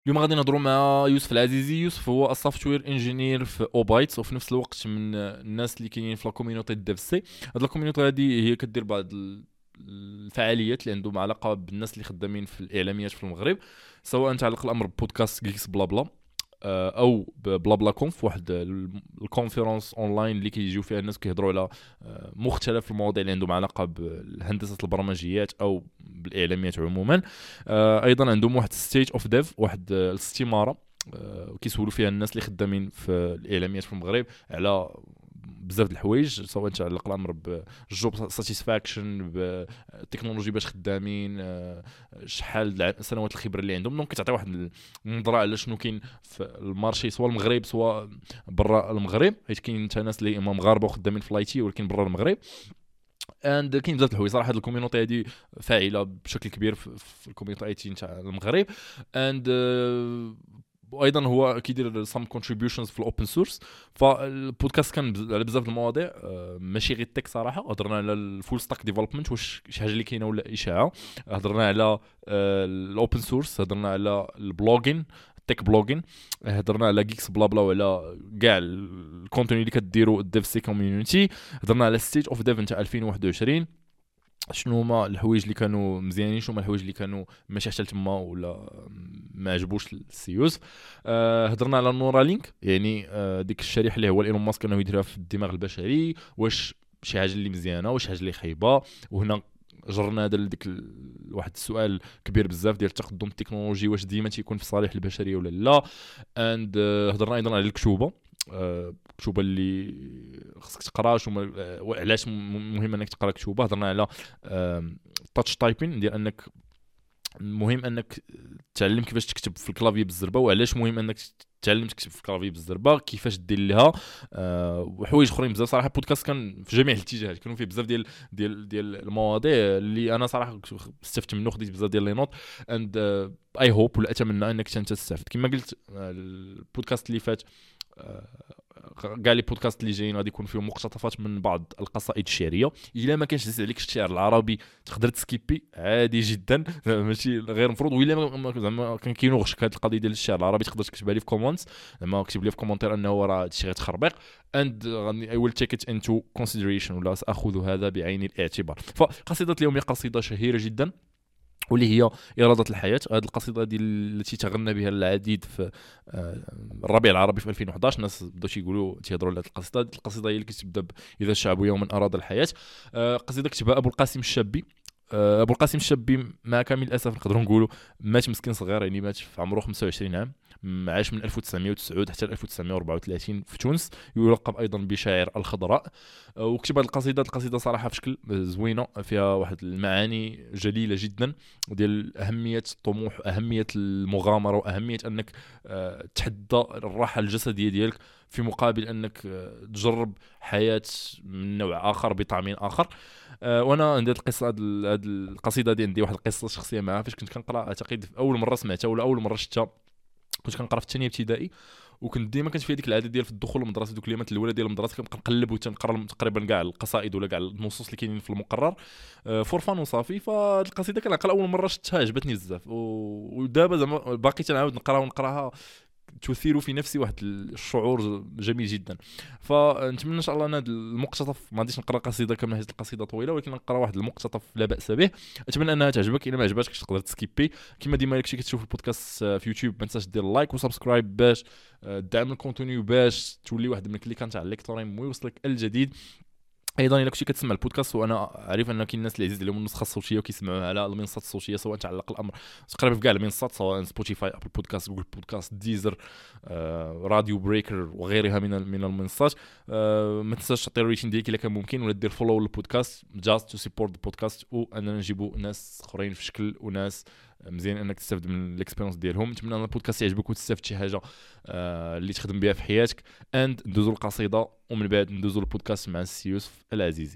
اليوم غادي نهضروا مع يوسف العزيزي. يوسف هو السوفتوير انجينير في اوبايتس، وفي نفس الوقت من الناس اللي كاينين في لا كوميونيتي ديف سي. هاد لا كوميونيتي هادي هي كدير بعض الفعاليات اللي عندهم علاقه بالناس اللي خدامين في الاعلاميات في المغرب، سواء تعلق الامر ببودكاست جيكس بلا بلا او بلا بلا كونف، واحد الكونفرنس اونلاين اللي كيجيو فيها الناس كيهضروا على مختلف المواضيع اللي عندهم علاقه بهندسه البرمجيات او بالاعلاميات عموما. ايضا عندهم واحد ستيج اوف ديف، واحد الاستماره كيسولوا فيها الناس اللي خدامين في الاعلاميات في المغرب على بزاف د الحوايج، سواء تعلق الامر بالجوب ساتيسفاكشن، بالتكنولوجي باش خدامين، شحال سنوات الخبره اللي عندهم. دونك كتعطي واحد النظره على شنو كاين في المارشي سواء المغرب سواء برا المغرب، حيت كاين حتى ناس اللي اما مغاربه وخدامين في لايتي ولكن برا المغرب. اند كاين بزاف د الحوايج صراحه. هاد الكوميونيتي هادي فاعله بشكل كبير في الكوميونيتي اي تي نتاع المغرب. اند وايضا هو كيدير سام كونتريبيوشنز في الاوبن سورس. فالبودكاست كان على بزاف المواضيع، ماشي غير التك صراحه. هضرنا على الفول ستاك ديفلوبمنت، واش شي حاجه اللي كاينه ولا اشاعه. هضرنا على الاوبن سورس، هضرنا على البلوجين، تك بلوجين، هضرنا على جيكس بلا بلا وعلى كاع الكونتوني اللي كديروا الديف سي كوميونيتي. هضرنا على ستيج اوف ديف نتاع 2021، شنو هما الحوايج اللي كانوا مزيانين، شنو هما الحوايج اللي كانوا ماشي حتى تما ولا ما عجبوش السيوز. هضرنا على نورالينك، يعني ديك الشريحه اللي هو ايلون ماسك انه يديرها في الدماغ البشري، واش شي حاجه اللي مزيانه واش حاجه اللي خايبه. وهنا جرنا هذا ديك واحد السؤال كبير بزاف ديال التقدم التكنولوجي، واش ديما تيكون في صالح البشريه ولا لا. اند هضرنا ايضا على الكتوبه، كتوبه اللي خصك تقرا، شنو علاش مهم انك تقرا كتوبه. هضرنا على تاتش تايبين، ديال انك مهم انك تعلم كيفاش تكتب في الكلافي بالزربه، وعلاش مهم انك تعلم تكتب في الكلافي بالزربه، كيفاش دير لها وحوايج اخرين بزاف صراحه. البودكاست كان في جميع الاتجاهات، كانوا فيه بزاف ديال المواضيع اللي انا صراحه استفدت منه، خديت بزاف ديال لي نوت. اند اي هوب ولا اتمنى انك انت تستافد. كما قلت البودكاست اللي فات، كاع لي بودكاست اللي جايين غادي يكون فيهم مقتطفات من بعض القصائد الشعريه. الا ما كانش عليك الشعر العربي تقدر تسكيبي عادي جدا، ماشي غير مفروض. وإلا زعما كان كاينوغش هذه القضيه ديال الشعر العربي تقدر تكتبها لي في كومونتس، زعما اكتب لي في كومونتير انه راه هادشي غيتخربق. اند اي ويل تيك ات انتو كونسيدريشن، ولا ساخذ هذا بعين الاعتبار. فقصيده اليوم هي قصيده شهيره جدا، واللي هي إرادة الحياة. هذه القصيدة دي التي تغنى بها العديد في الربيع العربي في 2011. الناس بداو تيقولوا تيهضروا على هذه القصيدة. القصيدة هي اللي كتبدا إذا الشعب يوما أراد الحياة. قصيدة كتبها أبو القاسم الشابي. أبو القاسم الشابي مع كامل الأسف نقدروا نقولوا مات مسكين صغير، يعني مات في عمره 25 عام، عاش من 1909 حتى 1934 في تونس. يلقب ايضا بشاعر الخضراء. وكتب هذه القصيده صراحه في شكل زوينه، فيها واحد المعاني جليله جدا ديال اهميه الطموح، اهميه المغامره، واهميه انك تحدى الراحه الجسديه ديالك في مقابل انك تجرب حياه من نوع اخر بطعم اخر. وانا عندي القصه، هذه القصيده دي عندي واحد القصه شخصيه معها. فاش كنت كنقرا اعتقد اول مره سمعتها ولا اول مره شفتها كنت كنقرا في الثانيه ابتدائي، وكنت ديما كانت في هذيك العاده ديال في الدخول للمدرسه، دوك الايامات الاولى ديال المدرسه كنبقى نقلب وتنقرا تقريبا كاع القصائد ولا كاع النصوص اللي كاينين في المقرر فور فان وصافي. فالقصيده كنعقل اول مره شفتها عجبتني بزاف، ودابا زعما باقي تنعاود نقراها تثير في نفسي واحد الشعور جميل جدا. فنتمنى ان شاء الله ان هذا المقتطف، ما غاديش نقرا قصيده كامله حيت القصيده طويله، ولكن نقرا واحد المقتطف لا باس به. اتمنى انها تعجبك. الا ما عجبتكش تقدر تسكيبي. كما ديما داكشي كتشوف البودكاست في يوتيوب ما تنساش دير لايك وسبسكرايب باش دعم الكونتوني، باش تولي واحد من الكليكان تاع الالكتروني ويوصلك الجديد. ايضا الا كنتي كتسمع البودكاست، وانا عارف ان كاين الناس اللي عزيز عليهم النسخه الصوتيه وكيسمعوها على المنصات الصوتيه، سواء تعلق الامر تقريبا في كاع المنصات، سواء سبوتيفاي، ابل بودكاست، جوجل بودكاست، ديزر، راديو بريكر وغيرها من المنصات. ما تنساش تعطي الريتين ديالك الا كان ممكن، ولا دير فولو للبودكاست جاست تو سيبورت البودكاست، واننا نجيبوا ناس اخرين في شكل وناس مزيان انك تستافد من الاكسبيرينس ديالهم. نتمنى ان البودكاست يعجبك وتستافد شي حاجه اللي تخدم بها في حياتك. اند ندوزو القصيده ومن بعد ندوزو البودكاست مع السي يوسف العزيزي.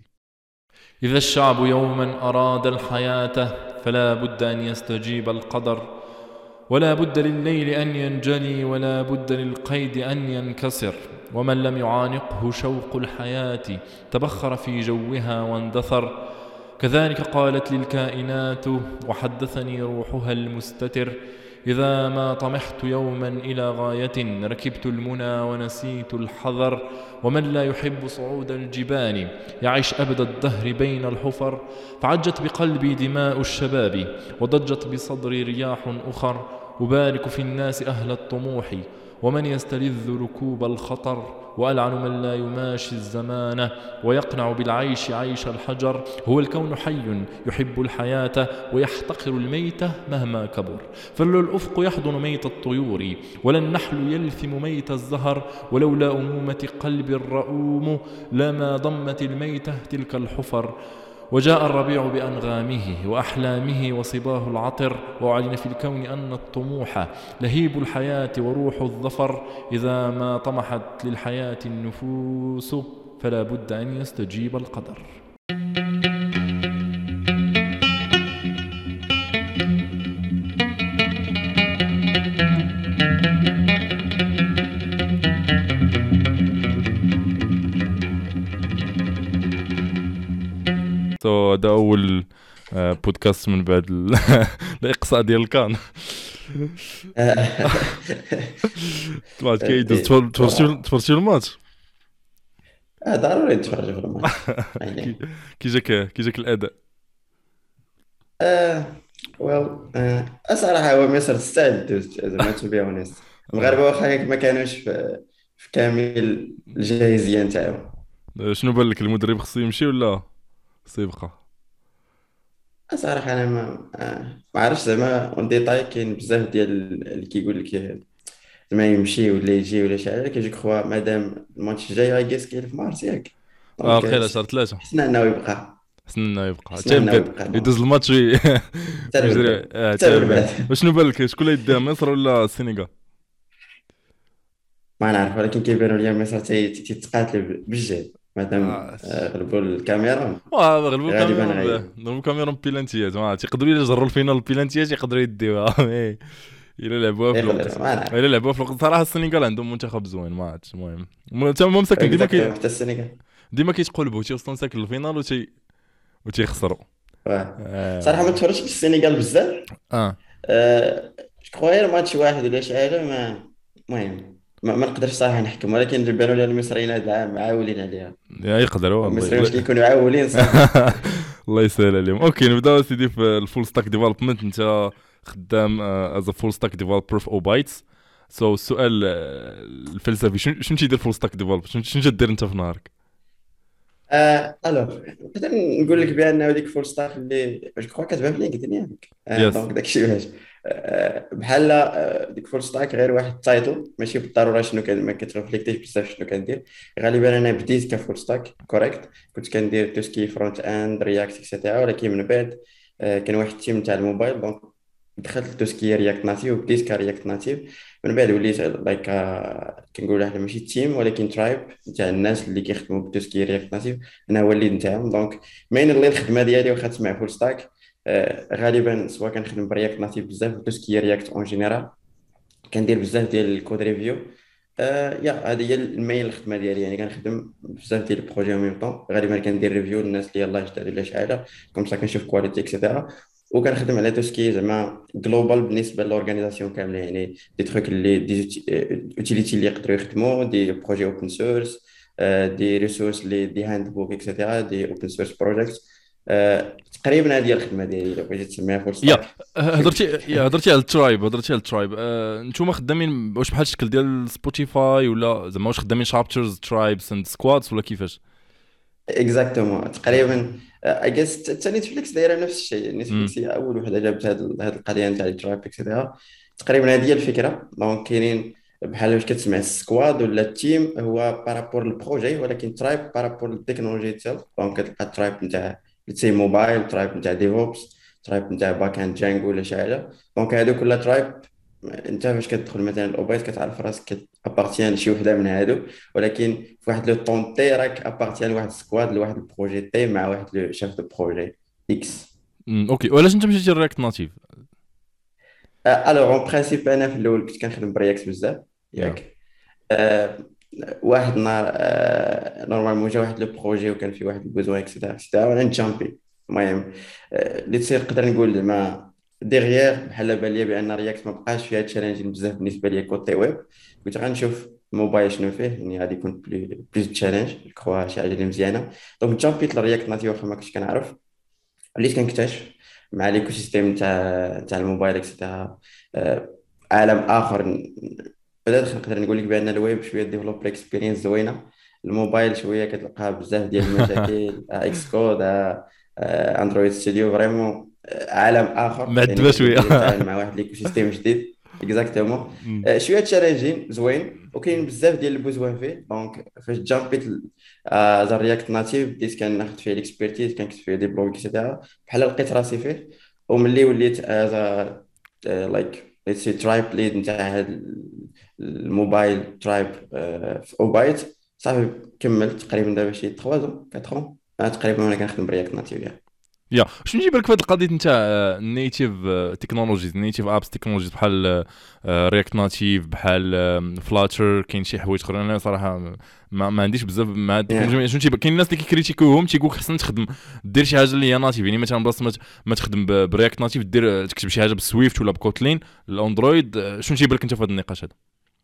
إذا الشعب يوما أراد الحياة فلا بد أن يستجيب القدر، ولا بد لليل أن ينجلي، ولا بد للقيد أن ينكسر، ومن لم يعانقه شوق الحياة تبخر في جوها واندثر. كذلك قالت للكائنات وحدثني روحها المستتر: إذا ما طمحت يوما إلى غاية ركبت المنى ونسيت الحذر. ومن لا يحب صعود الجبال يعيش أبد الدهر بين الحفر. فعجت بقلبي دماء الشباب وضجت بصدري رياح أخر. أبارك في الناس أهل الطموح ومن يستلذ ركوب الخطر. وألعن من لا يماشي الزمان ويقنع بالعيش عيش الحجر. هو الكون حي يحب الحياة ويحتقر الميت مهما كبر. فلو الأفق يحضن ميت الطيور ولا النحل يلثم ميت الزهر. ولولا أمومة قلب الرؤوم لما ضمت الميتة تلك الحفر. وجاء الربيع بأنغامه وأحلامه وصباه العطر. وأعلن في الكون أن الطموح لهيب الحياة وروح الظفر. إذا ما طمحت للحياة النفوس فلا بد أن يستجيب القدر. هذا أول بودكاست من بعد الإقصاء ديال الكان. طلعت كيدوز تفرجتي الماتش؟ ضروري نتفرج في الماتش يعني. كي جاك الأداء؟ ويل الصراحة هو مصر تستاهل دوز زعما تو بي اونست. المغاربة واخا ما كانوش في كامل الجاهزية نتاعهم. شنو بان لك، المدرب خصو يمشي ولا خصو يبقى؟ الصراحة أنا ما عرفتش زعما اون ديتاي. كاين بزاف ديال اللي كيقول لك زعما يمشي ولا يجي ولا شي حاجة. كيجي كخوا مادام الماتش الجاي غايكيس كاين في مارس ياك. دونك وقيلا شهر 3 حسنا أنه يبقى. حسن انه يبقى حسنا حتى أنه يبدا يبقى يدوز الماتش حتى ويجري بالبعد حتى حتى من بعد. بالبعد. وشنو بان لك، شكون اللي يديها، مصر ولا السنغال؟ ما نعرف، ولكن كيبانوا لي مصر تيتقاتلوا بالجهد مادام آه. غلبوا الكاميرون. غلبوا غالبا الكاميرون، غلبوا الكاميرون بيلانتيات، ما تيقدروا الا جروا الفينال البيلانتيات يقدروا يديوها. الا لعبوها في الوقت، يقدر ما نعرف. الا لعبوها في الوقت صراحه السنغال عندهم منتخب زوين، ما عرفتش. المهم هما مساكن اكزاكتومون حتى السنغال. ديما كيتقلبوا تيوصلوا ساكن الفينال وتيخسروا. صراحه ما اه تفرجتش في السنغال بزاف. اه أه... غير ماتش واحد ولا شي حاجه. ما المهم ما نقدرش صراحه نحكم، ولكن اللي بانوا لي المصريين هذا العام عاولين عليها. يقدروا المصريين والله. واش كيكونوا عاولين صافي. الله يسهل عليهم. اوكي نبداو سيدي في الفول ستاك ديفلوبمنت. انت خدام از فول ستاك ديفلوبر في اوبايتس. السؤال الفلسفي، شنو تيدير فول ستاك ديفلوبر؟ شنو تدير انت في نهارك؟ الوغ نقدر نقول لك بان هذيك فول ستاك اللي جو كخوا كتبان في لينكدين ياك. يس. دونك داكشي باش بحال ديك فول ستاك غير واحد التايتل، ماشي بالضروره شنو كان. ما كترفليكتيش بزاف شنو كندير. غالبا انا بديت كفول ستاك كوريكت، كنت كندير توسكي فرونت اند رياكت اكسيتيرا. ولكن من بعد كان واحد التيم تاع الموبايل، دونك دخلت لتوسكي رياكت ناتيف وبديت كرياكت ناتيف. من بعد وليت لايك كنقول احنا ماشي تيم ولكن ترايب تاع الناس اللي كيخدموا بتوسكي رياكت ناتيف. انا هو اللي نتاعهم. دونك مين اللي الخدمه ديالي واخا تسمع فول ستاك غالبا سواء كنخدم برياكت ناتيف بزاف وتوسكي رياكت اون جينيرال. كندير بزاف ديال الكود ريفيو. يا هذه هي المين الخدمه ديالي. يعني كنخدم بزاف ديال البروجي او ميم طون. غالبا كندير ريفيو للناس اللي يلاه جداد ولا شي حاجه كوم سا كنشوف كواليتي اكسيتيرا. وكنخدم على توسكي زعما جلوبال بالنسبه للورغانيزاسيون كامله. يعني دي تروك اللي دي اوتيليتي اللي يقدروا يخدموا دي بروجي اوبن سورس، دي ريسورس اللي دي هاند بوك اكسيتيرا، دي اوبن سورس بروجيكت. تقريبا هذه هي الخدمه ديالي لو بغيتي تسميها فول يا ستاك. هضرتي على الترايب، نتوما خدامين واش بحال الشكل ديال سبوتيفاي ولا زعما واش خدامين شابترز ترايبس اند سكوادز ولا كيفاش؟ اكزاكتومون تقريبا. اي جيس حتى نتفليكس دايره نفس الشيء. امم نتفليكس هي اول وحده جابت هذه القضيه نتاع التراب اكسيتيرا. تقريبا هذه هي الفكره. دونك كاينين بحال واش كتسمع السكواد ولا التيم هو بارابور البروجي، ولكن ترايب بارابور التكنولوجي ديال. دونك كتلقى ترايب نتاع لتسي موبايل، ترايب نتاع ديفوبس، ترايب نتاع باك اند جانجو ولا شي حاجه. دونك هادو كلها ترايب. انت فاش كتدخل مثلا الاوبايت كتعرف راسك كابارتيان لشي وحده من هادو، ولكن في واحد لو طون تي راك ابارتيان لواحد السكواد لواحد البروجي تي مع واحد لو شاف دو بروجي اكس. اوكي، وعلاش انت مشيتي للرياكت ناتيف؟ الوغ اون برانسيب انا في الاول كنت كنخدم برياكت بزاف يا ياك. آه، واحد النهار نورمالمون جا واحد لو بروجي وكان فيه واحد البوزوان اكسيتيرا اكسيتيرا وانا نجامبي. المهم اللي تصير نقدر نقول زعما ديغيير بحال بان ليا بان رياكت ما بقاش فيها تشالنجين بزاف بالنسبه ليا كوتي ويب. كنت غنشوف الموبايل شنو فيه، يعني غادي يكون بليز تشالنج كخوا شي حاجه اللي مزيانه. دونك جامبيت للرياكت ناتيف واخا ما كنتش كنعرف. وليت كنكتشف مع ليكو سيستيم تاع الموبايل اكسيتيرا عالم اخر. بدات نقدر نقول لك بان الويب شويه ديفلوبر اكسبيرينس زوينه. الموبايل شويه كتلقى بزاف ديال المشاكل، اكس كود، اندرويد ستوديو فريمون عالم اخر. يعني معذبه شويه. كتولي تتعامل مع واحد ليكو سيستيم جديد. اكزاكتومون. مم. شويه تشالنجين زوين وكاين بزاف ديال البوزوان فيه. دونك فاش جامبيت ذا رياكت ناتيف بديت كناخذ فيه الاكسبيرتيز، كنكتب فيه دي بلوغ اكسيتيرا بحال لقيت راسي فيه. وملي وليت از لايك ليتس سي ترايب ليد نتاع هذا الموبايل ترايب في اوبايت، صافي كملت تقريبا دابا شي 3 4 تقريبا وانا كنخدم برياكت ناتيف يعني. يا شنو يجيب لك في هذه القضيه نتاع النيتيف تكنولوجيز، نيتيف ابس تكنولوجيز بحال رياكت ناتيف، بحال فلاتر، كاين شي حوايج اخرين انا صراحه ما عنديش بزاف مع التكنولوجيا. Yeah. شنو تيبان كاين الناس اللي كيكريتيكوهم تيقول لك خصنا تخدم دير شي حاجه اللي هي ناتيف، يعني مثلا بلاصه ما تخدم برياكت ناتيف دير تكتب شي حاجه بالسويفت ولا بكوتلين الاندرويد. شنو تيبان لك انت في هذا النقاش هذا؟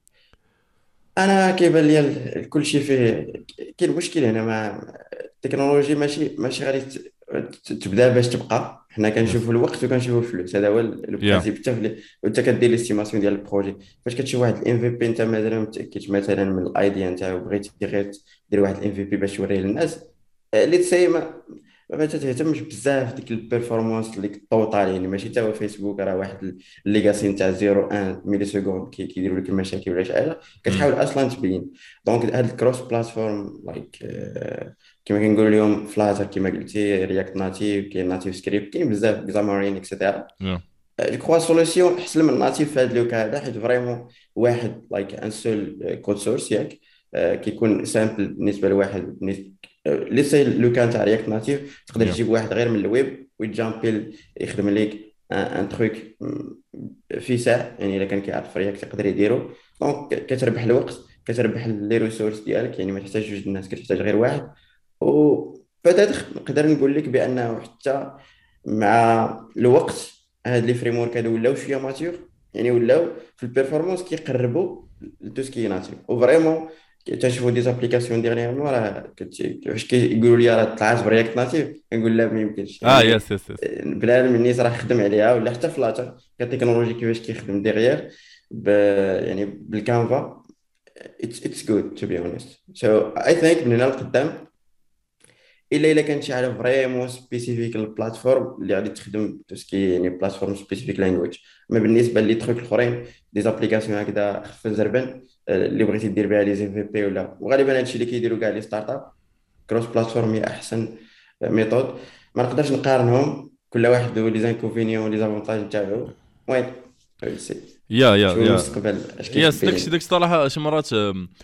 انا كيبان لي كل شيء فيه كاين مشكل هنا مع التكنولوجي. ماشي غادي تبدا باش تبقى. حنا يس. كنشوفوا الوقت وكنشوفوا الفلوس، هذا هو لو يا برانسيب. وانت كدير ليستيماسيون ديال البروجي. فاش كتشوف واحد الام في بي انت مازال ما متاكدش مثلا من الايديا نتاعو، بغيتي غير دير واحد الام في بي باش توريه للناس، اللي تسي ما تهتمش بزاف ديك البيرفورمانس اللي الطوطال. يعني ماشي تا هو فيسبوك راه واحد الليغاسي نتاع 0.1 ميلي سكوند كيديروا لك المشاكل ولا شي حاجه كتحاول اصلا تبين. دونك هاد الكروس بلاتفورم لايك كما كنقولوا اليوم فلاتر كما قلتي، رياكت ناتيف، كاين ناتيف سكريبت، كاين بزاف زامارين اكسيتيرا. يا جو كخوا سوليسيون احسن من الناتيف في هذا لو كا هذا، حيت فريمون واحد لايك ان سول كود سورس ياك. كيكون سامبل بالنسبه لواحد. ليسي لو كان تاع رياكت ناتيف تقدر يا تجيب واحد غير من الويب ويجامبيل يخدم لك ان تروك في ساعه. يعني الا كان كيعرف رياكت يقدر يديرو. دونك كتربح الوقت، كتربح لي ريسورس ديالك. يعني ما تحتاج جوج الناس، كتحتاج غير واحد. وبدات نقدر نقول لك بانه حتى مع الوقت هاد لي فريم ورك هادو ولاو شويه ماتيور. يعني ولاو في البيرفورمانس كيقربوا لتو سكي ناتيف وفريمون. تنشوفوا دي زابليكاسيون ديغنيغمون راه فاش كيقولوا لي راه طلعت برياكت ناتيف كنقول لا ما يمكنش. يعني يس يس يس. بنادم النيت راه خدم عليها. ولا حتى فلاتر كتكنولوجي كيفاش كيخدم ديغيير يعني بالكانفا. it's good to be honest. So I think من هنا لقدام الا كانت شي حاجه فريمون سبيسيفيك للبلاتفورم اللي غادي تخدم توسكي، يعني بلاتفورم سبيسيفيك لانجويج. اما بالنسبه لي تروك الاخرين دي زابليكاسيون هكذا خفيف زربان اللي بغيتي دير بها لي زي في بي ولا، وغالبا هادشي اللي كيديروا كاع لي ستارت اب، كروس بلاتفورم هي احسن ميثود. ما نقدرش نقارنهم، كل واحد له لي زانكونفينيون ولي زافونتاج نتاعو. المهم يا شوف يا المستقبل اش يس. كيخبي داكشي لنا. الصراحه شي مرات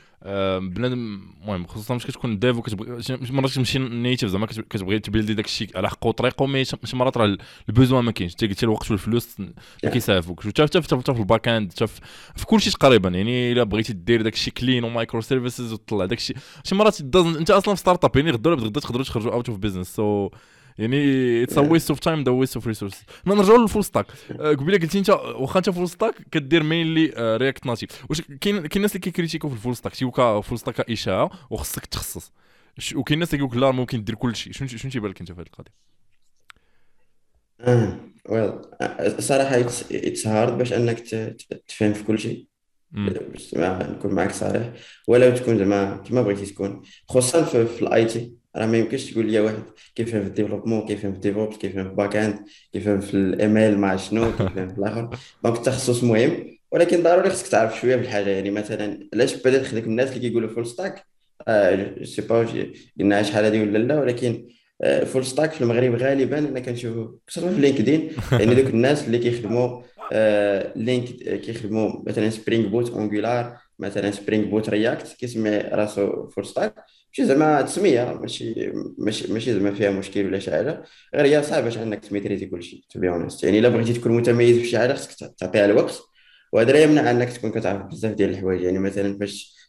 بنادم المهم خصوصا مش كتكون ديف وكتبغي شي مرات كتمشي نيتيف زعما كتبغي تبيلدي داكشي على حق وطريقه، مي شي مرات راه البوزوان ما كاينش. انت قلتي الوقت والفلوس ما Yeah. كيسعفوكش، حتى في الباك اند، حتى في كل شيء تقريبا. يعني الا بغيتي دير داكشي كلين ومايكرو سيرفيسز وتطلع داكشي شي مرات انت اصلا في ستارت اب، يعني غدا ولا غدا تقدروا تخرجوا اوت اوف بيزنس. سو يعني اتس ا Yeah. ويست اوف تايم، ذا ويست اوف ريسورس. ما نرجعوا للفول ستاك. قبيله قلتي انت واخا انت فول ستاك كدير مينلي رياكت ناتيف، واش كاين الناس اللي كيكريتيكو في الفول ستاك تيوكا فول ستاك اشاعه وخصك تخصص، وكاين الناس اللي كيقول لك لا ممكن دير كل شيء. شنو تيبان لك انت في هذه القضيه؟ ويل صراحة اتس هارد باش انك تفهم في كل شيء. امم باش نكون معك صريح، ولا تكون زعما كما بغيتي تكون. خصوصا في الاي تي راه ما يمكنش تقول لي واحد كيفهم في الديفلوبمون، كيفهم في الديفوبس، كيفهم في باك اند، كيفهم في الايميل مع شنو، كيفهم في الاخر. دونك التخصص مهم، ولكن ضروري خصك تعرف شويه بالحاجه. يعني مثلا علاش بدات خديك الناس اللي كيقولوا فول ستاك؟ سي با قلنا شحال هذه ولا لا، ولكن فول ستاك في المغرب غالبا انا كنشوفه خصوصا في لينكدين. يعني دوك الناس اللي كيخدموا لينك كيخدموا مثلا سبرينغ بوت انجولار، مثلا سبرينغ بوت رياكت، كيسمي راسو فول ستاك. ماشي زعما تسميه، ماشي زعما فيها مشكل ولا شي حاجه، غير هي صعب باش انك تميتريزي كل شيء تو بي اونست. يعني الا بغيتي تكون متميز في شي حاجه خصك تعطيها الوقت. وهذا لا يمنع انك تكون كتعرف بزاف ديال الحوايج. يعني مثلا فاش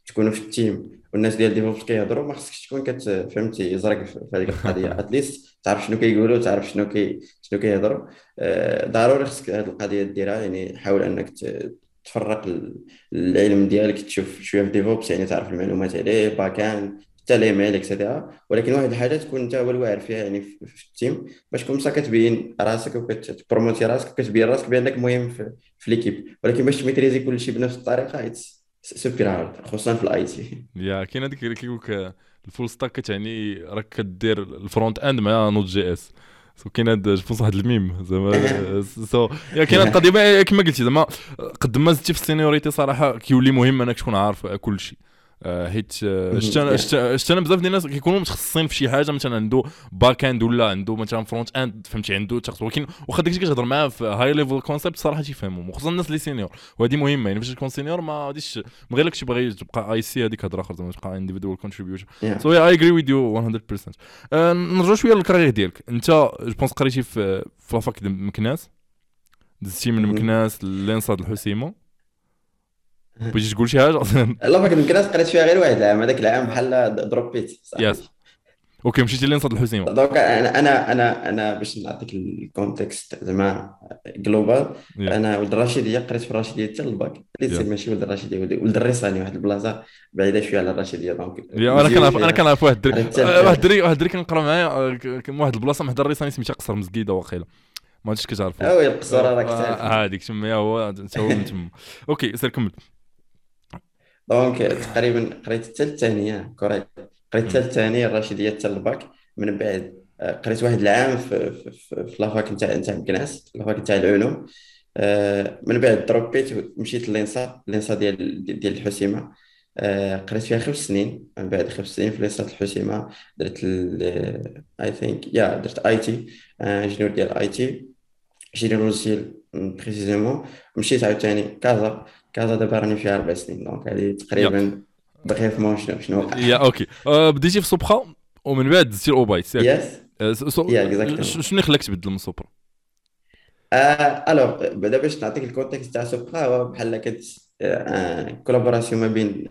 تكونوا في التيم والناس ديال ديفوبس كيهضروا، ما خصكش تكون فهمتي زرق في هذيك القضيه. اتليست تعرف شنو كيقولوا، تعرف شنو كيهضروا. ضروري خصك هذه القضيه ديرها، يعني حاول انك تفرق العلم ديالك، تشوف شويه في ديفوبس يعني تعرف المعلومات عليه، باكان حتى لي ميل اكسيتيرا. ولكن واحد الحاجه تكون انت هو الواعر فيها يعني في التيم، باش كون بصح كتبين راسك وكتبروموتي راسك وكتبين راسك بانك مهم في ليكيب. ولكن باش تميتريزي كل شيء بنفس الطريقه سوبر هارد، خصوصا في الاي تي. يا كاين هذيك اللي كيقولك الفول ستاك كتعني راك كدير الفرونت اند مع نوت جي اس. سو كاين هاد جوبونس واحد الميم زعما سو يا كاين هاد القضيه كما قلتي زعما قد ما زدتي في السينيوريتي صراحه كيولي مهم انك تكون عارف كل شيء. حيت شفت انا بزاف ديال الناس كيكونوا متخصصين في شي حاجه، مثلا عنده باك اند ولا عنده مثلا فرونت اند فهمتي عنده تخصص، ولكن واخا داكشي كتهضر معاه في هاي ليفل كونسيبت صراحه تيفهمهم، وخصوصا الناس اللي سينيور. وهذه مهمه يعني فاش تكون سينيور ما غاديش من غير لك تبغي تبقى اي سي هذيك هضره اخرى زعما تبقى انديفيدوال كونتريبيوشن. سو اي اجري ويز يو 100%. نرجعوا شويه للكارير ديالك انت. جو بونس قريتي في لافاك ديال مكناس، دزتي من مكناس للانصاد الحسيمه، بغيتي تقول شي حاجه اصلا؟ لا، ما كنت قريت فيها غير واحد العام، هذاك العام بحال دروبيت يس صاحبي. اوكي مشيتي للانصاد الحسيمه. دونك انا باش نعطيك الكونتكست زعما جلوبال. يا انا ولد الرشيديه، قريت في الرشيديه حتى الباك، اللي يا تسمى ماشي ولد الرشيديه، ولد الريساني، واحد البلاصه بعيده شويه على الرشيديه. دونك يا انا مزيون كنعرف انا فيها، كنعرف واحد الدري، قريت حتى واحد الدري كنقرا معايا كان واحد البلاصه محدا الريساني سميتها قصر مسكيده واقيلا، ما عرفتش كتعرفوا. اوي القصوره راك تعرف. هذيك تما هو حتى هو من تما. اوكي سير كمل. دونك تقريبا قريت حتى الثانيه كوريكت، قريت حتى الثانيه الرشيديه حتى الباك. من بعد قريت واحد العام في لافاك نتاع مكناس، لافاك نتاع العلوم. من بعد دروبيت ومشيت لينسا ديال الحسيمه. قريت فيها 5 سنين. من بعد 5 سنين في لينسا الحسيمه درت اي ثينك درت اي تي، انجينيور ديال اي تي، جيني لوجيسيال بريسيزيمون. مشيت عاوتاني كازا دابا راني فيها 4 سنين. دونك هذه يا تقريبا بغيف ما شنو وقع. يا اوكي بديتي في سوبخا ومن بعد دزتي الاوبايت ياك؟ يس، يا اكزاكتومون. شنو اللي خلاك تبدل من سوبرا؟ الوغ بعدا باش نعطيك الكونتكست تاع سوبرا، هو بحال كت كولابوراسيون ما بين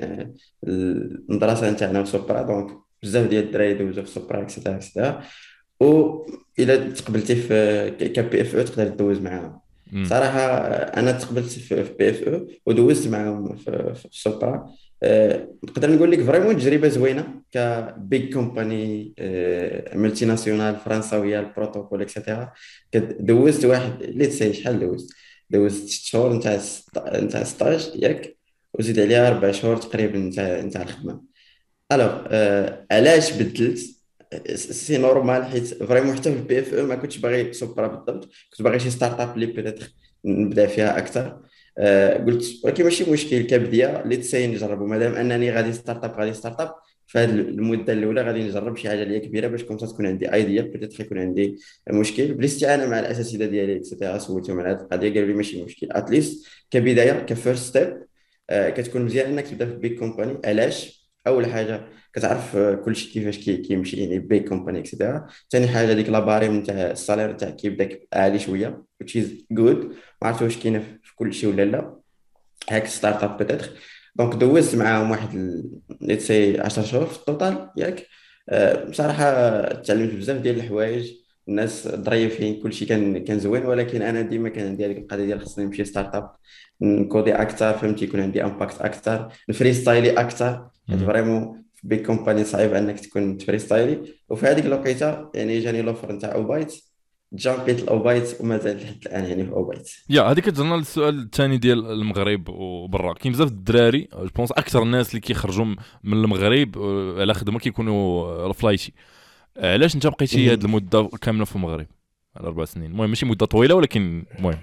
المدرسه نتاعنا وسوبرا. دونك بزاف ديال الدراري دوزو في سوبرا اكسيتيرا اكسيتيرا. و الا تقبلتي في كبي اف او تقدر تدوز معاهم. صراحه انا تقبلت في بي اف او ودوزت معاهم في السوبرا. نقدر نقول لك فريمون تجربه زوينه، كبيج كومباني ملتي ناسيونال فرنساويه، البروتوكول اكسيتيرا. دوزت واحد اللي تساي شحال دوزت 6 شهور نتاع ستاج ياك، وزيد عليها 4 شهور تقريبا نتاع الخدمه. الوغ علاش بدلت؟ سي نورمال، حيت فريمون حتى في البي اف او ما كنتش باغي سوبرا بالضبط، كنت باغي شي ستارت اب اللي بيتيتر نبدا فيها اكثر. قلت ولكن ماشي مشكل كبديه اللي تساي نجربوا، مادام انني غادي ستارت اب في هذه المده الاولى غادي نجرب شي حاجه اللي هي كبيره، باش كون تكون عندي ايديا بيتيتر يكون عندي مشكل. بالاستعانه مع الاساتذه ديالي اكسيتيرا سولتهم على هذه القضيه، قالوا لي ماشي مشكل اتليست كبدايه كفيرست ستيب. كتكون مزيان انك تبدا في بيك كومباني. علاش؟ اول حاجه كتعرف كل شيء كيفاش كيمشي يعني بيك كومباني اكسيتيرا. ثاني حاجه ديك لاباريم نتاع السالير تاع كيبدا عالي شويه which is good. ما عرفت واش كاينه في كل شيء ولا لا، هاك ستارت اب بيتيتر. دونك دوزت معاهم واحد ليتس سي 10 شهور في التوتال ياك. بصراحه تعلمت بزاف ديال الحوايج، الناس ظريفين، كل شيء كان زوين. ولكن انا ديما كان عندي هذيك القضيه ديال خصني نمشي ستارت اب، نكودي اكثر فهمتي، يكون عندي امباكت اكثر، نفري ستايلي اكثر. حيت فريمون في بيك كومباني صعيب انك تكون تفري ستايلي. وفي هذيك الوقيته يعني جاني لوفر نتاع اوبايت، جامبيت الاوبايت ومازال لحد الان يعني في اوبايت. يا هذيك كتجرنا للسؤال الثاني ديال المغرب وبرا. كاين بزاف الدراري جو بونس اكثر الناس اللي كيخرجوا من المغرب على خدمه كيكونوا فلايشي. علاش انت بقيتي هذه المده كامله في المغرب على 4 سنين؟ المهم ماشي مده طويله ولكن المهم.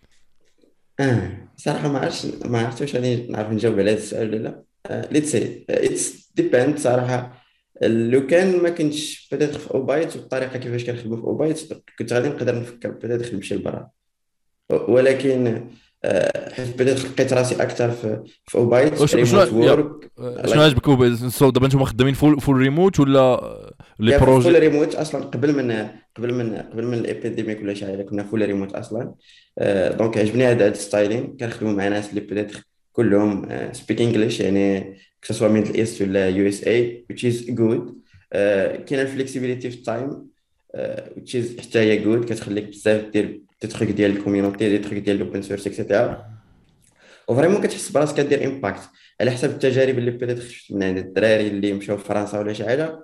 صراحة ما عرفتش واش غادي نعرف نجاوب على هذا السؤال ولا لا. ليتس سي اتس ديبند صراحة. لو كان ما كنتش بدات في اوبايت والطريقة كيفاش كنخدموا في اوبايت، كنت غادي نقدر نفكر بدات نمشي لبرا. ولكن حيت بدات لقيت راسي اكثر في اوبايت ريموت وورك. شنو عجبك دابا نتوما خدامين فول ريموت ولا لي فول بروجي؟ ريموت اصلا قبل من الابيديميك ولا شي حاجه كنا فول ريموت اصلا. دونك عجبني هذا الستايلين. كنخدموا مع ناس اللي بدات كلهم speak English يعني كسوا ميدل ايست ولا يو اس اي which is good. كاين الفليكسيبيليتي في التايم which is حتى هي good، كتخليك بزاف دير دي تخيك ديال الكوميونيتي، دي تخيك ديال الاوبن سورس اكسيتيرا، وفريمون كتحس براسك كدير امباكت. على حسب التجارب اللي بدات خفت من عند الدراري اللي مشاو لفرنسا ولا شي حاجه،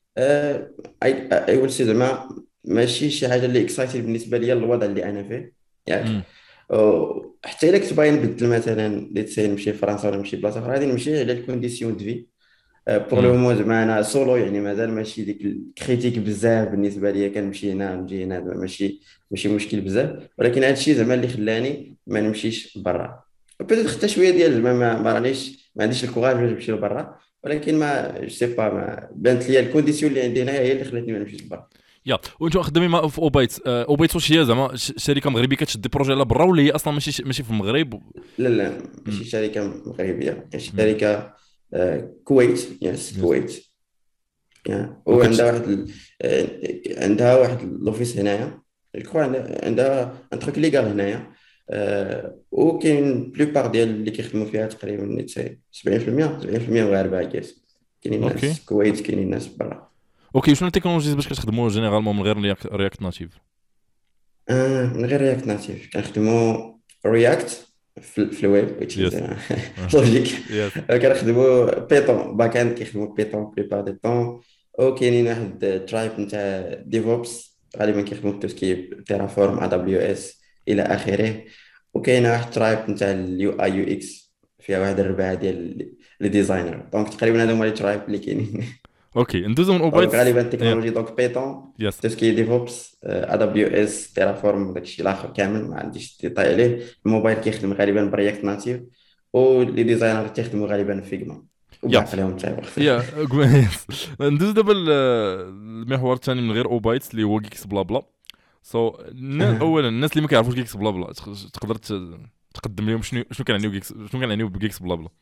اي ويل سي زعما ماشي شي حاجه اللي اكسايتد بالنسبه ليا الوضع اللي انا فيه، ياك. امم. حتى الا كنت باغي نبدل مثلا ليتسي نمشي لفرنسا ولا نمشي بلاصه اخرى، غادي نمشي على الكونديسيون دو في. بور لو امم. مو زعما انا سولو يعني مازال ماشي ديك الكريتيك بزاف بالنسبه ليا، كنمشي هنا نجي هنا زعما ماشي مشكل بزاف، ولكن هذا الشيء زعما اللي خلاني ما نمشيش برا. بدات حتى شويه ديال زعما ما رانيش ما عنديش الكوراج باش نمشي لبرا، ولكن ما جو سي با ما بانت لي الكونديسيون اللي عندي هنايا هي اللي خلاتني ما نمشيش لبرا. يا وانتم خدامين في اوبايت. اوبايت واش هي زعما شركه مغربيه كتشد بروجي على برا، ولا هي اصلا ماشي في المغرب؟ لا لا امم. ماشي شركه مغربيه، هي امم. شركه كويت، يس يس. كويت. وكتش. وعندها عندها واحد لوفيس هنايا، جو عندها ان تروك ليغال هنايا. وكاين بلوبار ديال اللي كيخدموا فيها تقريبا نيتساي 70% مغاربه كاس. كاينين اوكي. ناس كويت، كاينين ناس برا. اوكي، شنو التكنولوجيز باش كتخدموا جينيرالمون من غير رياكت ناتيف؟ من غير رياكت ناتيف كنخدموا رياكت في الويب which is يس. لوجيك. يس. كنخدموا بيتون باك اند، كيخدموا بيتون بليبار دي طون. وكاينين واحد ترايب نتاع ديفوبس غالبا كيخدموا بتوسكي تيرافورم ا دبليو اس الى اخره. وكاينه واحد ترايب نتاع اليو اي يو اكس فيها واحد الربعه ديال لي ديزاينر. دونك تقريبا هادو هما لي ترايب اللي كاينين. اوكي، ندوزو من دونك اوبايت. غالبا يا. التكنولوجي دونك بيتون، يس. تسكي ديفوبس، ا دبليو اس تيرافورم، داكشي الاخر كامل ما عنديش ديتاي عليه. الموبايل كيخدم غالبا برياكت ناتيف، ولي ديزاينر تيخدموا غالبا فيجما يا. وبعقلهم تا واخا. يا. يس. ندوز دابا المحور الثاني من غير اوبايت اللي هو جيكس بلا بلا. اولا الناس اللي ما كيعرفوش جيكس بلا بلا، تقدر تقدم لهم شنو كنعنيو جيكس، شنو كنعنيو بجيكس بلا بلا؟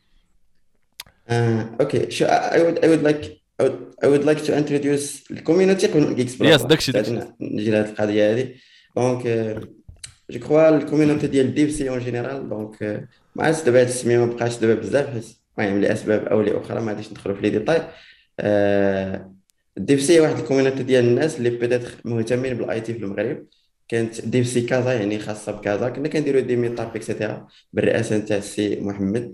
اوكي شو I would like I would like to introduce الكوميونيتي قبل جيكس بلا يس، بلا، داكشي. بعد نجي لهاد القضيه هذه. دونك جو كخوا الكوميونيتي ديال ديف سي اون جينيرال. دونك ما عرفتش دابا هاد السميه ما بقاش دابا بزاف، حيت المهم لاسباب او لاخرى ما غاديش ندخلوا في لي ديتاي. ديف سي واحد الكوميونيتي ديال الناس اللي بيتيتر مهتمين بالاي تي في المغرب. كانت ديف سي كازا يعني خاصه بكازا، كنا كنديروا دي ميتاب اكسيتيرا بالرئاسه نتاع السي محمد،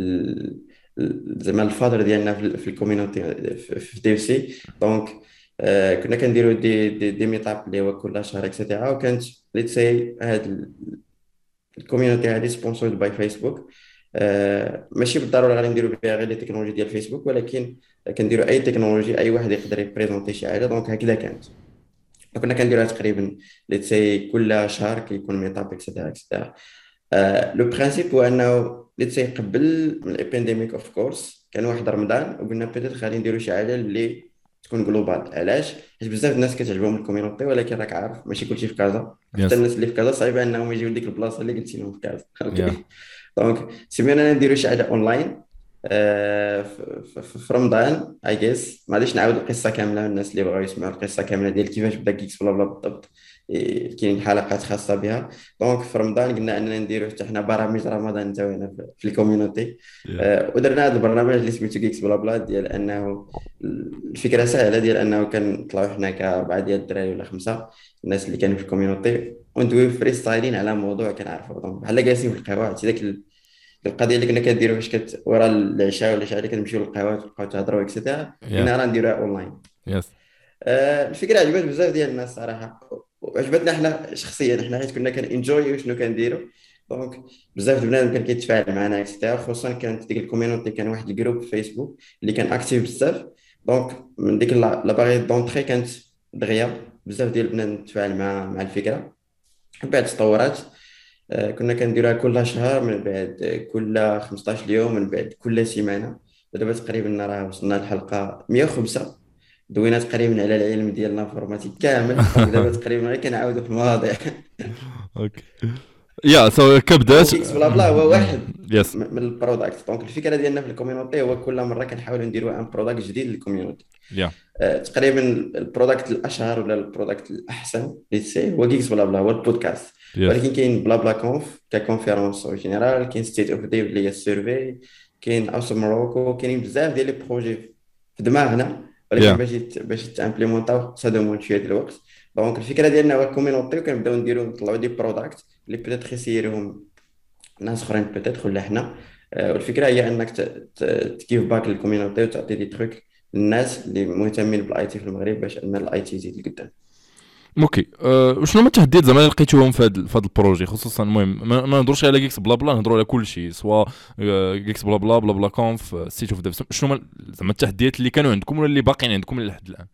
زعما الفادر ديالنا في الكوميونيتي في ديف سي. دونك كنا كنديروا دي ميتاب اللي هو كل شهر اكسيتيرا. وكانت ليتس سي هاد الكوميونيتي هذه سبونسورد باي فيسبوك. ماشي بالضروره غادي نديروا بها غير لي تكنولوجي ديال فيسبوك، ولكن كنديروا اي تكنولوجي اي واحد يقدر يبريزونتي شي حاجه. دونك هكذا كانت. كنا كنديروها تقريبا ليتس سي كل شهر كيكون ميتاب اكسيتيرا اكسيتيرا. لو برانسيب هو انه ليتس سي قبل من الابانديميك اوف كورس كان واحد رمضان، وقلنا بيتيت غادي نديروا شي حاجه اللي تكون جلوبال. علاش؟ حيت بزاف الناس كتعجبهم الكوميونيتي، ولكن راك عارف ماشي كلشي في كازا. حتى يس. الناس اللي في كازا صعيبه انهم يجيو لديك البلاصه اللي قلتي لهم في كازا. يا. اوكي. دونك سمينا نديرو شي حاجه اونلاين في رمضان اي جيس. ما غاديش نعاود القصه كامله، الناس اللي بغاو يسمعوا القصه كامله ديال كيفاش بدا كيكس بلا بلا بالضبط كاين حلقات خاصه بها. دونك في رمضان قلنا اننا نديرو حتى حنا برامج رمضان زوينه في الكوميونيتي. يا. ودرنا هذا البرنامج اللي سميتو كيكس بلا بلا، ديال انه الفكره سهله، ديال انه كنطلعوا حنا كاربعه ديال الدراري ولا خمسه الناس اللي كانوا في الكوميونيتي، وندويو فري ستايلين على موضوع كنعرفوا. دونك بحال جالسين في القهوه. عرفتي داك القضيه اللي كنا كنديروا فاش ورا العشاء ولا شي حاجه كنمشيو للقهوه تبقاو تهضروا اكسيتيرا. يا. قلنا راه نديروها اونلاين. يس. الفكره عجبت بزاف ديال الناس صراحه، وعجبتنا حنا شخصيا حنا، حيت كنا كنجويو شنو كنديروا. دونك بزاف د بنادم كان كيتفاعل معنا اكسيتيرا. خصوصا كانت ديك الكوميونيتي كان واحد الجروب في فيسبوك اللي كان اكتيف بزاف. دونك من ديك لا باغي دونطري كانت دغيا بزاف ديال البنات تفاعل مع الفكره. من بعد تطورات. كنا كنديروها كل شهر، من بعد كل 15 يوم، من بعد كل سيمانه. ودابا تقريبا راه وصلنا للحلقه 105. دوينا تقريبا على العلم ديال الانفورماتيك كامل. دونك دابا تقريبا غير كنعاودوا في المواضيع. اوكي. يا سو كبدات. وكيكس بلا بلا هو واحد يس. من البرودكت. دونك الفكره ديالنا في الكوميونيتي هو كل مره كنحاولوا نديروا ان برودكت جديد للكوميونيتي. يا تقريبا البرودكت الاشهر ولا البرودكت الاحسن ليتسي هو كيكس بلا بلا، هو البودكاست. يس. ولكن كاين بلا بلا كونف ككونفيرونس او جينيرال، كاين ستيت اوف ديف اللي هي السيرفي، كاين اوس موروكو، كاينين بزاف ديال لي بروجي في دماغنا، ولكن يا باش تامبليمونطاو صدموا شويه ديال الوقت. دونك الفكره ديالنا هو الكوميونيتي، وكنبداو نديرو نطلعوا دي برودكت اللي بيتيتر يسيرهم ناس اخرين بيتيتر ولا حنا. والفكره هي انك تجيف باك للكوميونيتي وتعطي دي تروك للناس اللي مهتمين بالاي تي في المغرب باش ان الاي تي يزيد لقدام. اوكي. وشنو هما التحديات زعما اللي لقيتوهم في هذا البروجي خصوصا؟ المهم ما نهضروش على جيكس بلا بلا، نهضروا على كل شيء، سواء جيكس بلا بلا بلا بلا كونف سيت اوف ديف. شنو هما زعما التحديات اللي كانوا عندكم ولا اللي باقيين عندكم لحد الان؟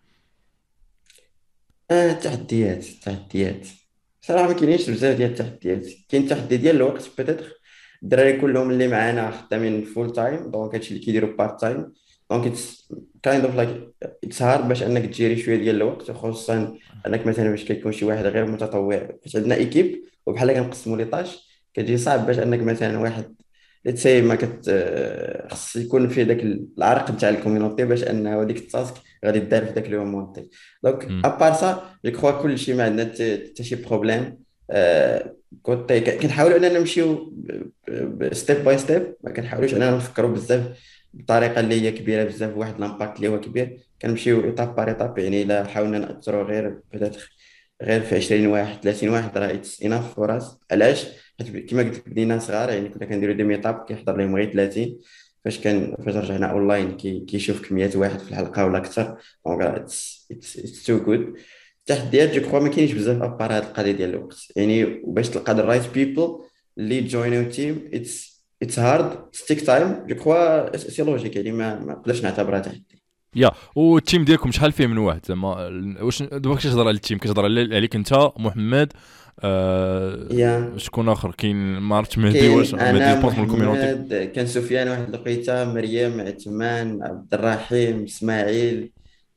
تحديات صراحه ما كاينينش بزاف ديال التحديات. كاين تحدي ديال الوقت بيتيتر. الدراري كلهم اللي معانا خدامين فول تايم، دونك هادشي اللي كيديروا بارت تايم. دونك اتس كايند اوف لايك اتس هارد باش انك تجيري شويه ديال الوقت، وخصوصا انك مثلا باش كيكون شي واحد غير متطوع. فاش عندنا ايكيب وبحال كنقسموا لي طاش، كتجي صعب باش انك مثلا واحد ليتسي ما كت خص يكون فيه داك العرق نتاع الكوميونيتي باش انه هذيك التاسك غادي دار في داك لو مونتي. دونك مم. ابار سا جو كخوا كل شيء ما عندنا حتى شي بروبليم. كنت كنحاولوا اننا نمشيو ستيب باي ستيب، ما كنحاولوش اننا نفكروا بزاف بطريقه اللي هي كبيره بزاف، واحد لامباكت اللي هو كبير. كنمشيو ايتاب بار ايتاب. يعني الا حاولنا ناثروا غير بيتيتر غير في 20 واحد 30 واحد راه اتس اناف فور اس. علاش؟ حيت كما قلت لك بدينا صغار، يعني كنا كنديرو دي ميتاب كيحضر لهم غير 30. فاش رجعنا اونلاين كيشوف كميات واحد في الحلقه ولا اكثر. دونك اتس تو جود. التحديات جو كخوا ما كاينش بزاف ابار هاد القضيه ديال الوقت، يعني وباش تلقى الرايت بيبل اللي جوينو تيم اتس هارد ستيك تايم. جو كخوا سي لوجيك، يعني ما نقدرش نعتبرها تحدي. يا والتيم ديالكم شحال فيه من واحد زعما؟ واش دابا كتهضر على التيم، كتهضر عليك انت محمد، يا شكون اخر كاين؟ ما عرفتش مهدي، واش كاين مهدي انا جوبونس من الكوميونيتي؟ محمد، كان سفيان واحد الوقيته، مريم، عثمان، عبد الرحيم، اسماعيل،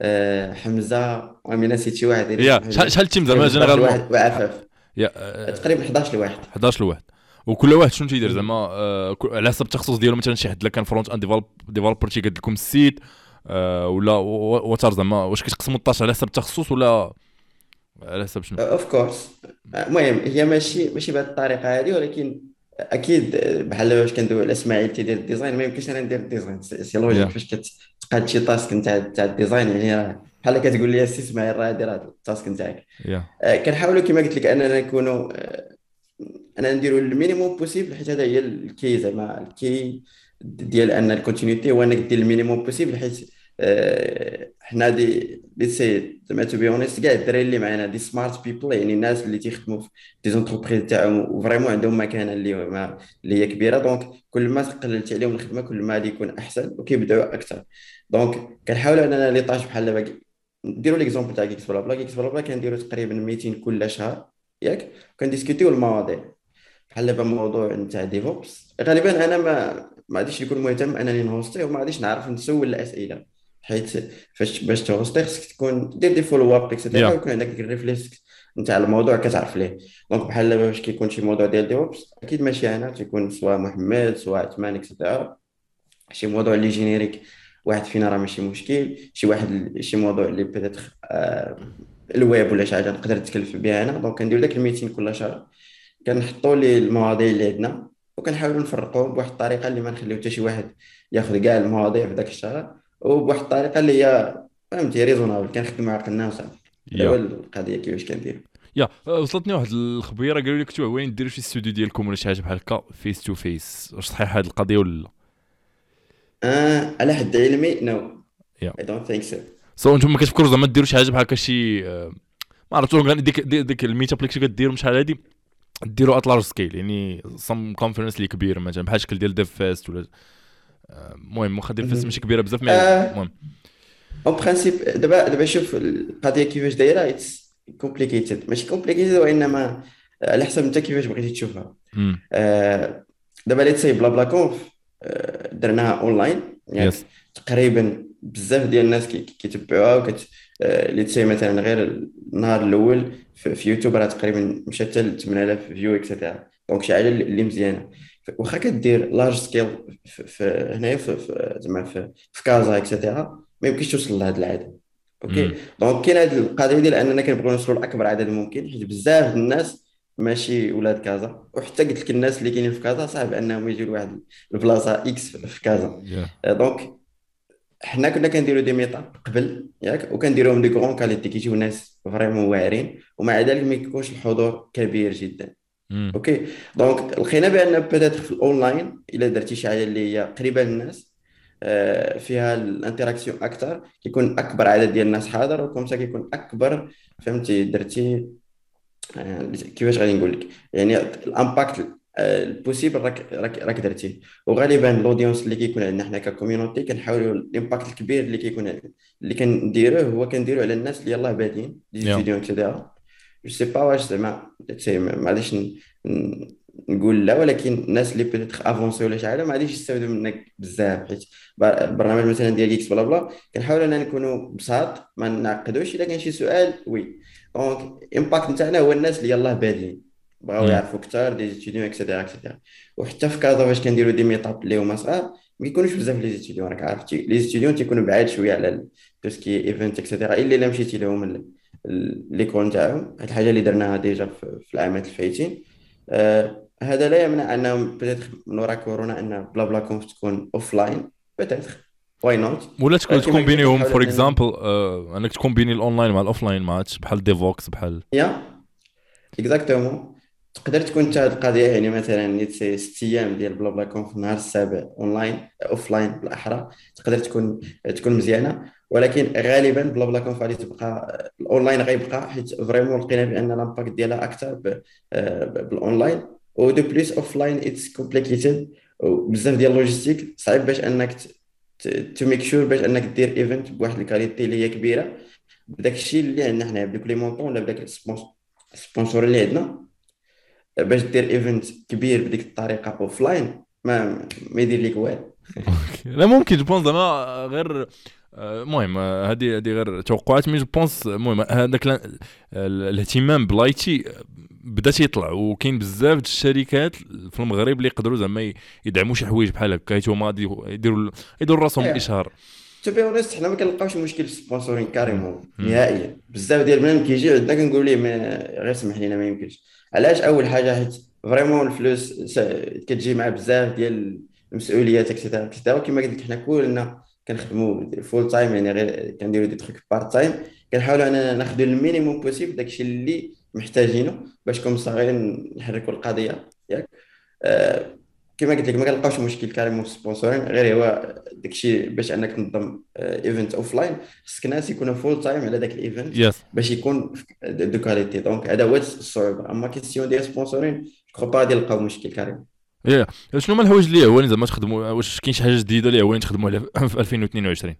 حمزه، وامين نسيت شي واحد الا يا سمحوا شحال لي. شحال التيم زعما تقريبا 11 جينيرالمون؟ واحد وعفاف. يا تقريبا 11 لواحد. 11 لواحد. وكل واحد شنو تيدير زعما؟ مم. على حسب التخصص ديالو، مثلا شي حد كان فرونت اند ديفلوبر تيقاد لكم السيت، ولا واتر زعما واش كتقسموا الطاش على حسب التخصص ولا على حسب شنو؟ اوف كورس. المهم هي ماشي بهذه الطريقه هذه، ولكن اكيد بحال باش كندوي على اسماعيل تيدير الديزاين، ما يمكنش انا ندير الديزاين. سي لوجيك يا فاش كتقاد شي تاسك نتاع الديزاين، يعني راه بحال كتقول لي السي اسماعيل راه دير هذا التاسك نتاعك. يا كنحاولوا كما قلت لك اننا نكونوا انا نديروا المينيموم بوسيبل، حيت هذا هي الكي زعما الكي ديال ان الكونتينيتي هو انك دير المينيموم بوسيبل. حيت حنا دي سي زعما تو بي اونست كاع الدراري اللي معنا دي سمارت بيبل، يعني الناس اللي تيخدموا في دي زونتربريز تاعهم وفريمون عندهم مكانه اللي هي كبيره. دونك كل ما قللت عليهم الخدمه كل ما غادي يكون احسن وكيبداو اكثر. دونك كنحاولوا اننا لي طاج بحال دابا نديروا ليكزومبل تاع كيكس بلا بلا. كيكس بلا بلا كنديروا تقريبا 200 كل شهر، ياك؟ كنديسكوتيو المواضيع بحال دابا الموضوع نتاع ديفوبس. غالبا انا ما غاديش نكون مهتم انني نهوستي، وما غاديش نعرف نسول الاسئله. حيت باش تهوستي خصك تكون دير دي فولو اب اكسيتيرا، يا ويكون عندك الريفلكس نتاع الموضوع كتعرف ليه. دونك بحال دابا باش كيكون شي موضوع ديال ديفوبس، اكيد ماشي انا، تيكون سواء محمد سواء عثمان اكسيتيرا. شي موضوع اللي جينيريك واحد فينا راه ماشي مشكل. شي واحد شي موضوع اللي بيتيتر الويب ولا شي حاجه نقدر نتكلف بها انا. دونك كندير داك الميتين كل شهر، كنحطوا لي المواضيع اللي عندنا، وكنحاولوا نفرقوهم بواحد الطريقه اللي ما نخليو حتى شي واحد ياخذ كاع المواضيع في ذاك الشهر، وبواحد الطريقه اللي هي فهمتي ريزونابل، كنخدموا عقلنا وصافي. هذا هو يا القضيه كيفاش كندير. يا وصلتني واحد الخبيره قالوا لي كنتو عوين ديروا شي استوديو ديالكم ولا شي حاجه بحال هكا فيس تو فيس، واش صحيح هاد القضيه ولا لا؟ على حد علمي نو، يا اي دونت ثينك سو. سو انتم ما كتفكروا زعما ديروا شي حاجه بحال هكا شي ما عرفتش ديك الميت اب اللي كنتو كديروا شحال هادي، ديروا ات لارج سكيل، يعني صم كونفرنس اللي كبير مثلا بحال شكل ديال ديف فيست ولا المهم واخا ديف فيست ماشي كبيره بزاف مي المهم. اون برانسيب دابا شوف القضيه كيفاش دايره. اتس كومبليكيتد، ماشي كومبليكيتد، وانما على حسب انت كيفاش بغيتي تشوفها. امم دابا ليت سي بلا بلا كونف درناها اونلاين، يس. ياك؟ تقريبا بزاف ديال الناس كيتبعوها ليت سي مثلا غير النهار الاول في يوتيوب راه تقريبا مشات حتى ل 8000 فيو اكسيتيرا. دونك شي حاجه اللي مزيانه. واخا كدير لارج سكيل هنايا زعما في كازا اكسيتيرا، ما يمكنش توصل لهاد العدد. اوكي. امم. دونك كاين هاد القضيه ديال اننا كنبغيو نوصلوا لاكبر عدد ممكن، حيت بزاف د الناس ماشي ولاد كازا، وحتى قلت لك الناس اللي كاينين في كازا صعب انهم يجيو لواحد البلاصه اكس في كازا. يا. دونك حنا كنا كنديروا دي ميتاب قبل ياك، وكنديروهم دي كغون كاليتي، كيجيو ناس فريمون واعرين، ومع ذلك ما يكونش الحضور كبير جدا. امم. اوكي. دونك لقينا بان بيتيتر في الاونلاين الا درتي شي حاجه اللي هي قريبه للناس، فيها الانتراكسيون اكثر، كيكون اكبر عدد ديال الناس حاضر، وكم كيكون اكبر. فهمتي درتي كيفاش غادي نقول لك، يعني الامباكت البوسيبل راك درتيه. وغالبا الاودينس اللي كيكون عندنا حنا ككوميونيتي كنحاولوا الامباكت الكبير اللي كيكون اللي كنديروه هو كنديروه على الناس اللي يلاه بادين دي يا. ستوديون اكسيتيرا. جو سي با واش زعما ما غاديش نقول لا، ولكن الناس اللي بيتيتر افونسي ولا شي حاجه ما غاديش يستافدوا منك بزاف، حيت البرنامج مثلا ديال اكس بلا بلا كنحاولوا اننا نكونوا بساط ما نعقدوش. الا كان شي سؤال وي، دونك الامباكت نتاعنا هو الناس اللي يلاه بادين بغاو امم. يعرفوا اكثر دي ستوديون اكسيتيرا اكسيتيرا. وحتى في كازا فاش كنديروا دي ميطاب اللي هما صغار ما كيكونوش بزاف لي ستوديون، راك عارف لي ستوديون تيكونوا بعاد شويه على تو سكي ايفنت اكسيتيرا، الا مشيتي لهم ليكول نتاعهم. هاد الحاجه اللي درناها ديجا في العامات الفايتين. هذا لا يمنع انهم بيتيتر من وراء كورونا ان بلا بلا كونف تكون اوف لاين، بيتيتر واي نوت. ولا كما قلت لك تكومبينيهم كنحاول فور اننا اكزامبل، انك تكومبيني الاونلاين مع الاوفلاين ماتش بحال ديفوكس بحال. يا اكزاكتومون. تقدر تكون انت هذه القضيه، يعني مثلا نيت سي 6 ايام ديال بلا بلا كون في النهار السابع اونلاين اوف لاين بالاحرى، تقدر تكون مزيانه. ولكن غالبا بلا بلا كون غادي تبقى الاونلاين غيبقى، حيت فريمون لقينا بان لامباكت ديالها اكثر بالاونلاين. ودو بليس اوف لاين اتس كومبليكيتد، وبزاف ديال اللوجيستيك صعيب باش انك تو ميك شور باش انك دير ايفنت بواحد الكاليتي اللي هي كبيره بداك الشيء اللي عندنا حنا، بدوك لي مونطون ولا بداك السبونسور اللي عندنا. باش دير ايفنت كبير بديك الطريقه اوف لاين ما يدير لك والو. لا ممكن جو بونس زعما غير المهم هذه غير توقعات، مي جو بونس المهم هذاك الاهتمام بلايتي بدا تيطلع، وكاين بزاف د الشركات في المغرب اللي يقدروا زعما يدعموا شي حوايج بحال هكا، هما غادي يديروا راسهم الاشهار. تو بي اونست حنا ما كنلقاوش مشكل في السبونسورين مم. كاريمون مم. نهائيا. بزاف ديال البنات كيجي عندنا كنقول ليه غير سمح لينا ما يمكنش. علاش؟ اول حاجه حيت فريمون الفلوس كتجي مع بزاف ديال المسؤوليات اكسيتيرا اكسيتيرا. كما قلت لك حنا كلنا كنخدموا فول تايم، يعني غير كنديروا دي تروك بارت تايم. كنحاولوا اننا ناخذوا المينيموم بوسيبل داكشي اللي محتاجينه باش كون صغيرين نحركوا القضيه ياك. آه، كما قلت لك ما كنلقاوش مشكل كاريمون في السبونسورين، غير هو داكشي باش انك تنظم ايفنت اوف لاين خصك ناس يكونوا فول تايم على داك الايفنت يس. باش يكون دو كاليتي. دونك هذا هو الصعوبه. اما كيستيون ديال سبونسورين كخو با غادي يلقاو مشكل كاريمون. يا شنو هما الحوايج اللي هواني زعما تخدموا؟ واش كاين شي حاجه جديده اللي هواني تخدموا عليها في 2022؟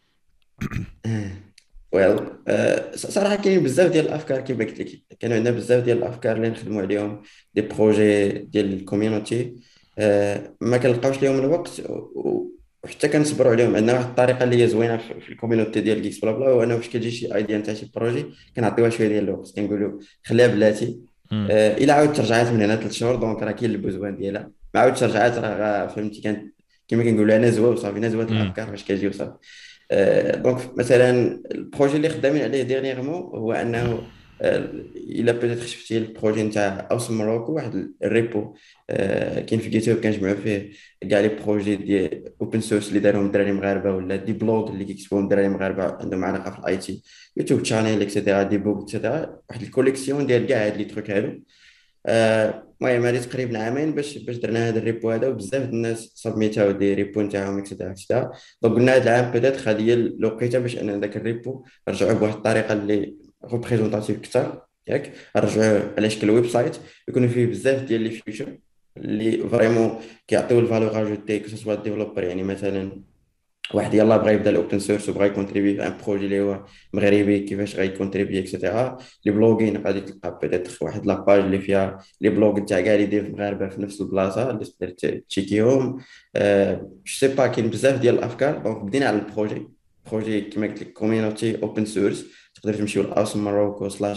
ويل صراحه كاين بزاف ديال الافكار كما قلت لك، كانوا عندنا بزاف ديال الافكار اللي نخدموا عليهم، دي بروجي ديال الكوميونيتي. ما كنلقاوش لهم الوقت وحتى كنصبروا عليهم. عندنا واحد الطريقه اللي هي زوينه في الكوميونيتي ديال جيكس بلا بلا، هو انه فاش كتجي شي ايديا نتاع شي بروجي كنعطيوها شويه ديال الوقت، كنقولوا خليها بلاتي. مم. الا عاودت رجعات من هنا 3 شهور دونك راه كاين البوزوان ديالها. ما عاودتش رجعات راه فهمتي كانت كما كنقولوا انا زوا وصافي، نزوات مم. الافكار فاش كتجي وصافي. دونك مثلا البروجي اللي خدامين عليه ديرنيغمون هو انه الا بيتيتر شفتي البروجي نتاع اوس ماروكو، واحد الريبو كاين في جيت هاب كنجمعوا فيه كاع لي بروجي ديال اوبن سورس اللي دارهم الدراري مغاربه، ولا دي بلوغ اللي كيكتبوهم الدراري مغاربه عندهم علاقه في الاي تي، يوتيوب شانيل اكسيتيرا، دي بوك اكسيتيرا. واحد الكوليكسيون ديال كاع هاد لي تروك هادو. المهم هذه تقريبا عامين باش درنا هذا الريبو هذا، وبزاف د الناس سبميتاو دي ريبو نتاعهم اكسيتيرا اكسيتيرا. دونك قلنا هذا العام بيتيتر غادي هي الوقيته باش ان ذاك الريبو نرجعوه بواحد الطريقه اللي ريبريزونطاتيف اكثر ياك. نرجعوه على شكل ويب سايت يكون فيه بزاف ديال لي فيتشر اللي فريمون كيعطيو الفالور اجوتي كو سوا ديفلوبر. يعني مثلا واحد يلاه بغى يبدا الاوبن سورس وبغى يكونتريبي في ان بروجي اللي هو مغربي، كيفاش غيكونتريبي اكسيتيرا. لي بلوغين غادي تلقى بيتيتر واحد لاباج اللي فيها لي بلوغ تاع كاع لي ديف مغاربه في نفس البلاصه اللي تقدر تشيكيهم. جو سي با كاين بزاف ديال الافكار. دونك بدينا على البروجي كيما قلت لك كوميونيتي اوبن سورس. تقدر تمشيو لاوس ماروكو سلاش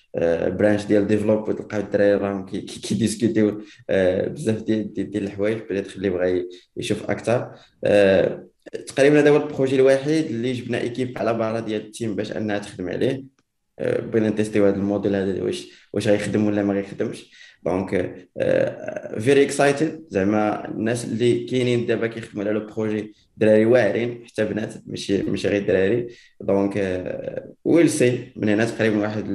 برانش ديال ديفلوب، وتلقاو الدراري راهم كيديسكوتيو بزاف ديال الحوايج، بدات اللي بغى يشوف اكثر. تقريبا هذا هو البروجي الوحيد اللي جبنا ايكيب على برا ديال التيم باش انها تخدم عليه. بغينا نتيستيو هذا الموديل هذا واش غيخدم ولا ما غيخدمش. دونك فيري اكسايتد، زعما الناس اللي كاينين دابا كيخدموا على لو بروجي دراري واعرين، حتى بنات، ماشي غير دراري. دونك ويل سي من هنا تقريبا واحد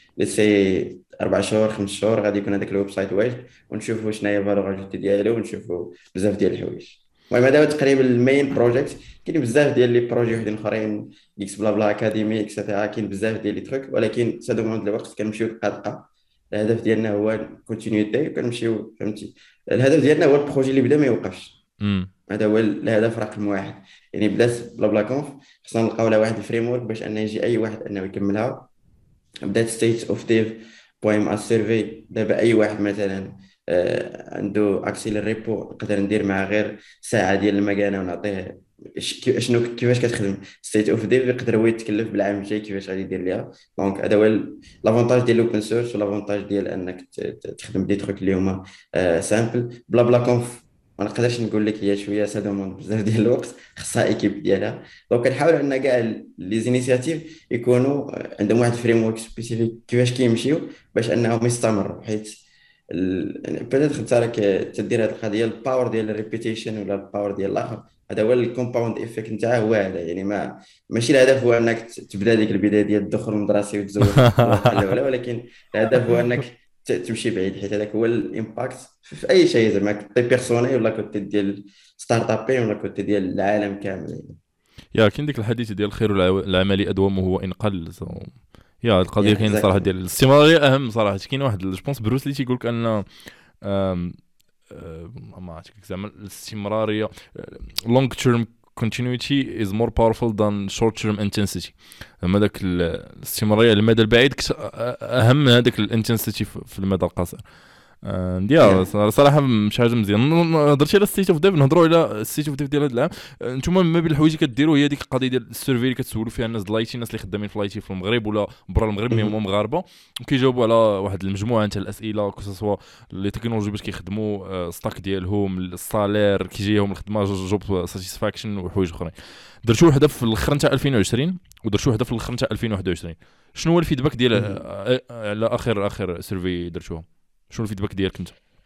سي 4 شهور 5 شهور غادي يكون هذاك الويب سايت واجد، ونشوفوا شنو هي الفالور اجوتي ديالو، ونشوفوا بزاف ديال الحوايج. المهم هذا هو تقريبا المين بروجيكت. كاين بزاف ديال لي بروجي وحدين اخرين، اكس بلا بلا اكاديمي اكسيتيرا، كاين بزاف ديال لي تروك، ولكن سا دوموند الوقت. كنمشيو دقه دقه. الهدف ديالنا هو كونتينيتي، وكنمشيو فهمتي. الهدف ديالنا هو البروجي اللي بدا ما يوقفش. امم. هذا هو الهدف رقم واحد. يعني بدات بلا بلا كونف، خصنا نلقاو لها واحد الفريم ورك باش انه يجي اي واحد انه يكملها. بدات ستيت اوف ديف بويم اس سيرفي. دابا اي واحد مثلا عنده اكسي للريبو، نقدر ندير معاه غير ساعه ديال المكانه ونعطيه شنو كيفاش كتخدم ستيت اوف ديف، يقدر هو يتكلف بالعام الجاي كيفاش غادي يدير ليها. دونك هذا هو لافونتاج ديال الاوبن سورس، والافونتاج ديال انك تخدم دي تروك اللي هما سامبل. بلا بلا كونف ما نقدرش نقول لك، هي شويه سادومون بزاف ديال الوقت، خصها ايكيب ديالها. دونك كنحاول ان كاع لي زينيسياتيف يكونوا عندهم واحد الفريم ورك سبيسيفيك كيفاش كيمشيو باش انهم يستمروا. حيت بدات خدت راك تدير هذه القضيه، الباور ديال الريبيتيشن ولا الباور ديال الاخر. هذا هو الكومباوند افكت نتاعه، هو هذا. يعني ماشي الهدف هو انك تبدا ديك البدايه ديال الدخول المدرسي وتزوج وتطلق بحال ولا، ولكن الهدف هو انك تمشي بعيد. حيت هذاك هو الامباكت في اي شيء، زعما كوتي بيرسونيل ولا كوتي ديال ستارت ابين ولا كوتي ديال العالم كامل. يا كاين ديك الحديث ديال الخير العملي ادومه هو ان قل. يا القضيه يا كاين صراحه اكزاكتلي. ديال الاستمراريه اهم صراحه. كاين واحد جو بونس بروس لي تيقول لك ان ما عرفتش زعما الاستمراريه long term continuity is more powerful than short term intensity. زعما داك الاستمراريه على المدى البعيد اهم من هذاك الانتنسيتي في المدى القصير. ديال يا صراحه مش حاجه مزيان. هضرتي على ستيت اوف ديف، نهضروا على ستيت اوف ديف ديال هذا العام. نتوما ما بين الحوايج اللي كديروا هي ديك القضيه ديال السيرفي اللي كتسولوا فيها الناس ديال الناس اللي خدامين في لايتي في المغرب ولا برا المغرب، مي هما مغاربه، وكيجاوبوا على واحد المجموعه تاع الاسئله كسوا لي تكنولوجي باش كيخدموا ستاك ديالهم، الصالير كيجيهم الخدمه، جوب ساتيسفاكشن وحوايج اخرين. درتو وحده في الاخر نتاع 2020 ودرتو وحده في الاخر نتاع 2021. شنو هو الفيدباك ديال على اخر سيرفي درتوهم؟ شنو الفيدباك ديالك انت؟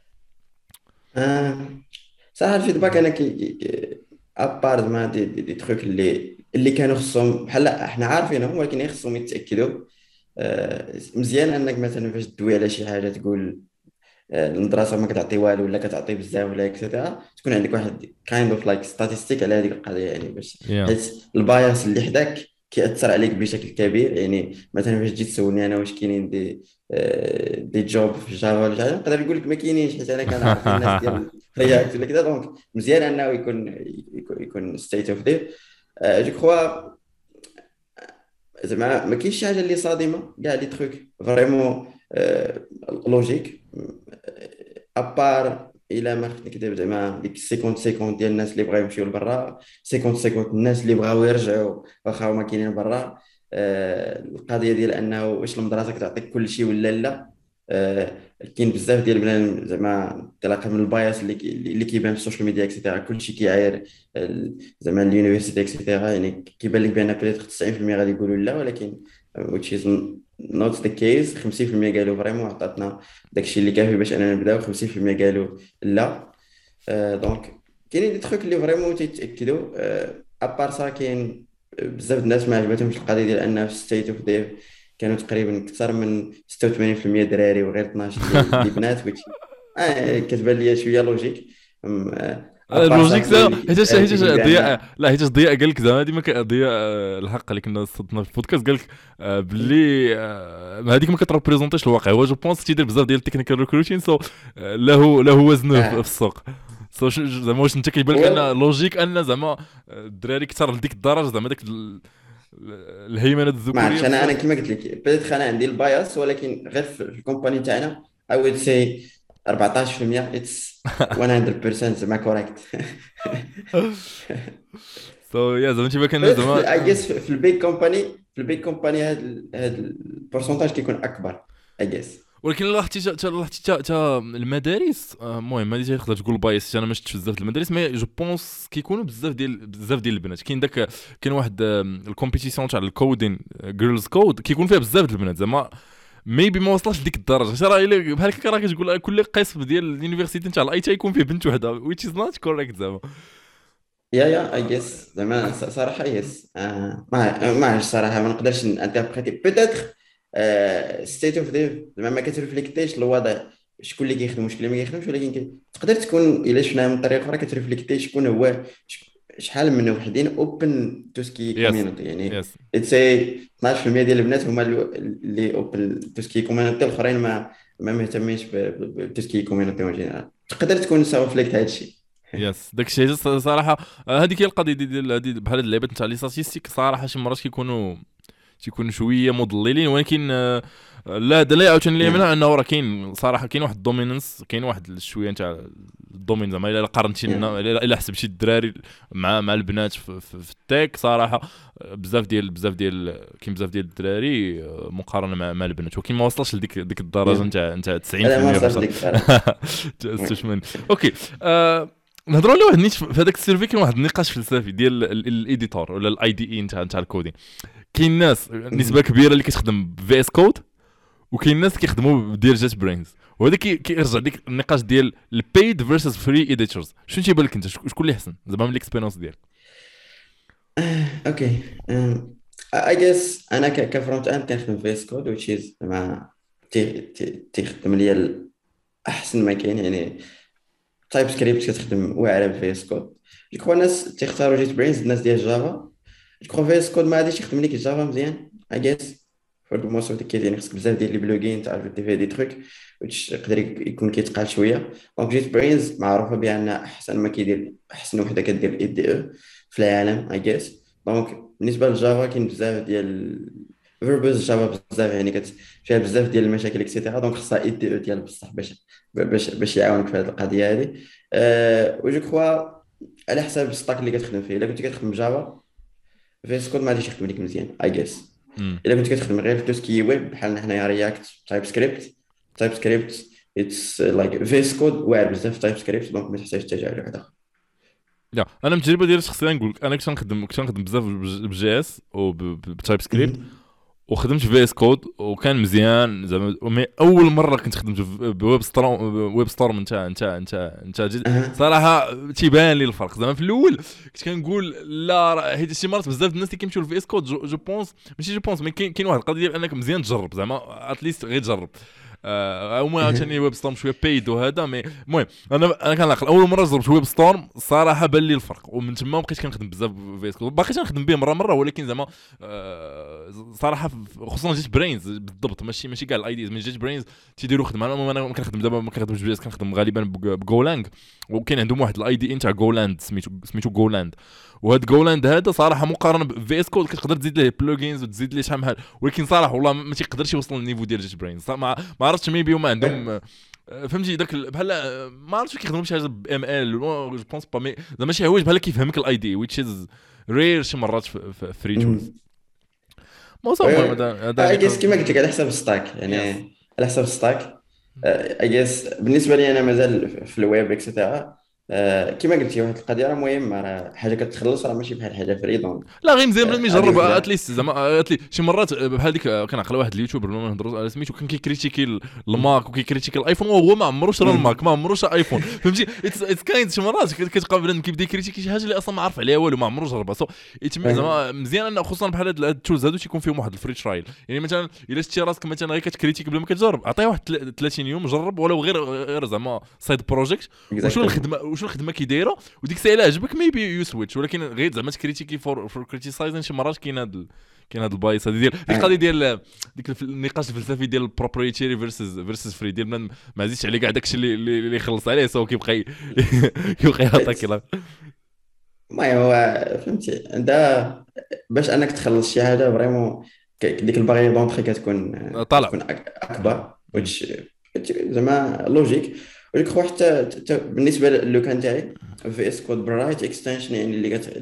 آه. صراحه الفيدباك انا ابار ما دي تخوك اللي كانوا خصهم بحال احنا عارفينهم، ولكن خصهم يتاكدوا. مزيان انك مثلا فاش تدوي على شي حاجه تقول المدرسه ما كتعطي والو ولا كتعطي بزاف ولا اكسترا، تكون عندك واحد كايند اوف لايك ستاتستيك على هذيك القضيه. يعني باش يا حيت البايس اللي حداك كيأثر عليك بشكل كبير. يعني مثلا فاش جيت تسولني انا واش كاينين دي جوب في جافا ولا حاجه، نقدر نقول لك ما كاينينش، حيت انا كنعرف الناس ديال رياكت ولا كذا. دونك مزيان انه يكون ستيت اوف ديف. جو كخوا زعما ما كاينش شي حاجه اللي صادمه، كاع لي تروك فريمون لوجيك. ابار الى ما خفت نكذب، زعما ديك 50 ديال الناس اللي بغاو يمشيو لبرا، 50 الناس اللي بغاو يرجعوا واخا هما كاينين برا. القضيه ديال انه واش المدرسه كتعطيك كل شيء ولا لا. كاين بزاف ديال بنادم زعما انطلاقا من البايس اللي كيبان في السوشيال ميديا اكسيتيرا، كلشي كيعاير زعما اليونيفرسيتي اكسيتيرا. يعني كيبان لك بان بيتيت 90% غادي يقولوا لا، ولكن which is not the case. 50% قالوا فريمون عطاتنا داكشي اللي كافي باش اننا نبداو، 50% قالوا لا. دونك كاينين دي تخوك اللي فريمون تيتاكدوا. ابار سا كاين بزاف د الناس ما عجبتهمش القضيه ديال انها في ستيت اوف ديف كانوا تقريبا اكثر من 86% دراري وغير 12 اللي بنات، كتبان لي شويه لوجيك. ابار سا اللوجيك كاينين سا اللي حيتاش كيقول ضياء. بان لا حيتاش ضياء قال لك زعما ديما ضياء الحق اللي كنا صدنا في البودكاست قال لك باللي هذيك ما كتريبريزونتيش الواقع. هو جو بونس تيدير بزاف ديال التكنيكال ريكروتين، سو له وزنه في اه السوق. سو زعما واش انت كيبان لك هو ان لوجيك ان زعما الدراري كثر لديك الدرجه، زعما داك الهيمنه ما الذكوريه عرفتش. انا بزاف. كما قلت لك بديت انا عندي البايس، ولكن غير في الكومباني تاعنا I would say 14% it's 100% زعما كوريكت. سو يا زعما تيبان كان زعما I guess في البيج كومباني، هاد البورسونتاج كيكون اكبر. اي جيس. ولكن لاحظتي المدارس المهم هذه تقدر تقول بايس، انا ما شفتش بزاف د المدارس، مي جو بونس كيكونوا بزاف ديال البنات. كاين واحد الكومبيتيسيون تاع الكودين جيرلز كود كيكون فيها بزاف د البنات زعما ميبي ما وصلش لديك الدرجه. شرا الا بحال هكا راه كتقول كل قسم ديال اليونيفرسيتي تاع الاي تي يكون فيه بنت وحده which is not correct زعما. يا اي جيس زعما صراحه يس. ما عرفتش صراحه، ما نقدرش انتربريتي بوتيتر ستيت اوف ديف زعما ما كترفليكتيش الوضع، شكون اللي كيخدم وشكون اللي ما كيخدمش، ولكن تقدر تكون الا شفناها من طريقه اخرى كترفليكتي شكون هو شحال من وحدين اوبن تو سكي يس كوميونيتي يعني. يس let's say 12% ديال البنات هما اللي اوبن تو سكي كوميونيتي، الاخرين ما مهتمينش بتو سكي كوميونيتي اون جينيرال. تقدر تكون سافليكت هذا الشيء. يس داك الشيء صراحه. هذيك هي القضيه ديال هذه بحال هاد اللعيبات نتاع لي ستاتيستيك صراحه شي مرات تيكونوا شويه مضللين، ولكن لا هذا لا عاوتاني اللي يمنع انه راه كاين صراحه كاين واحد الدومينانس، كاين واحد شويه نتاع الدومين زعما الا قارنتي الا حسبتي الدراري مع البنات في التيك صراحه بزاف ديال كاين بزاف ديال الدراري مقارنه مع البنات، ولكن ما وصلش لديك الدرجه نتاع 90% هذا ما وصلش بصح. ديك الصراحه. 86. اوكي نهضروا على واحد النيت في هذاك السيرفي. كاين واحد النقاش فلسفي ديال الايديتور ولا الاي دي اي نتاع الكودين. كاين ناس نسبه كبيره اللي كتخدم في اس كود، وكاين ناس كيخدموا بديال جيت برينز، وهذا كيرجع ديك النقاش ديال البيد فيرسز فري ايديتورز. شنو تيبان لك انت شكون اللي احسن زعما من الاكسبيرينس ديالك؟ اوكي. اي جيس انا كفرونت اند كنخدم في اس كود which is مع تيخدم ليا احسن ما كاين يعني. تايب سكريبت كتخدم واعره في اس كود. جو الناس تيختاروا جيت برينز، الناس ديال جافا. جو في اس كود ما غاديش يخدم لك الجافا مزيان اي جيس فور ذا موست اوف ذا كيس، يعني خصك بزاف ديال لي بلوغين تعرف دير فيها دي تروك which يقدر يكون كيتقال شويه. دونك جيت برينز معروفه بانها احسن ما كيدير، احسن وحده كدير الاي دي او في العالم اي جيس. دونك بالنسبه للجافا كاين بزاف ديال فيربوز جافا بزاف يعني فيها بزاف ديال المشاكل اكسيتيرا. دونك خصها اي دي او ديال بصح باش يعاونك في هذه القضيه هذه. وجو كخوا على حسب الستاك اللي كتخدم فيه. الا كنت كتخدم جافا في اس كود ما غاديش يخدم لك مزيان اي جيس. الا كنت كتخدم غير في توسكي ويب بحال حنايا رياكت تايب سكريبت اتس لايك في اس كود واعر بزاف تايب سكريبت، دونك ما تحتاجش ترجع له واحد اخر. لا انا من التجربه ديالي الشخصيه نقول لك انا كنت نخدم بزاف بجي اس وبتايب سكريبت، وخدمت في اس كود وكان مزيان زعما. مي اول مره كنت خدمت بويب ستورم نتا صراحه تيبان لي الفرق. زعما في الاول كنت كنقول لا حيت شي مرات بزاف الناس اللي كيمشيو في اس كود جو بونس ماشي جو بونس مي كاين واحد القضيه ديال انك مزيان تجرب زعما اتليست غير تجرب. هما عاوتاني ويب ستورم شويه بايد وهذا مي المهم انا كنعقل اول مره جربت ويب ستورم صراحه بان لي الفرق، ومن تما بقيت كنخدم بزاف في اس كود. باقي كنخدم به مره ولكن زعما صراحه خصوصا جيت برينز بالضبط ماشي كاع الايديز من جيت برينز تيديروا خدمه. انا كنخدم دابا ما كنخدمش بجي اس، كنخدم غالبا بجولانج، وكاين عندهم واحد الاي دي نتاع جولاند سميتو جولاند. وهاد جولاند هذا صراحه مقارنه بفي اس كود كتقدر تزيد ليه بلوجينز وتزيد ليه شحال من حاجه، ولكن صراحه والله ما تيقدرش يوصل للنيفو ديال جيت برينز. ما عرفتش ميبي هما عندهم فهمتي داك بحال ما عرفتش كيخدموا بشي حاجه بام ال جو بونس با مي زعما شي حوايج بحال كيفهمك الاي دي which is rare شي مرات في فري تولز. ما صافي المهم هذا اي جيس كيما قلت لك على حسب الستاك يعني. على حسب الستاك اي جيس بالنسبه لي انا مازال في الويب اكسيتيرا. كيما قلتي واحد القضيه راه مهمه، راه حاجه كتخلص راه ماشي بحال حاجه فري. دونك لا غير مزيان بنادم هذه يجرب وحده. اتليست زعما شي مرات بحال ديك كنعقل واحد اليوتيوبر ما نهضروا على سميتو كان كيكريتيكي الماك وكيكريتيكي الايفون وهو ما عمروش راه الماك ما عمروش ايفون فهمتي. اتس كاين شي مرات كتلقى بنادم كيبدا يكريتيكي شي حاجه اللي اصلا ما عارف عليها والو ما عمرو جربها. سو زعما مزيان ان خصوصا بحال هاد التولز هادو تيكون فيهم واحد الفري ترايل. يعني مثلا الا شتي راسك مثلا غير كتكريتيكي بلا ما كتجرب عطيه واحد 30 يوم جرب ولو غير زعما سايد بروجيكت وشو الخدمه كي دايره وديك الساعه الا عجبك ميبي يو سويتش. ولكن غير زعما تكريتيكي فور كريتيسايزين شي مرات كاين هاد البايس هذه ديال ديك القضيه ديال ديك النقاش الفلسفي ديال البروبريتيري فيرسز فري ديال ما زيدش عليه كاع داكشي اللي يخلص عليه سو كيبقى يعطيك. المهم هو فهمتي انت باش انك تخلص شي حاجه فريمون ديك البارير دونطري طالع كتكون اكبر which زعما لوجيك. ولكن خو حتى بالنسبه للوكان تاعي في اس كود برايت اكستنشن يعني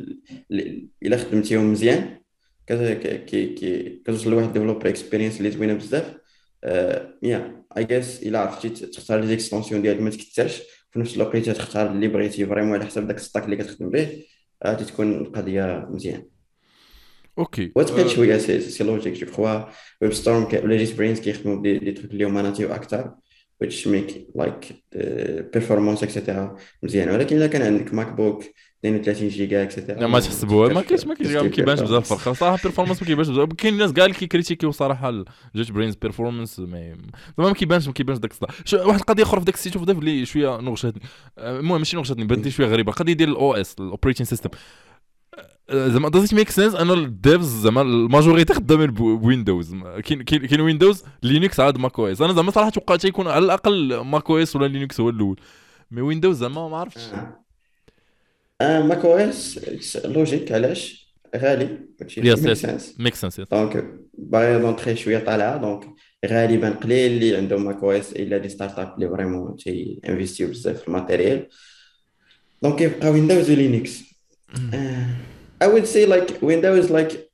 الا خدمتيهم مزيان كتوصل لواحد ديفلوبر اكسبيرينس اللي زوينه بزاف. يا اي جيس الا عرفتي تختار لي زيكستونسيون ديالك ما تكثرش، في نفس الوقت تختار اللي بغيتي فريمون على حسب داك الستاك اللي كتخدم به، غادي تكون القضيه مزيان. اوكي. وتقيل شويه سي لوجيك جو كخوا. ويب ستورم ولا جيت برينز كيخدموا دي تروك اللي هما ناتيف اكثر، which make like performance اكسيتيرا مزيان. ولكن الا كان عندك ماك بوك 32 جيجا اكسيتيرا ما ما تحسبوها، ما تفكرش كاينش ما في كاينش تسكيل ما كيبانش بزاف بيرفورمانس. الفرق صراحه. بيرفورمانس ما كيبانش بزاف. كاين الناس كاع اللي كيكريتيكيو صراحه جيت برينز بيرفورمانس ما كيبانش داك الصداع. واحد القضيه اخرى في داك السيت اوف ديف اللي شويه نغشتني. المهم ماشي نغشتني، بانت لي شويه غريبه. القضيه ديال الاو اس الاوبريتنج سيستم. زعما دازيت ميك سنس انا الديفز زعما الماجوريتي خدامين بويندوز. كاين ويندوز لينكس عاد ماك او اس. انا زعما صراحه توقعت يكون على الاقل ماك او اس ولا لينكس هو الاول، مي ويندوز زعما ما عرفتش. آه. ماك او اس لوجيك علاش غالي، هادشي يس ميك يس سنس. ميك سنس. دونك باغي دونطخي شويه طالعه، دونك غالبا قليل اللي عندهم ماك او اس الا دي ستارت اب اللي فريمون تي انفيستيو بزاف في الماتيريال. دونك يبقى ويندوز ولينكس. I would say like Windows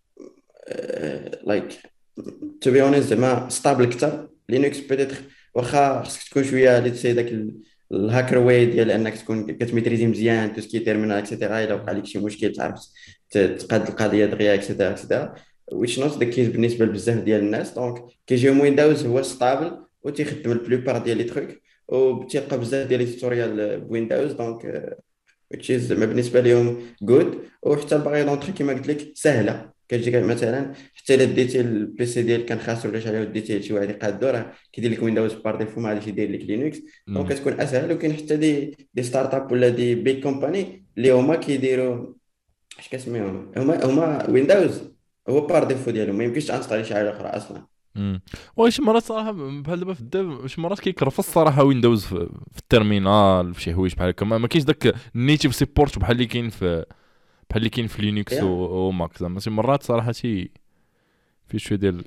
like to be honest زعما ستابل اكثر. لينكس بيتيتر واخا خصك تكون شويه اللي تسي داك الهاكر واي ديال انك تكون كتميتريزي مزيان تو سكي تيرمينال اكسيتيرا. الا وقع لك شي مشكل تعرف تقاد القضيه دغيا اكسيتيرا اكسيتيرا، which not the case بالنسبه لبزاف ديال الناس. دونك كيجيهم ويندوز هو ستابل وتيخدم البلوبار ديال لي تروك، وتيلقى بزاف ديال لي توتوريال بويندوز. دونك which is ما بالنسبه لهم جود. وحتى الباغي دونطري كما قلت لك سهله، كتجيك مثلا حتى الا ديتي البيسي ديالك كان خاسر ولا شي حاجه وديتي شي واحد يقادو، راه كيدير لك ويندوز بار ديفو ما غاديش يدير لك لينكس. دونك كتكون اسهل. وكاين حتى دي ستارت اب ولا دي بيج كومباني اللي هما كيديروا اش كنسميهم، هما ويندوز هو بار ديفو ديالهم، ما يمكنش تانستالي شي حاجه اخرى اصلا. واش شي مرات صراحه بحال دابا في الديف شي مرات كيكرفص الصراحه ويندوز في التيرمينال في شي حوايج بحال هكا. ما كاينش داك النيتيف سيبورت بحال اللي كاين في لينكس يا وماك. زعما شي مرات صراحه في شويه ديال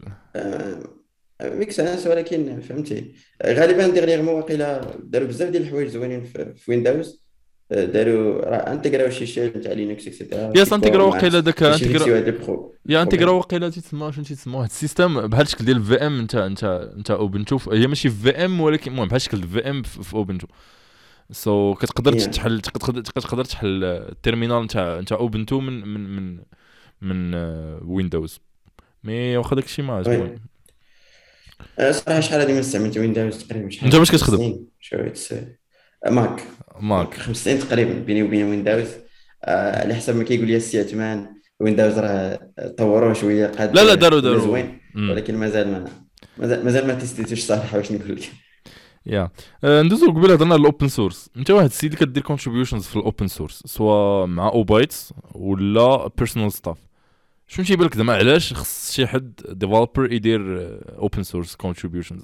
ميك سنس. ولكن فهمتي غالبا ديغنيغمون واقيلا داروا بزاف ديال الحوايج زوينين في ويندوز. داروا راه انتغراو شي شيل تاع لينكس اكسيتيرا يا سيبور سانتيغرا ما وقيله داك باش انتيغرا. يفيكسيو هاد لي يا انتيغرا بروبليم. وقيله تيتسمى شنو تيتسمى واحد السيستم بحال الشكل ديال الفي ام. انت اوبنتو هي ماشي في ام ولكن المهم بحال الشكل الفي ام في اوبنتو. كتقدر يا تحل تقدر تحل التيرمينال نتاع اوبنتو من ويندوز. مي واخا داكشي ما وي. المهم. صراحه شحال هادي ما استعملت ويندوز تقريبا انت شحال باش خمس كتخدم سنين شو اتس ماك. دونك ماك؟ 5 سنين تقريبا بيني وبين ويندوز. على حسب ما كيقول لي السي عثمان ويندوز راه طوروه شويه قاد لا ولا داروا. زوين. ولكن مازال ما تيستيتوش صراحه واش نقول لك. يا ندوزو قبيله هضرنا على الاوبن سورس. انت واحد السيد اللي كدير كونتريبيوشنز في الاوبن سورس سواء مع اوبايتس ولا بيرسونال ستاف. شنو تيبان لك زعما علاش خص شي حد ديفلوبر يدير اوبن سورس كونتريبيوشنز؟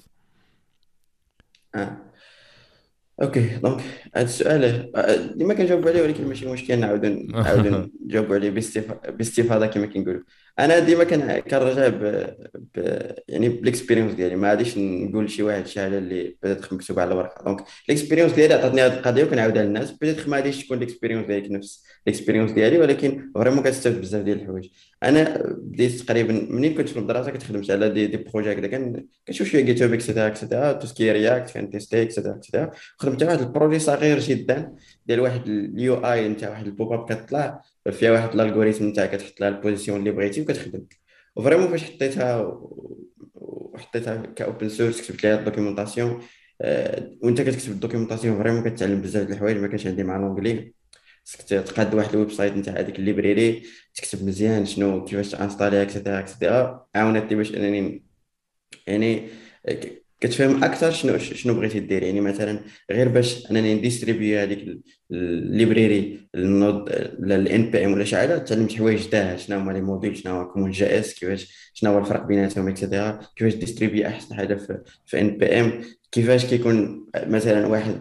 آه. اوكي دونك هذا السؤال ديما كنجاوب عليه، ولكن ماشي مشكل نعاود نجاوب عليه باستفاضه كما كنقولوا. انا ديما كنرجع يعني بالاكسبيريونس ديالي. ما غاديش نقول لشي واحد شي حاجه اللي بدات مكتوبه على الورقه. دونك الاكسبيريونس ديالي عطاتني هذه القضيه وكنعاودها للناس. بدات ما غاديش تكون الاكسبيريونس ديالك نفس الاكسبيريونس ديالي، ولكن فريمون كتستافد بزاف ديال الحوايج. انا بديت تقريبا منين كنت في المدرسه كتخدمت على دي بروجي هكذا. كنشوف شويه جيت هاب اكسيتيرا تو سكي رياكت كان تيستي اكسيتيرا. خدمت على واحد البروجي صغير جدا ديال واحد اليو اي نتاع واحد البوب اب كتطلع فيها واحد الالغوريثم نتاع كتحط لها البوزيسيون اللي بغيتي وكتخدم. وفريمون فاش حطيتها وحطيتها كاوبن سورس كتبت لها الدوكيومونطاسيون. وانت كتكتب الدوكيومونطاسيون فريمون كتعلم بزاف د الحوايج ما كانش عندي مع لونجلي. خصك تقاد واحد الويب سايت نتاع هذيك الليبريري تكتب مزيان شنو كيفاش تانستالي اكسيتيرا اكسيتيرا. عاونتني باش انني يعني كتفهم اكثر شنو بغيتي دير. يعني مثلا غير باش انني نديستريبيو هذيك الليبريري النود الان بي ام ولا شي حاجه، تعلمت حوايج جداد. شنو هما لي موديل، شنو هو كومون جي اس، كيفاش شنو هو الفرق بيناتهم اكسيتيرا. كيفاش ديستريبيو احسن حاجه في ان بي ام. كيفاش كيكون مثلا واحد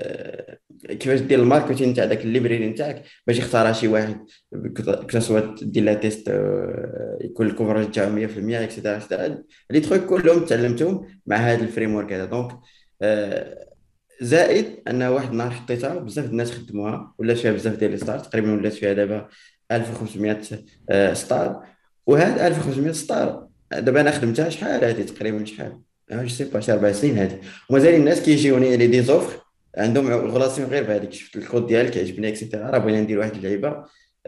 كيفاش دير الماركتينغ تاع داك الليبريري نتاعك باش يختارها شي واحد كتصوت دير لا تيست يكون الكفرج تاعو 100% اكسيتيرا اكسيتيرا. لي تروك كلهم تعلمتهم مع هذا الفريم ورك هذا. دونك زائد ان واحد النهار حطيتها بزاف الناس خدموها ولات فيها بزاف ديال لي ستار. تقريبا ولات فيها دابا 1500 ستار. وهاد 1500 ستار دابا انا خدمتها شحال هادي تقريبا شحال جو سي با شي 4 سنين هادي، ومازال الناس كيجيوني لي دي زوفر عندهم غولاسيون غير بهذيك، شفت الكود ديالك عجبني اكسيتيرا، راه بغينا ندير واحد اللعيبه.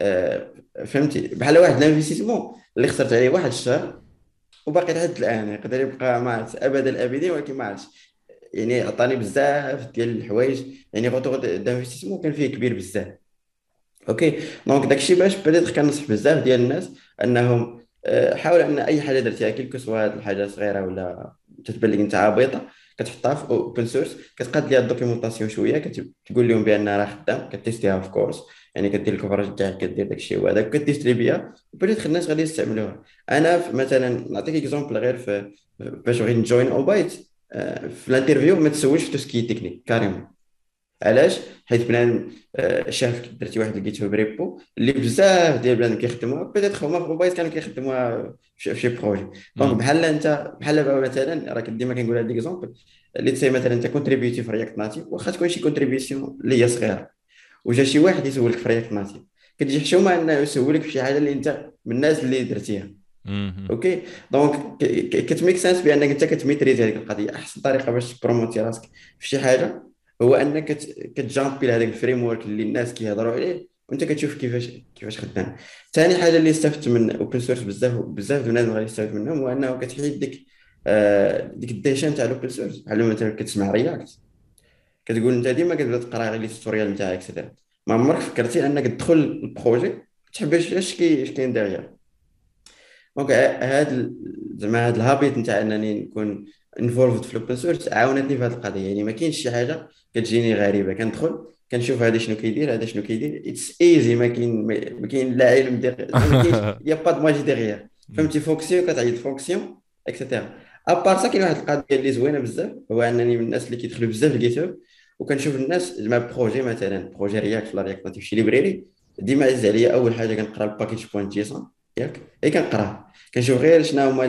فهمتي بحال واحد الانفستيسمون اللي خسرت عليه واحد الشهر وباقي لحد الان يقدر يبقى ما عرفت ابد الابدين، ولكن ما عرفتش يعني عطاني بزاف ديال الحوايج، يعني غوتو دانفستيسمون كان فيه كبير بزاف. اوكي دونك داكشي باش بديت كنصح بزاف ديال الناس انهم حاول ان اي حاجه درتيها كيلكو سوا هاد الحاجه صغيره ولا تتبان لك انت عبيطه، كتحطها في اوبن سورس، كتقاد ليها الدوكيومونطاسيون شويه، كتقول لهم بان راه خدام، كتيستيها في كورس، يعني كدير الكفراج تاعك، كدير داكشي وهذاك كتيستري بيها، وبديت الناس غادي يستعملوها. انا مثلا نعطيك اكزومبل غير في باش بغيت نجوين اوبايت، في الانترفيو ما تسولش في توسكي تكنيك كاريمون. علاش؟ حيت بنادم شاف درتي واحد الجيت هاب ريبو اللي بزاف ديال بنادم كيخدموها، بدات هما في موبايل كانوا كيخدموها في شي بروجي. دونك بحال انت بحال دابا مثلا، راه ديما كنقول هذا ليكزومبل اللي تسي مثلا انت كونتريبيوتي في رياكت ناتيف، واخا تكون شي كونتريبيسيون اللي هي صغيره، وجا شي واحد يسولك في رياكت ناتيف، كتجي حشومه انه يسولك في شي حاجه اللي انت من الناس اللي درتيها. اوكي دونك كتميك سنس بانك انت كتميتريزي هذيك القضيه. احسن طريقه باش تبروموتي راسك في شي حاجه هو انك كتجامبي لهذاك الفريم ورك اللي الناس كيهضروا عليه، وانت كتشوف كيفاش خدام. ثاني حاجه اللي استفدت من اوبن سورس بزاف بزاف الناس غادي يستافد منهم، هو انه كتحيد ديك الديشان تاع الاوبن سورس. بحال مثلا كتسمع رياكت، كتقول انت ديما كتبدا تقرا غير لي توتوريال نتاعك اكسيتيرا، ما عمرك فكرتي انك تدخل البروجي تحبش اش كاين داغيا. دونك زعما هاد الهابيت نتاع انني نكون انفولفد في الاوبن سورس عاونتني في هذه القضيه. يعني ما كاينش شي حاجه كتجيني غريبه، كندخل كنشوف هذا شنو كيدير، هذا شنو كيدير، اتس ايزي. ما كاين لا علم ما كاينش يا با دو ماجي ديغيير. فهمتي فونكسيون كتعيط فونكسيون اكسيتيرا. ابار سا كاين واحد القضيه اللي زوينه بزاف، هو انني من الناس اللي كيدخلوا بزاف الجيت هاب، وكنشوف الناس مع بروجي مثلا بروجي رياكت ولا رياكت ناتيف شي ليبريري، ديما عز عليا اول حاجه كنقرا الباكيج بوان جيسون ياك، اي كنقراه كنشوف غير شنو هما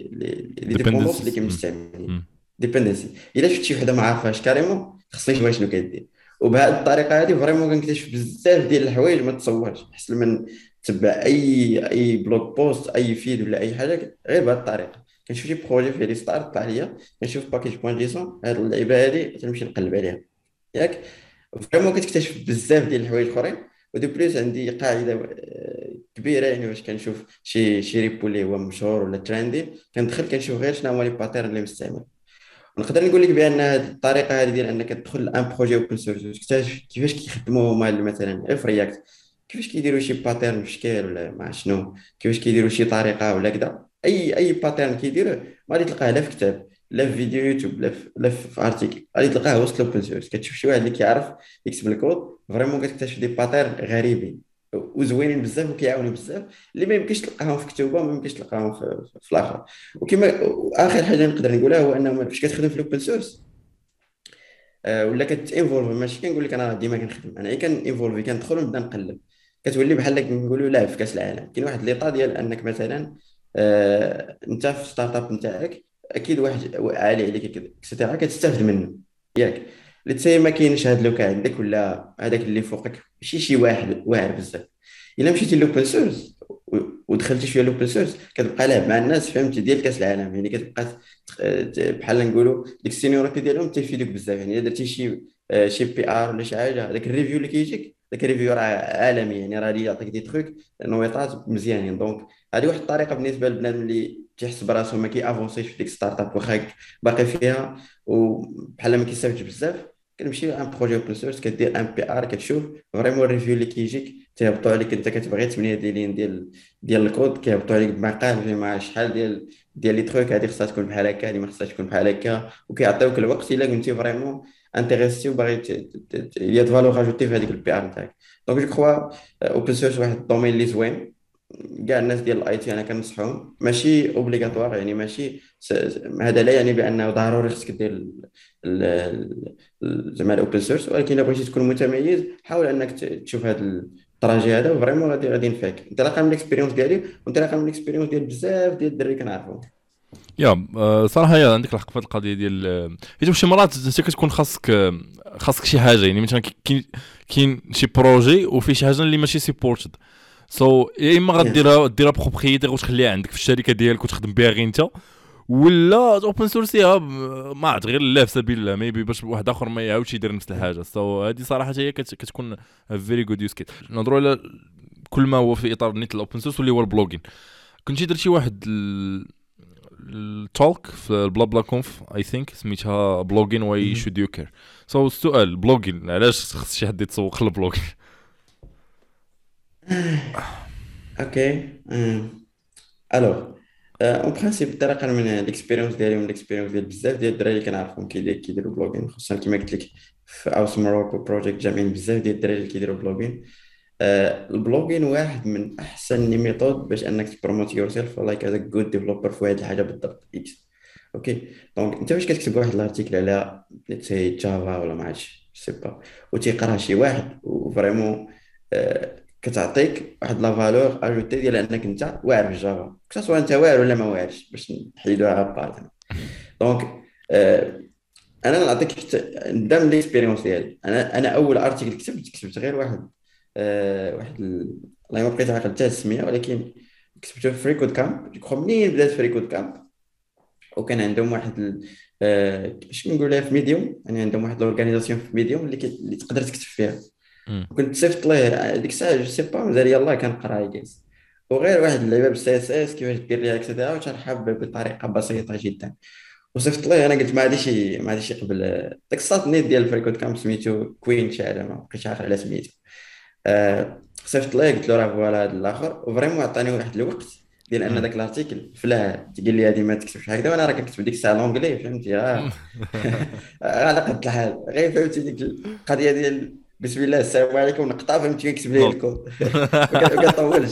لي ديبوندونس اللي ديبندنس. كيمستعملين ديبندنسي. الا شفت شي وحده ما عارفاش كاريمون خصني نشوف شنو كدير. وبهذه الطريقه هذه فريمون كنكتشف بزاف ديال الحوايج ما تصورش، احسن من تتبع اي بلوك بوست اي فيد ولا اي حاجه. غير بهذه الطريقه كنشوف شي بروجي فيه لي ستارت طلع ليا، كنشوف باكيج بوان جيسون هذه اللعيبه هذه تنمشي نقلب عليها ياك. فريمون كتكتشف بزاف ديال الحوايج اخرين. ودي بليس عندي قاعده كبيره، يعني باش كنشوف شي ريبو اللي هو مشهور ولا تريندي، كندخل كنشوف غير شنو هما لي باترن اللي مستعمل. نقدر نقول لك بان هذه الطريقه هذه ديال انك تدخل ان بروجي اوبن سورس وتكتشف كيفاش كيخدموا هما مثلا غير في رياكت، كيفاش كيديروا شي باترن في شكل ولا مع شنو، كيفاش كيديروا شي طريقه ولا كذا. اي باترن كيديروه ما غادي تلقاه لا في كتاب لا في فيديو يوتيوب لا في ارتيكل، غادي تلقاه وسط الاوبن سورس. كتشوف شي واحد اللي كيعرف يكتب الكود، فريمون كتكتشف دي باترن غريبين وزوينين بزاف وكيعاونوا بزاف، اللي ما يمكنش تلقاهم في كتب وما يمكنش تلقاهم في الاخر. وكما اخر حاجه نقدر نقولها هو انه فاش كتخدم في الاوبن سورس ولا كتانفولف، ماشي كنقول لك انا ديما كنخدم، انا كنانفولفي كندخل ونبدا نقلب، كتولي بحال كنقولوا لاعب في كاس العالم. كاين واحد ليطا ديال انك مثلا انت في ستارت اب نتاعك اكيد واحد عالي عليك اكسيتيرا كتستافد منه ياك. لتسي ما كاينش هاد لوكا عندك ولا هذاك اللي فوقك ماشي شي واحد واعر بزاف. الا مشيتي لوبن سورس ودخلتي شويه لوبن سورس كتبقى لعب مع الناس فهمتي ديال كاس العالم، يعني كتبقى بحال نقولوا ديك السينيوريتي ديالهم تيفيدوك بزاف. يعني الا درتي شي بي ار ولا شي حاجه، هذاك الريفيو اللي كيجيك داك الريفيو راه عالمي، يعني راه يعطيك دي تروك نويطات مزيانين. دونك هذه واحد الطريقه بالنسبه للبنادم اللي تيحس براسو ما كيافونسيش في ديك ستارت اب واخا باقي فيها وبحال ما كيستافدش بزاف. كنمشي ان بروجي اوبن سورس كدير ان بي ار، كتشوف فريمون الريفيو اللي كيجيك تيهبطوا عليك، انت كتبغي 8 ديالين ديال الكود كيهبطوا عليك بمقال فيه مع شحال ديال لي تروك، هذه خصها تكون بحال هكا، هذه ما خصهاش تكون بحال هكا، وكيعطيوك الوقت الا كنتي فريمون انتريستي وباغي يا فالور اجوتي في هذيك البي ار نتاعك. دونك جو كخوا اوبن سورس واحد الدومين اللي زوين. كاع الناس ديال الاي تي انا كنصحهم، ماشي اوبليغاتوار، يعني ماشي هذا لا يعني بانه ضروري خصك دير زعما الاوبن سورس، ولكن الا بغيتي تكون متميز حاول انك تشوف هذا التراجي هذا، وفريمون غادي ينفعك. انت لاقا من الاكسبيريونس ديالي وانت لاقا من الاكسبيريونس ديال بزاف ديال الدراري كنعرفهم. صراحه عندك الحق في القضيه ديال حيت شي مرات انت كتكون خاصك شي حاجه، يعني مثلا كاين شي بروجي وفي شي حاجه اللي ماشي سيبورتد، يا اما يس ديرها بروبريتير وتخليها عندك في الشركه ديالك وتخدم بها غير انت، ولا اوبن سورسيها ما عرفت غير لا في سبيل الله ميبي باش واحد اخر ما يعاودش يدير نفس الحاجه. سو هذه صراحه هي كتكون فيري جود يوز كيت. نهضروا على كل ما هو في اطار نيت الاوبن سورس واللي هو البلوجين. كنتي درتي واحد التولك في البلا بلا كونف اي ثينك سميتها بلوجين واي شود يو كير. سو السؤال بلوجين علاش خص شي حد يتسوق للبلوجين؟ اوكي. الوغ اون برانسيب انطلاقا من الاكسبيريونس ديالي ومن الاكسبيريونس ديال بزاف ديال الدراري اللي كنعرفهم كيديروا بلوغين، خصوصا كما قلت لك في اوس ماروكو بروجيكت جامعين بزاف ديال الدراري اللي كيديروا بلوغين. البلوغين واحد من احسن لي ميثود باش انك تبروموت يور سيلف لايك از جود ديفلوبر في هذه الحاجه بالضبط اكس. اوكي دونك انت فاش كتكتب واحد الارتيكل على سي جافا ولا ما عرفتش سي با وتيقرا شي واحد وفريمون كتعطيك واحد لا فالور اجوتي ديال انك انت واعر في جافا، سواء انت واعر ولا ما واعرش باش نحيدوها بارت. دونك انا نعطيك ندم ليكسبيريونس ديالي. انا اول ارتيكل كتبت غير واحد والله ما بقيت عاقل حتى السميه، ولكن كتبته في فريكود كامب. جو منين بدات فريكود كامب وكان عندهم واحد اش نقول في ميديوم، يعني عندهم واحد الاورغانيزاسيون في ميديوم اللي تقدر تكتب فيها. كنت صيفط ليه ديك الساعه جو سي با مازال يلاه كنقرا جالس وغير واحد اللعبه بالسي اس اس كيفاش دير ليها اكسيتيرا وتشرحها بطريقه بسيطه جدا. وصيفط ليه انا قلت ما غاديش يقبل داك الساط نيت ديال فريكود كامب سميتو كوين شي ما بقيتش عارف على سميتو. صيفط ليه قلت له راه فوالا هذا الاخر وفريمون عطاني واحد الوقت ديال ان داك الارتيكل فلاه تقول لي هذه ما تكتبش هكذا وانا راه كنكتب ديك الساعه لونجلي فهمتي على قد الحال غير فهمتي ديك القضيه ديال بسم الله السلام عليكم نقطع فهمتي كنكتب ليه الكود ما كنطولش.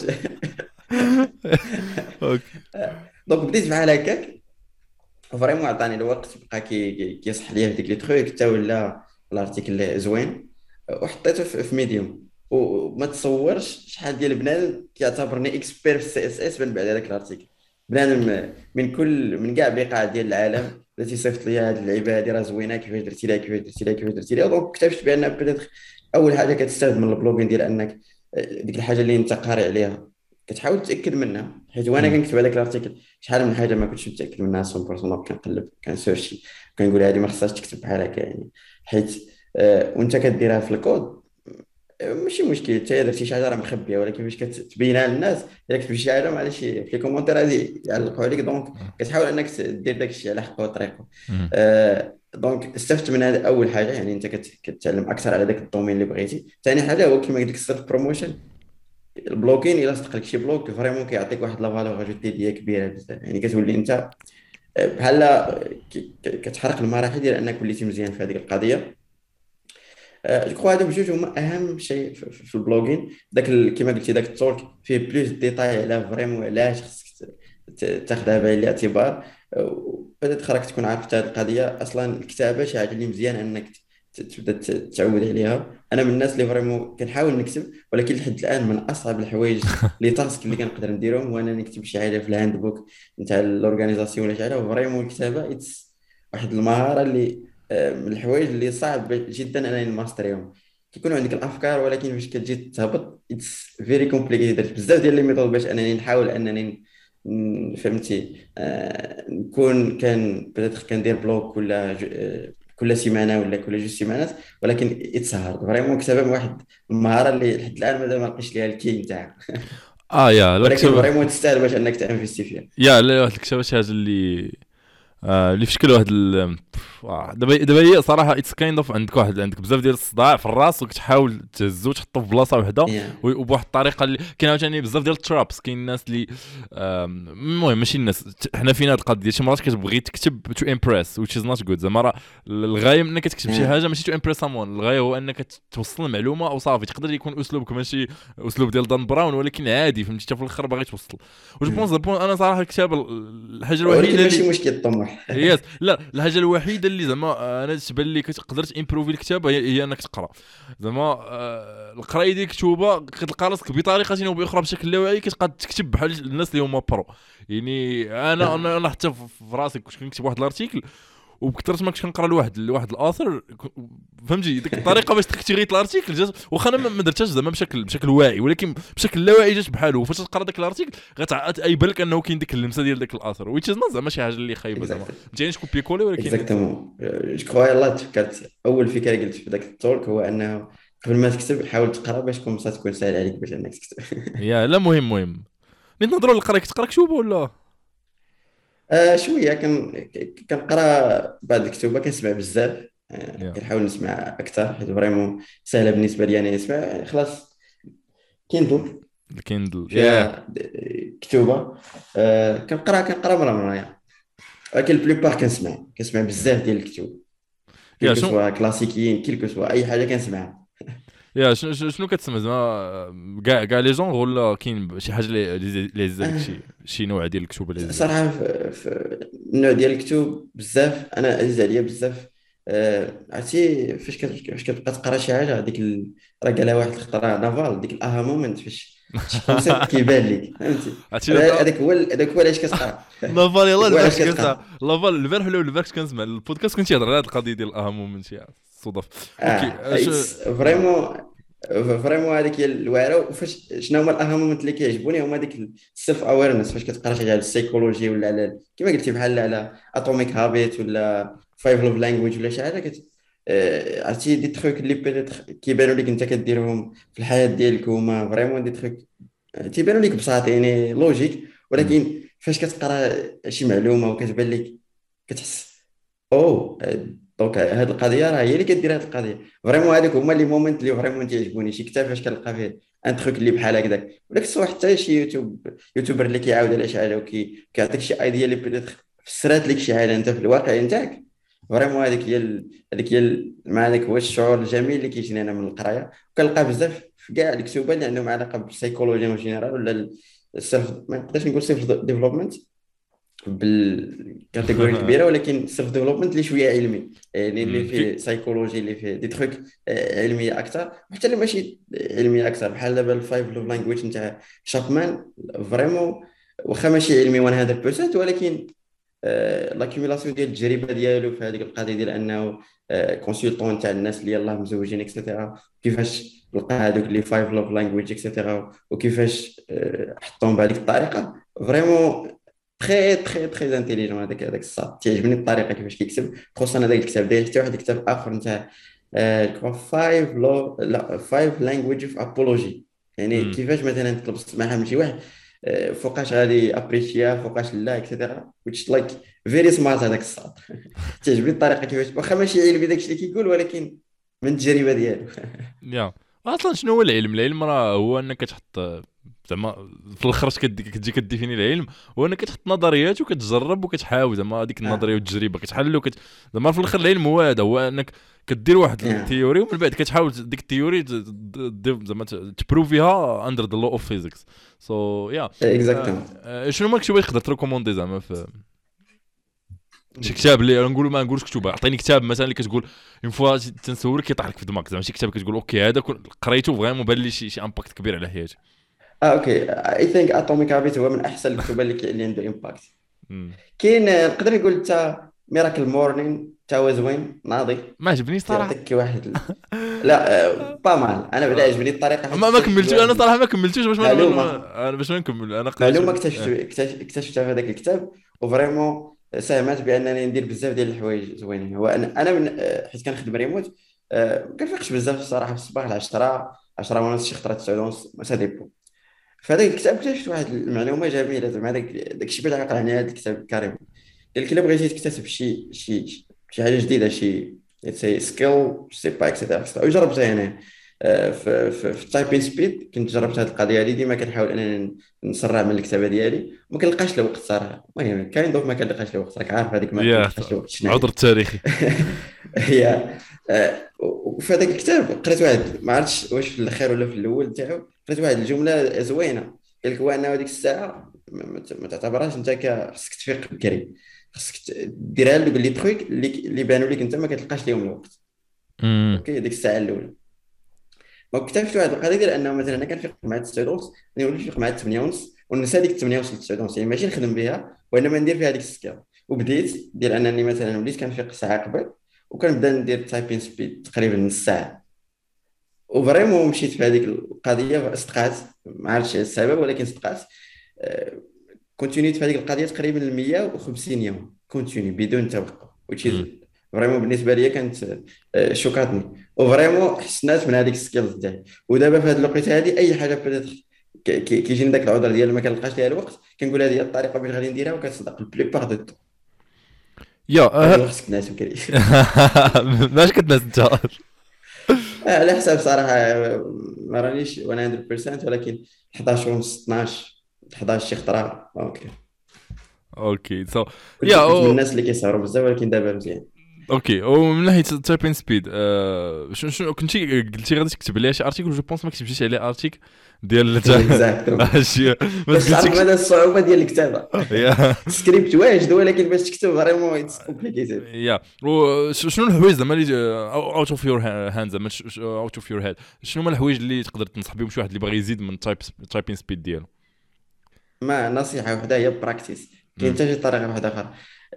دونك بديت بحال هكاك فريمون عطاني الوقت بقى كيصح ليا في ديك لي تروك حتى ولا الارتيكل زوين وحطيته في ميديوم. وما تصورش شحال ديال بنادم كيعتبرني اكسبير في السي اس اس من بعد هذاك الارتيكل. بنادم من كاع بقاع ديال العالم اللي تيصيفط لي هذه اللعيبه هذه راه زوينه كيفاش درتي لها كيفاش درتي لها. دونك اكتشفت بان بدات اول حاجه كتستافد من البلوغين ديال انك ديك الحاجه اللي انت قاري عليها كتحاول تاكد منها. حيت وانا كنكتب هذاك الارتيكل شحال من حاجه ما كنتش متاكد منها 100%. كنقلب كنسيرشي كنقول هذه ما خصهاش تكتب بحال هكا يعني حيت وانت كديرها في الكود ماشي مشكل حتى درتي شي حاجه راه مخبيه، ولكن فاش كتبينها للناس الا كتبتي شي حاجه معليش في لي كومونتير غادي يعلقوا عليك. دونك كتحاول انك دير داك الشيء على حقه وطريقه. دونك استفدت من هذا اول حاجه، يعني انت كتعلم اكثر على داك الدومين اللي بغيتي. ثاني حاجه هو كما قلت لك السيلف بروموشن. البلوكين الا صدق لك شي بلوك فريمون كيعطيك واحد لا فالور اجوتي ديال كبيره بزاف، يعني كتولي انت بحال كتحرق المراحل ديال انك وليتي مزيان في هذيك القضيه. جو كخوا هادو بجوج هما اهم شيء في البلوغين. داك كما قلتي داك التولك فيه بلوس ديتاي على فريمون علاش خصك تاخذها بعين الاعتبار. وبدات راك تكون عارف هذه القضيه اصلا. الكتابه شي حاجه اللي مزيان انك تبدا تعود عليها. انا من الناس اللي فريمون كنحاول نكتب، ولكن لحد الان من اصعب الحوايج لي تاسك اللي كنقدر نديرهم هو انني نكتب شي حاجه في الهاند بوك نتاع الاورغانيزاسيون ولا شي حاجه. فريمون الكتابه واحد المهاره اللي من الحوايج اللي صعب جدا انني نماستريهم. كيكون عندك الافكار ولكن فاش كتجي تهبط اتس فيري كومبليكيتد. درت بزاف ديال لي ميثود باش انني نحاول انني فهمتي نكون بدات كندير بلوك كل سيمانه ولا كل جوج سيمانات، ولكن اتس هارد فريمون. كتابه واحد المهاره اللي لحد الان مازال ما لقيتش ليها الكي نتاعها. يا ولكن فريمون تستاهل باش انك تانفيستي فيها. يا لا واحد الكتابه شي حاجه اللي في شكل واحد دابا هي صراحه اتس كايند اوف عندك بزاف ديال الصداع في الراس وكتحاول تهزو تحطو في بلاصه وحده وبواحد الطريقه اللي كاين عاوتاني بزاف ديال الترابس. كاين الناس اللي المهم ماشي الناس حنا فينا هاد القضيه شي مرات كتبغي تكتب تو امبريس which is not good. زعما الغايه من انك تكتب شي حاجه ماشي تو امبريس سامون، الغايه هو انك توصل المعلومه او صافي. تقدر يكون اسلوبك ماشي اسلوب ديال دان براون ولكن عادي فهمتي حتى في الاخر باغي توصل. واش بونس انا صراحه الكتابه الحاجه الوحيده اللي ماشي مشكل الطموح يس لا الحاجه الوحيده اللي زعما انا تبان لي كتقدر تامبروفي الكتابه هي انك تقرا. زعما القرايه ديال الكتوبه كتلقى راسك بطريقه او باخرى بشكل لا واعي كتقاد تكتب بحال الناس اللي هما برو. يعني انا حتى في راسي كنت كنكتب واحد الارتيكل وبكثرت ما كنت كنقرا لواحد الاثر فهمتي ديك الطريقه باش تكتيغيت الارتيكل جات واخا انا ما درتهاش زعما بشكل واعي ولكن بشكل لا واعي جات بحاله فاش تقرا داك الارتيكل غتعيب لك انه كاين ديك اللمسه ديال داك الاثر ويتش زعما شي حاجه اللي خايبه زعما متينش كوبي كولي ولكن اكزاكتومون. جو كخوا يلاه تفكرت اول فكره قلت في ذاك التولك هو انه قبل ما تكتب حاول تقرا باش تكون سهل عليك باش انك تكتب. يا لا مهم نيت نهضروا على القرايه كتقرا كتب ولا شويه كنقرا بعض الكتب كنسمع بزاف. يا كنحاول نسمع اكثر حيت فريمون سهله بالنسبه لي انا نسمع يعني خلاص كيندل الكيندل يا فيها كتوبه. كنقرا مره يعني. ولكن البلوبار كنسمع بزاف ديال الكتب يا كيلكو سوا كلاسيكيين كيلكو سوا اي حاجه كنسمعها. يا شنو كتسمى زعما كاع لي جونغ ولا كاين شي حاجه اللي زادك شي نوع ديال الكتب اللي زادك صراحه في النوع ديال الكتب بزاف انا عزيز عليا بزاف. عرفتي فاش كتبقى تقرا شي حاجه راه قالها واحد الخطره نافال ديك الاها مومنت فاش شي كونسيبت كيبان لك فهمتي. عرفتي هذاك هو علاش كتقرا. لافال يلاه هذاك هو علاش البارح كنسى كتقرا. لافال البارح ولا البارح كنسمع البودكاست كنت يهضر على هذه القضيه ديال الاهم من شي صدف اوكي فريمون هذيك هي الواعره. وفاش شنو هما الاهم مومنت اللي كيعجبوني هما ديك السيلف اويرنس فاش كتقرا شي حاجه على السيكولوجي ولا على كما قلتي بحال على اتوميك هابيت ولا فايف لوف لانجويج ولا شي حاجه عرفتي دي تخوك اللي بيتيتر كيبانوا لك انت كديرهم في الحياه ديالك هما فريمون دي تخوك تيبانوا لك بساط يعني لوجيك. ولكن فاش كتقرا شي معلومه وكتبان لك كتحس او دونك هاد القضيه راه هي اللي كدير هاد القضيه. فريمون هذوك هما لي مومنت اللي فريمون تيعجبوني شي كتاب فاش كنلقى فيه ان تخوك اللي بحال هكذاك ولا كسوا حتى شي يوتيوبر اللي كيعاود على شي حاجه كيعطيك شي ايديا اللي بيتيتر فسرات لك شي حاجه انت في الواقع نتاعك. فريمون مع هذاك هو الشعور الجميل اللي كيجيني انا من القرايه. وكنلقى بزاف في كاع الكتب اللي عندهم علاقه بالسيكولوجيا اون جينيرال ولا السيلف ما نقدرش نقول سيلف ديفلوبمنت بالكاتيجوري الكبيره ولكن سيلف ديفلوبمنت اللي شويه علمي يعني اللي فيه سايكولوجي اللي فيه دي تروك علميه اكثر وحتى اللي ماشي علميه اكثر بحال دابا الفايف لوف لانجويج نتاع شابمان فريمون واخا ماشي علمي 100% ولكن لاكيميلاسيون ديال التجربه ديالو في هذيك القضيه ديال انه كونسلطون تاع الناس اللي يلاه مزوجين اكسيتيرا كيفاش لقى هذوك لي فايف لوف لانجويج اكسيتيرا وكيفاش حطهم بهذيك الطريقه فريمون تري انتيليجون. هذاك الصاد تعجبني الطريقه كيفاش كيكتب خصوصا هذاك الكتاب داير حتى واحد الكتاب اخر نتاع فايف لو لا فايف لانجويج اوف ابولوجي يعني كيفاش مثلا تطلب السماحه من شي واحد فوقاش غادي ابريشيا فوقاش لا اكسيتيرا which like very smart هذاك الصاد. تعجبني الطريقه كيفاش واخا ماشي علمي داكشي اللي كيقول ولكن من التجربه ديالو. يا اصلا شنو هو العلم راه هو انك تحط زعما في الاخر كتجي كديفيني العلم هو انك تحط نظريات وكتجرب وكتحاول زعما هذيك النظريه والتجربه كتحل زعما في الاخر العلم هو هذا هو انك كدير واحد الثيوري ومن بعد كتحاول ديك الثيوري زعما تبروفيها اندر ذا لو اوف فيزيكس سو يا اكزاكتومون. شنو ماك شي تقدر تريكوموندي زعما في شي كتاب اللي نقولوا ما نقولش كتب عطيني كتاب مثلا اللي كتقول اون فوا تنسولك كيطيح لك في دماغك زعما شي كتاب كتقول اوكي هذا قريته فريمون بان لي شي امباكت كبير على حياتي. اوكي اي ثينك اتوميك هابيت هو من احسن الكتب اللي عنده امباكت. كاين نقدر نقول حتى ميراكل مورنين تا هو زوين ناضي ما عجبني صراحه يعطيك واحد لا با مال انا بعدا عجبني الطريقه ما كملتوش انا صراحه ما كملتوش باش انا باش ما نكمل انا معلومه اكتشفتها في هذاك الكتاب وفريمون ساهمت بانني ندير بزاف ديال الحوايج زوينين. هو انا من حيت كنخدم ريموت ما كنفيقش بزاف الصراحه في الصباح 10 ونص شي خطره 9 ونص ما ساديبو. في هذاك الكتاب اكتشفت واحد المعلومه جميله زعما داكشي باش عقل على هذا الكتاب كريم. قال لك الا بغيتي تكتسب شي حاجه جديده شي سي سكيل سي با اكسيتيرا وجربتها انا في التايبين سبيد كنت جربت هذه القضيه هذه ديما كنحاول انني نسرع من الكتابه ديالي وما كنلقاش له وقت صراحه. المهم كاين دوك ما كنلقاش له وقت راك عارف هذيك ما كنلقاش له وقت شنو عذر تاريخي. هي وفي هذاك الكتاب قريت واحد ما عرفتش واش في الاخير ولا في الاول تاعو قريت واحد الجمله زوينه قال لك هو انه هذيك الساعه ما تعتبرهاش انت خصك تفيق بكري خصك ديرها له لي ترويك اللي بانوا لك انت ما كتلقاش لهم الوقت. اوكي ديك الساعه الاولى ما اكتشفت واحد القضيه ديال انه مثلا انا كنفيق مع 9 ونص نولي نفيق مع 8 ونص وننسى ديك 8 ونص ل 9 ونص يعني ماشي نخدم بها وانما ندير فيها هذيك السكيل وبديت ديال انني مثلا وليت كنفيق ساعه قبل، وكنبدا ندير تايبين سبيد تقريبا نص ساعه. وفريمون مشيت في هذيك القضيه، صدقات، ما عرفتش السبب ولكن صدقات. كونتينيت في هذيك القضيه تقريبا 150 يوم كونتيني بدون توقف، وتشيز فريمون بالنسبه لي كانت شوكاتني، وفريمون حسنات من هذيك السكيلز ديالي. ودابا في هذه الوقيته هذه اي حاجه بدات كيجيني داك العذر ديال ما كنلقاش ليها الوقت، كنقول هذه هي الطريقه باش غادي نديرها، وكتصدق البليبار دو طون. يا هذا الوقت كناس وكري. ماش كتناس انت. على حساب صراحه، ما رانيش 100% ولكن 11 ونص 12 11 شي خطره اوكي. اوكي سو كنت يا كنت من الناس اللي كيسهروا بزاف، ولكن دابا مزيان. اوكي. ومن ناحيه تايبين سبيد، شنو كنتي قلتي غادي تكتب ليها شي ارتيكل؟ جو بونس ما كتبتيش عليه ارتيكل ديال اكزاكتومون. شي ما باش تعرف قلتيش. مدى الصعوبه ديال الكتابه. يا السكريبت واجد، ولكن باش تكتب فريمون اتس كومبليكيتد. يا شنو الحوايج زعما اللي اوت اوف يور هاند، زعما اوت اوف يور هيد، شنو هما الحوايج اللي تقدر تنصح بهم شي واحد اللي باغي يزيد من تايبين سبيد ديالو؟ ما نصيحه وحده هي براكتيس. كاين حتى شي طريقه واحده اخرى.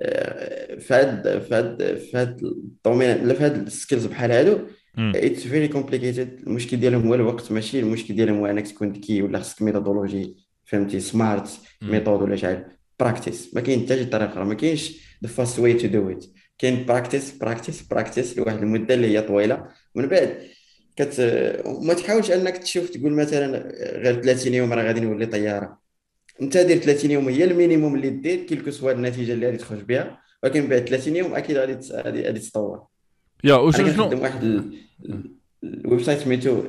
في هاد الدومين، لا في هاد السكيلز بحال هادو، اتس فيري كومبليكيتد. المشكل ديالهم هو الوقت، ماشي المشكل ديالهم هو انك تكون ذكي ولا خصك ميثودولوجي، فهمتي، سمارت ميثود ولا شحال. براكتيس، ما كاين حتى شي طريقه اخرى، ما كاينش ذا فاست واي تو دو ات. كاين براكتيس براكتيس براكتيس لواحد المده اللي هي طويله، ومن بعد كت ما تحاولش انك تشوف تقول مثلا غير 30 يوم راه غادي نولي طياره. انت دير 30 يوم هي المينيموم اللي دير كيلكو سوا النتيجه اللي غادي تخرج بها، ولكن بعد 30 يوم اكيد غادي تطور. يا انا وشنو كنخدم واحد الويب سايت سميتو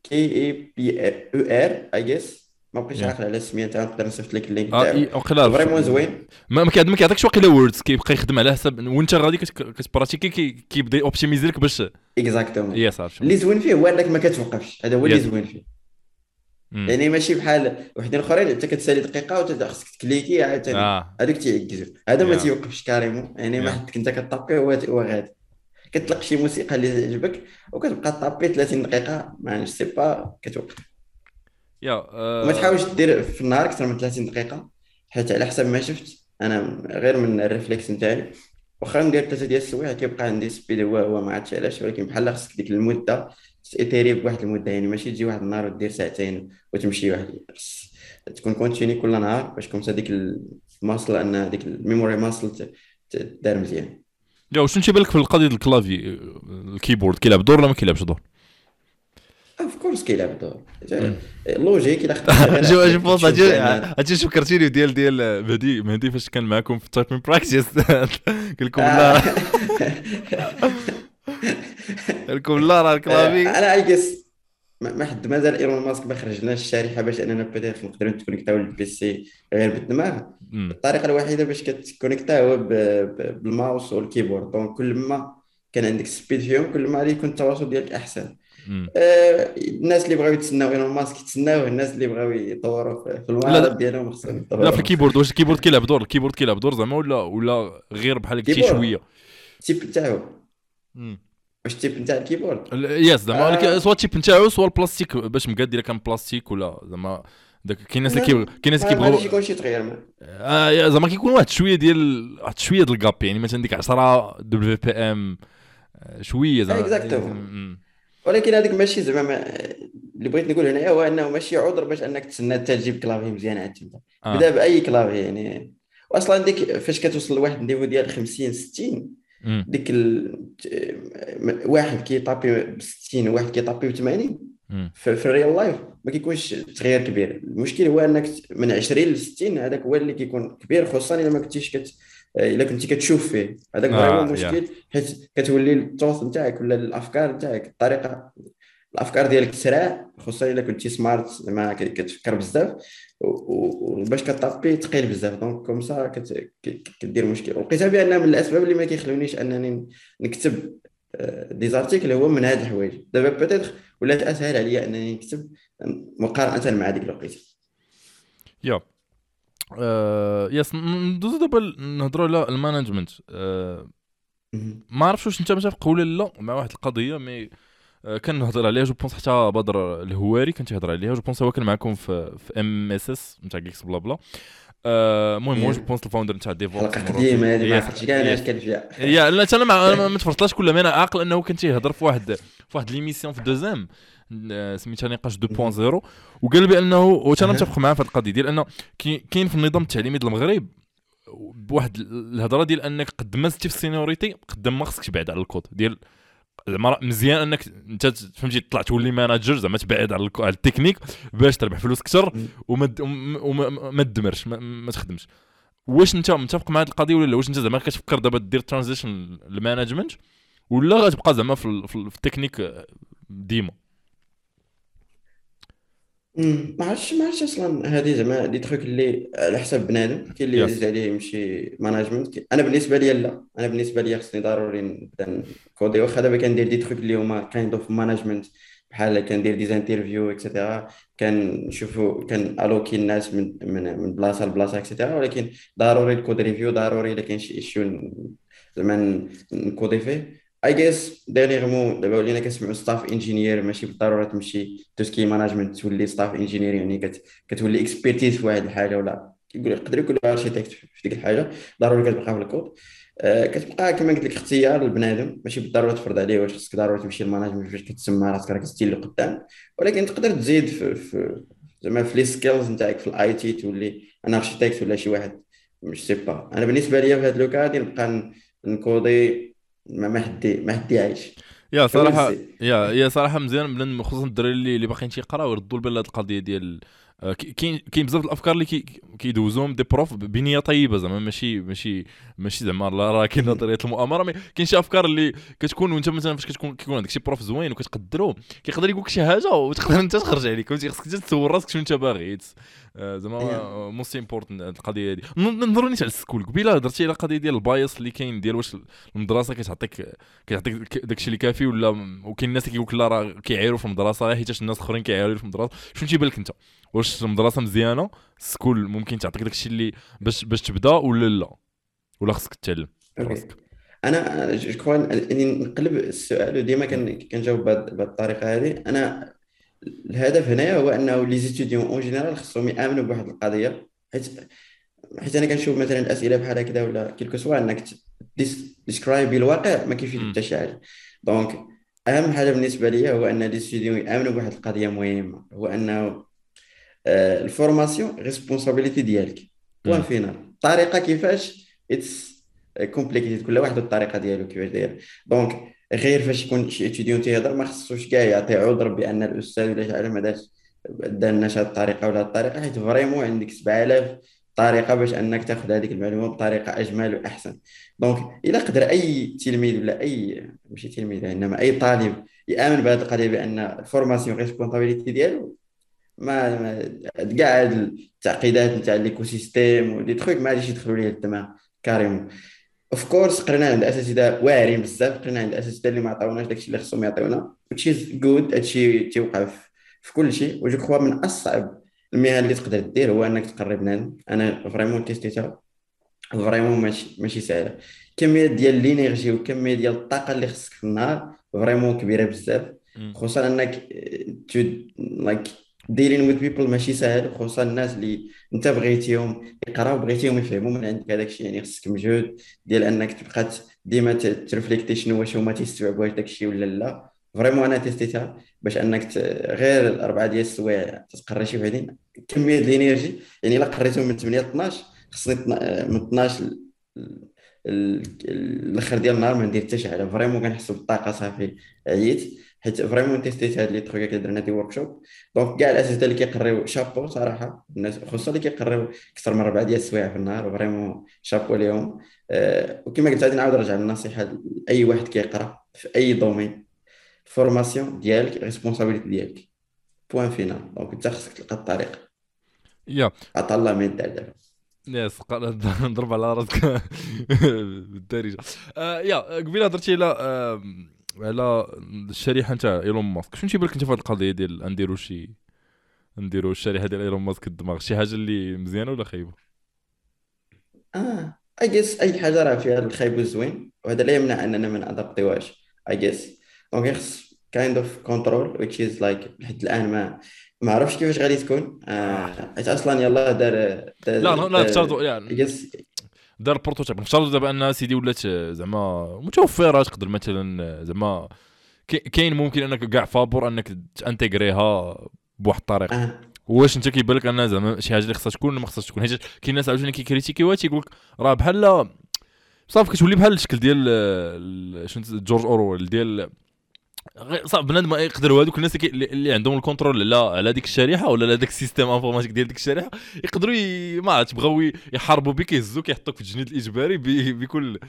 KEPUR اي جيس، ما بقيتش يا عاقل على السميه تاعو، نقدر نصيفط لك اللينك تاعو. وقيلا فريمون زوين. ما كيعطيكش واقيلا ووردز، كيبقى يخدم على حسب وانت غادي كتبراتيكي، كيبدا اوبتيميزي لك باش. اكزاكتومون. يا صافي. اللي زوين فيه هو انك ما كتوقفش، هذا هو اللي يس. زوين فيه. يعني ماشي بحال وحدين اخرين انت كتسالي دقيقه وخصك تكليكي عاوتاني، اه هذوك تيعكزوا. هذا ما يا تيوقفش كاريمون، يعني ما يا حدك انت كطابي هو غادي. كتلقى شي موسيقى اللي تعجبك وكتبقى طابي 30 دقيقه، ما سي با كتوقف. يا وما تحاولش دير في النهار اكثر من 30 دقيقه، حيت على حسب ما شفت انا غير من الريفلكس نتاعي، واخا ندير 3 ديال السوايع كيبقى عندي سبيد هو ما عرفتش علاش، ولكن بحال خصك ديك المده تيتيري بواحد المده، يعني ماشي تجي واحد النهار ودير ساعتين وتمشي واحد. تكون كونتيني كل نهار باش كومسا ديك الماسل، ان ديك الميموري ماسل دار مزيان. يا وشنو تيبان لك في القضيه الكلافي الكيبورد، كيلعب دور ولا ما كيلعبش دور؟ اوف كورس كيلعب دور. مم. لوجيك الا خديتي غير جو بونس تشوف بان هادشي فكرتيني ديال مهدي فاش كان معكم في تايبين براكتيس. قال لكم لا، قال لكم لا راه الكلافي. انا اي جيس ما حد مازال ايلون ماسك ما خرجناش الشريحه باش اننا بيتيت نقدروا نتكونيكتاو للبيسي غير بالدماغ. الطريقه الوحيده باش كتكونيكتا هو بالماوس والكيبورد، دونك كل ما كان عندك سبيد فيهم كل ما غادي يكون التواصل ديالك احسن. الناس اللي بغاو يتسناو ايلون ماسك يتسناوه، الناس اللي بغاو يطوروا في لا المهارات لا ديالهم خصهم لا، في يطوروا. الكيبورد واش الكيبورد كيلعب دور؟ الكيبورد كيلعب دور زعما ولا غير بحال قلتي الكيبورد شويه؟ التيب نتاعو، واش التيب نتاع الكيبورد يس زعما آه سوا التيب نتاعو سوا البلاستيك باش مقاد، الا كان بلاستيك ولا زعما داك. كاين ناس اللي ما كيبغوا غاديش يكون شي تغيير زعما كيكون واحد شويه ديال الكاب، يعني مثلا ديك 10 دبليو بي ام شويه اكزاكتومون. زعما. ولكن هذيك ماشي زعما اللي بغيت نقول هنا هو انه ماشي عذر باش انك تسنى حتى تجيب كلافي مزيان عاد تبدا. بدا باي كلافي يعني. واصلا ديك فاش كتوصل لواحد النيفو ديال 50 60، ديك واحد كيطابي ب 60 وواحد كيطابي ب 80 في الريال لايف ما كيكونش تغيير كبير. المشكل هو انك من 20 ل 60 هذاك هو اللي كيكون كبير، خصوصا الا ما كنتيش الا كنتي كتشوف فيه، هذاك فريمون مشكل، حيت كتولي التوث نتاعك ولا الافكار نتاعك الافكار ديالك تسرع، خصوصا الا كنتي سمارت زعما كتفكر بزاف، وباش كطابي ثقيل بزاف، دونك كومسا كدير مشكل. ولقيتها بان من الاسباب اللي ما كيخلونيش انني نكتب دي زارتيكل هو من هاد الحوايج. دابا بيتيتر ولات اسهل عليا انني نكتب مقارنه مع ديك الوقيته. يا يس. ندوزو دابا نهضروا على المانجمنت. ما عرفتش واش انت متفق ولا لا مع واحد القضيه، مي كنهضر عليها جو بونس حتى بدر الهواري كان تيهضر عليها جو بونس هو كان معكم في ام اس اس نتاع جيكس بلا بلا. المهم هو جو يا بونس الفاوندر نتاع ديفوبس حلقة مرات قديمة هذه، ما يس عقلتش كاع انا اش يس. كان فيها. يا لا انا ما تفرجتلاش كلها، ما انا عاقل انه كان تيهضر في واحد ليميسيون في دوزام سميتها نقاش 2.0، وقال بانه وانا اها. متفق معاه في هذه القضيه ديال انه كاين في النظام التعليمي ديال المغرب بواحد الهضره ديال انك قد ما زدتي في السينيوريتي قد ما خصك تبعد على الكود ديال زعما مزيان انك انت فهمتي تطلع تولي ماناجر زعما تبعد على التكنيك باش تربح فلوس اكثر وما تدمرش ما تخدمش. واش انت متفق مع هذه القضيه ولا لا؟ واش انت زعما كتفكر دابا دير ترانزيشن للمانجمنت ولا غتبقى زعما في التكنيك ديما؟ ما عرفتش اصلا هذه زعما دي تخيك اللي على حسب بنادم. كاين اللي يس. يعزيز عليه يمشي ماناجمنت. انا بالنسبه لي لا، انا بالنسبه لي خصني ضروري نبدا نكودي. واخا دابا كندير دي تخيك اللي هما كايند اوف ماناجمنت، بحال كندير دي انترفيو اكسيتيرا، كنشوفو كان الوكي الناس من بلاصه لبلاصه اكسيتيرا، ولكن ضروري الكود ريفيو ضروري الا كاين شي ايشيو زعما نكودي فيه. اي جيس ديرنيغمون دابا ولينا كنسمعوا ستاف انجينير، ماشي بالضروره تمشي توسكي ماناجمنت تولي ستاف انجينير، يعني كتولي اكسبيرتيز في واحد الحاجه، ولا يقدر يكون اركيتكت في ديك الحاجه. ضروري كتبقى في الكود. كتبقى كما قلت لك اختيار البنادم، ماشي بالضروره تفرض عليه واش خصك ضروري تمشي للماناجمنت فاش كتسمى راسك راك ستيل لقدام. ولكن تقدر تزيد في زعما في لي سكيلز نتاعك في الاي تي، تولي انا اركيتكت ولا شي واحد. مش سي با انا بالنسبه لي في هذا لو كاد نبقى نكودي. ما حدي عايش. يا ويل صراحه سي. يا صراحه مزيان بلان خصوصا الدراري اللي باقيين تيقراو يردوا البال هذه القضيه ديال كاين بزاف الافكار اللي كيدوزوهم دي بروف بنيه طيبه زعما ماشي زعما راه كاين نظريه المؤامره، مي كاين شي افكار اللي كتكون وانت مثلا فاش كيكون عندك شي بروف زوين وكتقدرو كيقدر يقول لك شي حاجه وتقدر انت تخرج عليك فهمتي. خصك انت تسول راسك شنو انت باغي زعما موست امبورتنت القضيه هذه. نهضروا نيت على السكول قبيله هضرتي على القضيه ديال البايس اللي كاين ديال واش المدرسه كيعطيك داكشي اللي كافي ولا. وكاين الناس اللي كيقول لك لا راه كيعايروا في المدرسه غير حيت الناس الاخرين كيعايروا في المدرسه. شنو تيبان لك انت؟ واش المدرسه مزيانه السكول ممكن تعطيك داكشي اللي باش تبدا ولا لا؟ ولا خصك تتعلم اوكي. براسك؟ انا جو كخوا اني نقلب السؤال، وديما كنجاوب بهذه الطريقه هذه. انا الهدف هنايا هو انه لي زيتيديون اون جينيرال خصهم يامنوا بواحد القضيه. حيت انا كنشوف مثلا الاسئله بحال هكذا ولا كيلكو سوا انك ديسكرايبي الواقع ما كيفيد امم. حتى شي حاجه. دونك اهم حاجه بالنسبه لي هو ان لي ستوديون يامنوا بواحد القضيه مهمه، هو انه الفورماسيون ريسبونسابيلتي ديالك. بوان امم. فينال. الطريقه كيفاش اتس كومبليكيتد، كل واحد والطريقه ديالو كيفاش داير. دونك غير فاش يكون شي اتيديون تيهضر ما خصوش كاع يعطي عذر بان الاستاذ ولا شي حاجه ما داش دارناش هاد الطريقه ولا هاد الطريقه، حيت فريمون عندك 7000 طريقه باش انك تاخذ هذيك المعلومه بطريقه اجمل واحسن. دونك الا قدر اي تلميذ ولا اي ماشي تلميذ انما اي طالب يامن بهذه القضيه بان الفورماسيون ريسبونسابيلتي ديالو، كاع هاد التعقيدات نتاع ليكو سيستيم ودي تخويك ما غاديش يدخلوا ليه الدماغ كاريمون. اوف كورس قرينا عند اساتذه واعرين بزاف، قرينا عند اساتذه اللي ما عطاوناش داكشي اللي خصهم يعطيونا which is good. هادشي تيوقع في كل شيء. وجو كخوا من اصعب المهن اللي تقدر دير هو انك تقري بنادم. انا فريمون تيستيتها فريمون ماشي سهله. كميه ديال لينيرجي وكميه ديال الطاقه اللي خصك في النهار فريمون كبيره بزاف. خصوصا انك تو لايك ديلين وذ بيبل ماشي سهل، خصوصا الناس اللي انت بغيتيهم يقراو بغيتيهم يفهموا من عندك هذاك الشيء. يعني خصك مجهود ديال انك تبقى ديما ترفليكتي شنو واش هما تيستوعبوا واش داك الشيء ولا لا. فريمون انا تيستيتها باش انك غير الاربعه ديال السوايع تقري شي وحدين كميه ديال الانرجي. يعني الا قريتهم من 8 ل 12 خصني من 12 الاخر ديال النهار ما ندير حتى شي حاجه. فريمون كنحس بالطاقه صافي عييت. حيت فريمون تيستيت هاد لي تخويا درنا دي ورك شوب. دونك كاع الاساتذه اللي كيقريو شابو صراحه، الناس خصوصا اللي كيقريو اكثر من 4 ديال السوايع في النهار فريمون شابو ليهم. وكما قلت غادي نعاود نرجع للنصيحه لاي واحد كيقرا في اي دومين. الفورماسيون ديالك ريسبونسابيلتي ديالك. بوان فينال. دونك انت خصك تلقى الطريق. يا عطا الله ما يدار دابا. يس نضرب على راسك بالدارجه. يا قبيله هضرتي على الشريحه نتاع ايلون ماسك. شنو تيبان لك انت في هذه القضيه ديال نديروا الشريحه ديال ايلون ماسك الدماغ شي حاجه اللي مزيانه ولا خايبه؟ اي جيس اي حاجه راه فيها الخايب والزوين، وهذا لا يمنع اننا ما نادابتيوهاش. اي جيس دونك خص kind of control which is like لحد الآن ما عرفش كيفاش غادي تكون آه. حيت اصلا يلاه لا لا افترضوا I يعني guess دار بروتوتايب، نفترضوا دابا ان سيدي ولات زعما متوفره، تقدر مثلا زعما كاين ممكن انك كاع فابور انك تانتيغريها بواحد الطريقه. اه واش انت كيبان لك ان زعما شي حاجه اللي خصها تكون ما خصهاش تكون؟ حيت كاين ناس عاوتاني كيكريتيكيوها تيقول لك راه بحال صافي كتولي بحال الشكل ديال شنو جورج اورويل ديال صعب بنادم يقدروا هذوك الناس اللي عندهم الكونترول على ديك الشريحه ولا على داك السيستم انفورماتيك ديال ديك الشريحه، يقدروا ما عرفتش بغاو يحاربوا بك، يهزوك يحطوك في التجنيد الاجباري بكل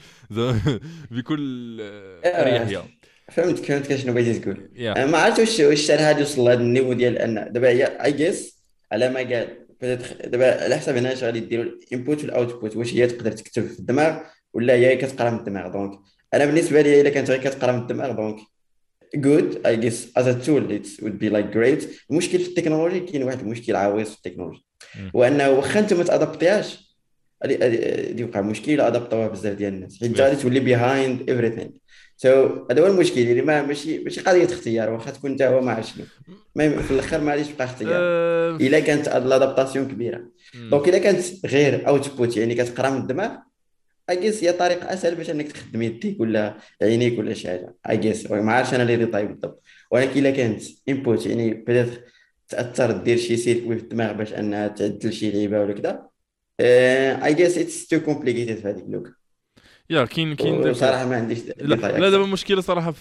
بكل اريحيه. فهمت شنو بغيتي تقول. يا ما عرفت واش الشرح هذا وصل لهذا النيفو ديال ان دابا هي اي جيس على ما قال دابا على حسب هنا اش غادي ديروا الانبوت والاوتبوت، واش هي تقدر تكتب في الدماغ ولا هي كتقرا من الدماغ. دونك انا بالنسبه لي الا كانت غير كتقرا من الدماغ دونك good I guess as a tool it would be like great. المشكل في التكنولوجي كاين واحد المشكل عويص في التكنولوجي، وانه واخا انت ما تادابتيهاش غادي يوقع مشكل الا ادابطوها بزاف ديال الناس، حيت انت غادي تولي behind everything. هذا هو المشكل اللي ماشي قضيه اختيار، واخا تكون انت هو ما عرف شنو في الاخر ما غاديش تبقى اختيار الا كانت لادابتاسيون كبيره. دونك الا كانت غير اوتبوت يعني كتقرا من الدماغ اجيس هي طريقه اسهل باش انك تخدم يديك ولا عينيك ولا شي حاجه اجيس ما عارفش انا اللي طيب بالضبط. ولكن الا كانت انبوت يعني بدات تاثر دير شي سيركوي في الدماغ باش انها تعدل شي لعيبه ولا كذا اجيس اتس تو كومبليكيتد في هذيك اللوك. يا كاين داك. وصراحه ما عنديش لا ديتاي لا دابا اكثر. المشكله صراحه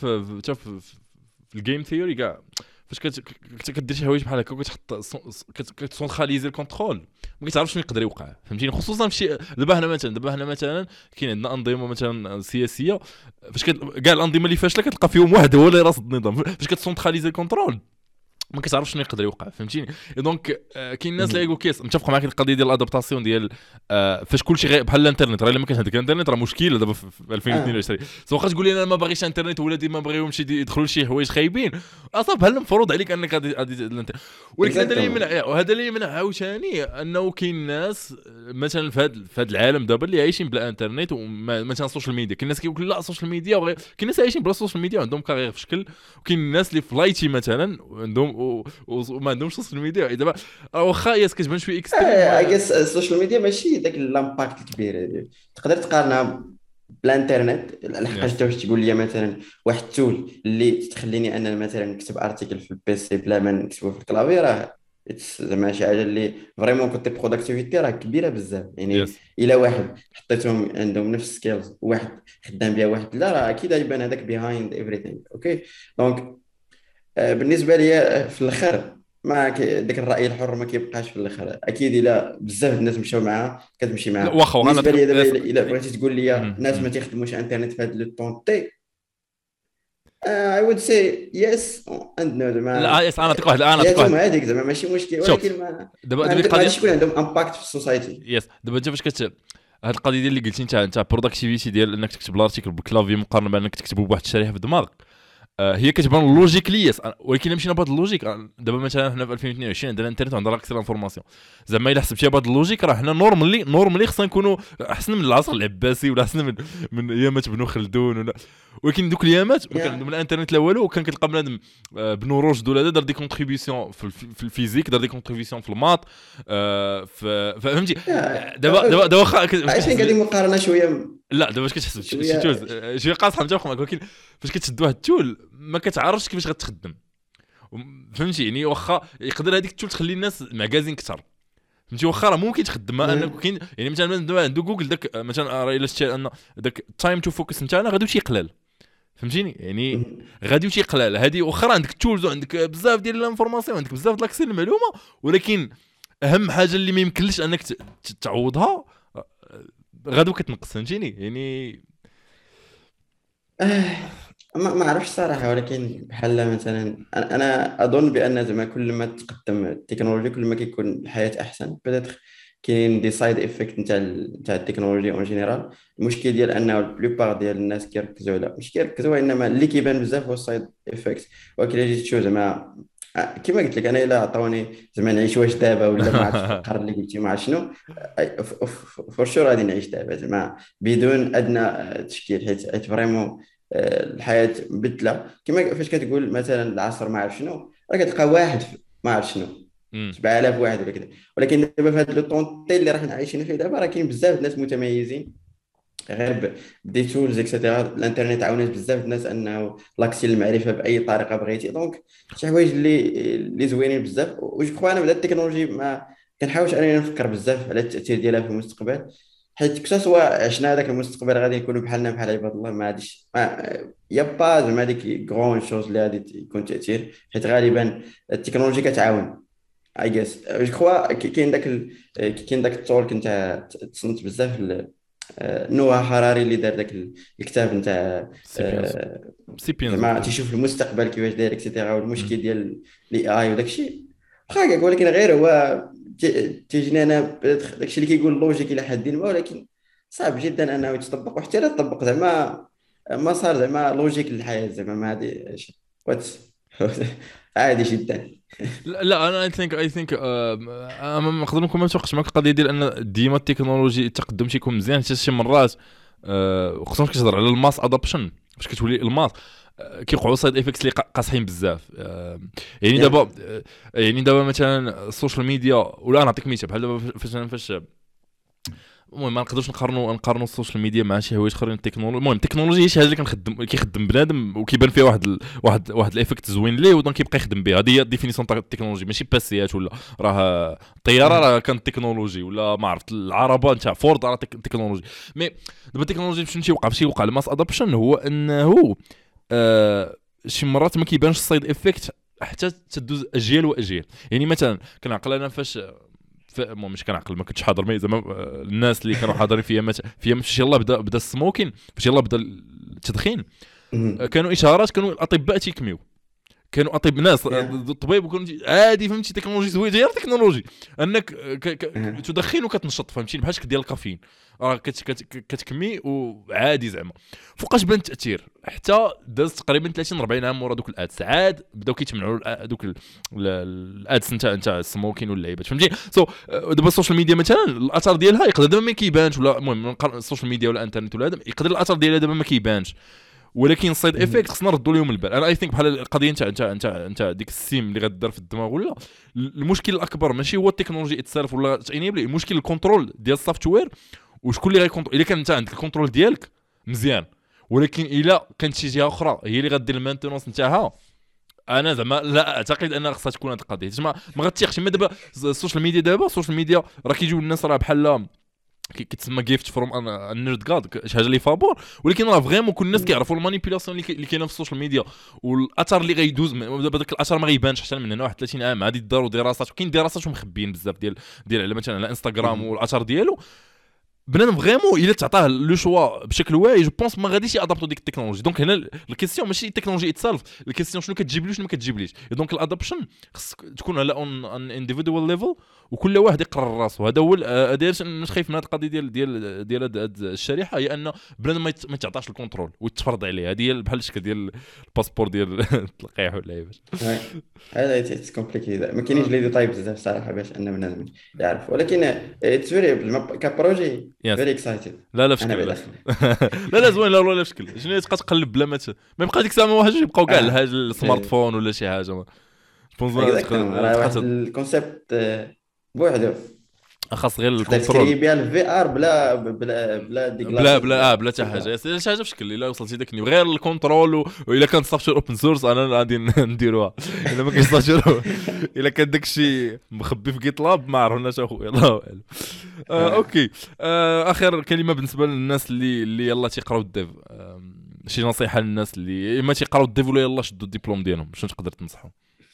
في الجيم ثيوري كاع، فاش كدير شي حوايج بحال هكا وكتحط كتسونتراليزي الكونترول، ما كتعرفش شنو يقدر يوقع، فهمتيني؟ خصوصا في شي دابا هنا مثلا كاين عندنا انظمه مثلا سياسيه، فاش كاع الانظمه اللي فاشله كتلقى فيهم واحد هو اللي راس النظام، فاش كتسونتراليزي الكونترول ما كتعرفش شنو يقدر يوقع، فهمتيني؟ دونك كاين الناس اللي يقول كيس متفق معاك القضيه ديال الادابتاسيون ديال فاش كلشي بحال الانترنت، راه الا ما كانش عندك الانترنت راه مشكله دابا في 2022. واخا تقول لي انا ما باغيش انترنت ولادي ما بغيهمش يدخلوا لشي حوايج خايبين، اصلا بحال المفروض عليك انك غادي ولكن هذا اللي يمنع، وهذا اللي يمنع عاوتاني انه كاين ناس مثلا في هذا العالم دابا اللي عايشين بلا انترنت ومثلا السوشيال ميديا. كاين ناس كيقول لا السوشيال ميديا كاين ناس عايشين بلا السوشيال ميديا وعندهم كارير في شكل، وكاين الناس اللي في لايتي مثلا عندهم وما عندهمش سوشيال ميديا. دابا واخا ياس كتبان شويه اكستريم اي جيس السوشيال ميديا ماشي داك الامباكت الكبير هذه تقدر تقارنها بالانترنت. لحقاش واش تقول لي مثلا واحد التول اللي تخليني انا مثلا نكتب ارتيكل في البيسي بلا ما نكتبه في الكلافي، راه زعما شي حاجه اللي فريمون كنت بروداكتيفيتي راه كبيره بزاف يعني. يس. الا واحد حطيتهم عندهم نفس سكيلز واحد خدام بها واحد لا، راه اكيد غيبان هذاك بيهايند ايفريثينغ. اوكي دونك بالنسبه لي في الاخر ما داك الراي الحر ما كيبقاش في الاخر، اكيد الا بزاف الناس مشاو معاه كتمشي لا معاه. واخا انا بالنسبه لي دابا يس. الا بغيتي تقول لي مهم. ناس ما مهم. تيخدموش انترنت في هذا لو طون تي I would say yes and no. لا زعما يس، انا نعطيك حياتهم واحد. هذيك زعما ماشي مشكل، شوف ولكن ما دابا ما القضيه غاديش يكون عندهم امباكت في السوسايتي. يس. دابا انت فاش هاد القضيه ديال اللي قلتي انت بروداكتيفيتي ديال انك تكتب الارتيكل بالكلافي مقارنه بانك تكتبه بواحد الشريحه في الدماغ، هي كتبان لوجيكلي يس، ولكن مشينا بهذا اللوجيك دابا مثلا حنا في 2022 عندنا الانترنت وعندنا اكثر انفورماسيون، زعما الا حسبتيها بهذا اللوجيك راه حنا نورمالي خصنا نكونوا احسن من العصر العباسي ولا احسن من ايامات بنو خلدون ولا. ولكن دوك الايامات ما كان عندهم الانترنت لا والو، وكان كتلقى بنادم بنو رشد ولا دار دي كونتريبيسيون في الفيزيك، دار دي كونتريبيسيون في الماط فهمتي. دابا واخا عايشين قاعدين مقارنه شويه لا دابا واش كتحسب شي شويه تولز شي قاصحه متفق معك، ولكن فاش كتشد واحد التول ما كتعرفش كيفاش غتخدم، فهمتي؟ يعني واخا يقدر هذيك التول تخلي الناس معكازين اكثر، فهمتي؟ واخا راه ممكن تخدمها انك كاين يعني مثلا دابا عنده جوجل داك مثلا راه الا شتي ان داك التايم تو فوكس نتاعنا غادي يقلل، فهمتيني؟ يعني غادي يقلل هذه واخا عندك التولز وعندك بزاف ديال الانفورماسيون عندك بزاف د لاكسي المعلومه، ولكن اهم حاجه اللي ما يمكنلش انك تعوضها غادو كتنقص، فهمتيني؟ يعني ما اعرفش صراحه، ولكن بحال مثلا أنا اظن بان زعما كل ما تقدم التكنولوجيا كل ما كيكون الحياه احسن. بدات كاين دي سايد افكت نتاع التكنولوجيا اون جينيرال. المشكل ديال انه بلوبار ديال الناس كيركزوا على مش كيركزوا، انما اللي كيبان بزاف هو السايد افكت. ولكن الا جيت تشوف زعما كما قلت لك انا الا عطاوني زعما نعيش واش دابا ولا ما عرفتش في القرن اللي قلتي ما عرفت شنو فور شور غادي نعيش دابا زعما بدون ادنى تشكيل، حيت فريمون الحياه مبدله، كما فاش كتقول مثلا العصر ما عرف شنو، راه كتلقى واحد ما عرف شنو امم 7000 واحد ولا كذا. ولكن دابا في هذا لو طونتي اللي راح عايشين فيه دابا، راه كاين بزاف د الناس متميزين غير بدي تولز اكسيتيرا. الانترنت عاونت بزاف الناس انه لاكسي المعرفه باي طريقه بغيتي. دونك شي حوايج اللي زوينين بزاف. وجو كخوا انا بدا التكنولوجي ما كنحاولش انني نفكر بزاف على التاثير ديالها في المستقبل، حيت كتا سوا عشنا هذاك المستقبل غادي نكونوا بحالنا بحال عباد الله. ما غاديش يا با زعما هذيك غون شوز اللي غادي يكون تاثير، حيت غالبا التكنولوجيا كتعاون. اي جيس جو كخوا كاين داك التولك نتاع تصنت بزاف نوها حراري اللي دار ذاك الكتاب نتاع سيبيانز سيبيانز زعما وقيلا. تيشوف المستقبل كيفاش داير اكسيتيرا، والمشكل ديال الاي اي وداك الشيء واخا هكاك. ولكن غير هو تيجيني انا داك الشيء اللي كيقول لوجيك الى حد ما، ولكن صعب جدا انه يتطبق. وحتى لا تطبق زعما ما صار زعما لوجيك للحياه زعما ما هذه وات عادي جدا. لا لا، انا اي ثينك ما نقدر نكون ما متوقعش معك القضيه ديال ان ديما التكنولوجي التقدم تيكون مزيان، حتى شي مرات وخصوصا كتهضر على الماس ادابشن فاش كتولي الماس كيوقعوا سايد افكتس اللي قاصحين بزاف. يعني يا دابا يعني دابا مثلا السوشيال ميديا، ولا نعطيك مثال بحال دابا فاش المهم ما نقدرش نقارنوا السوشيال ميديا مع شي حوايج اخرين. التكنولوجيا المهم التكنولوجيا هي شي حاجه اللي كيخدم بنادم وكيبان فيها واحد الايفكت زوين ليه، ودونك كيبقى يخدم بها. هذه هي الديفينيسيون تاع التكنولوجيا، ماشي باسيات ولا راه الطياره راه كانت تكنولوجي، ولا ما عرفت العربه نتاع فورد راه تكنولوجي. مي دابا التكنولوجيا فاش يوقع الماس ادابشن هو انه شي مرات ما كيبانش السايد افكت حتى تدوز اجيال واجيال. يعني مثلا كنعقل انا فاش المهم مش كنعقل، ما كنتش حاضر مي زعما الناس اللي كانوا حاضرين فيها فاش يلاه بدا السموكين، فاش يلاه بدا التدخين، كانوا اشارات، كانوا الاطباء تيكميو، كانوا اطباء ناس يا الطبيب، وكانوا عادي فهمتي تكنولوجي زوينه غير تكنولوجي انك تدخن وكتنشط فهمتي بحال شكل ديال الكافيين، راه كتكمي وعادي زعما. فوقاش بان التاثير حتى داز تقريبا 30 40 عام ورا دوك الادس عاد بداو كيتمنعوا دوك الادس نتاع السموكين واللعيبات فهمتي. دابا السوشيال ميديا مثلا الاثر ديالها يقدر دابا ما كيبانش، ولا المهم السوشيال ميديا ولا الانترنت ولا هذا يقدر الاثر ديالها دابا ما كيبانش، ولكن السايد افكت خصنا نردوا لهم البال. انا اي ثينك بحال القضيه نتاع ديك السيم اللي غدار في الدماغ، ولا المشكل الاكبر ماشي هو التكنولوجي اتسالف ولا تانيبلي، المشكل الكنترول ديال السوفتوير. وشكون اللي غيكونترول؟ الا كان انت عندك الكنترول ديالك مزيان، ولكن الا كانت شي جهه اخرى هي اللي غدير المانتونونس نتاعها، انا زعما لا اعتقد ان خصها تكون هذه القضيه. ما غتيقش. ما دابا السوشيال ميديا، دابا السوشيال ميديا راه كيجيو الناس راه بحال كتسمى جيفت فروم النيرد جاد، شي حاجه اللي فابور، ولكن راه فريمون كل الناس كيعرفوا المانيبيولاسيون اللي كاينه في السوشيال ميديا، والاثر اللي غيدوز دابا داك الاثر ما غيبانش حتى من هنا واحد 30 عام. عادي داروا دراسات، وكاين دراسات ومخبيين بزاف ديال على مثلا على انستغرام والاثر ديالو. بنادم فريمون الا تعطاه لو شوا بشكل واعي جو بونس ما غاديش يادابتو ديك التكنولوجي. دونك هنا الكيسيون ماشي التكنولوجي اتسالف، الكيسيون شنو كتجيب لي شنو ما كتجيبليش. دونك الادابشن خص تكون على اون انديفيدوال ليفل، وكل واحد يقرر راسو. هذا هو هذا اش خايف من هذه القضيه ديال هاد الشريحه، هي ان بنادم ما يتعطاش الكونترول ويتفرض عليه. هذه هي بحال الشكل ديال الباسبور ديال التلقيح ولا عيبات. هذا اتس كومبليكيتد، ما كاينينش لي ديتاي بزاف صراحه باش ان بنادم يعرف. ولكن اتس فيري كبروجي يس. فيري اكسايتد. لا لا انا بشكل لا. بداخل. لا لا زوين، لا لا بشكل شنو تبقى تقلب بلا ما يبقى ديك الساعه ما واحدش يبقاو كاع الحاجه السمارت فون ولا شي حاجه. جوبونس اكزاكتومون راه واحد تبقى الكونسيبت بوحدو خاص غير تقدر الكنترول. تكري بها الفي ار بلا دي بلا جلاسز بلا بلا حتى حاجه، كلها. شي حاجه بشكل الا وصلتي داك غير الكنترول والا كان سوفتوير اوبن سورس انا غادي نديروها. الا ما كاينش سوفتوير، الا كان داكشي مخبي في جيت لاب ما عرفناش اخويا، الله اعلم. اوكي. اخر كلمه بالنسبه للناس اللي يلا تيقراو الديف، شي نصيحه للناس اللي اما تيقراو الديف ولا يلا شدوا الدبلوم ديالهم، شنو تقدر تنصحهم؟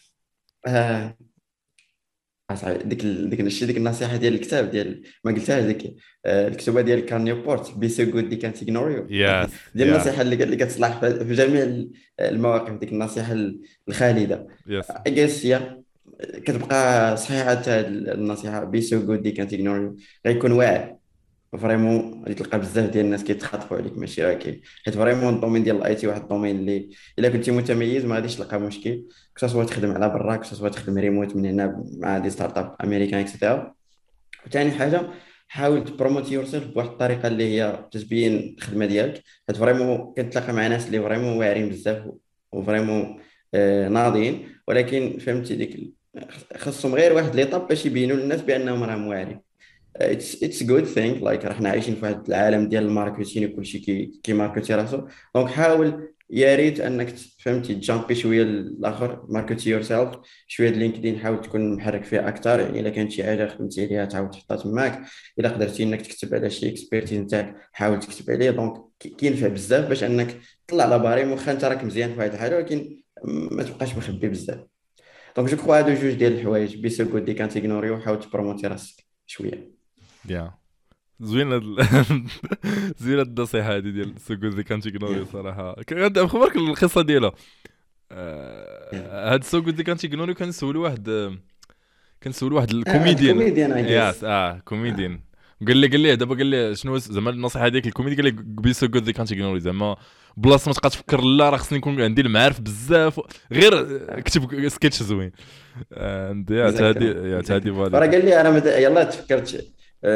آه، صاحبي ديك النصيحه ديال الكتاب ديال ما قلتهاش ديك الكتوبه ديال كان نيوبورت بي سو جود دي كانت اغنور يو. يس ديال يا النصيحه اللي كتصلح في جميع المواقف، ديك النصيحه الخالده. يس اجيس هي كتبقى صحيحه هذه النصيحه بي سو جود دي كانت اغنور يو. غيكون واعر فريمون، غادي تلقى بزاف ديال الناس كيتخاطبوا عليك ماشي راه كاين. حيت فريمون الدومين ديال الاي تي واحد الدومين اللي الا كنتي متميز ما غاديش تلقى مشكل، كو سوا تخدم على برا كو سوا تخدم ريموت من هنا مع دي ستارت اب امريكان اكسيتيرا. وثاني حاجه حاول تبروموت يور سيلف بواحد الطريقه اللي هي تبين الخدمه ديالك، حيت فريمون كتلاقى مع ناس اللي فريمون واعرين بزاف وفريمون ناضيين، ولكن فهمتي خصهم غير واحد ليطاب باش يبينوا للناس بانهم راهم واعرين. it's a good thing like راحنا عايشين في واحد العالم ديال الماركتينغ وكلشي كي ماركتي راسو. دونك حاول يا ريت انك فهمتي تجامبي شويه الاخر، ماركتي يور سيلف شويه. لينكدين حاول تكون محرك فيه اكثر، يعني الا كانت شي حاجه خدمتي عليها تعاود تحطها تماك. الا قدرتي انك تكتب على شي اكسبيرتيز نتاعك حاول تكتب عليه. دونك كينفع بزاف باش انك تطلع على باريم، واخا انت راك مزيان في واحد الحاجه ولكن ما تبقاش مخبي بزاف. دونك جو كخوا هادو جوج ديال الحوايج، بي سو جود دي كانت اغنوري، وحاول تبروموتي راسك شويه. يا زوين زوين النصيحه هذه ديال سوغو ذي كانت يغنوري صراحه. كنت مخبرك القصه ديالها. هاد سوغو ذي كانت يغنوري كنسولو واحد الكوميديان. كوميديان ياس كوميديان. قال لي دابا قال لي شنو زعما النصيحه ديالك الكوميدي؟ قال لي بي سو جود ذي كانت يغنوري، زعما بلاصه ما تبقى تفكر لا راه خصني نكون عندي المعارف بزاف، غير كتب سكيتش زوين. يا تادي فرا فالي. قال لي انا يلا تفكرت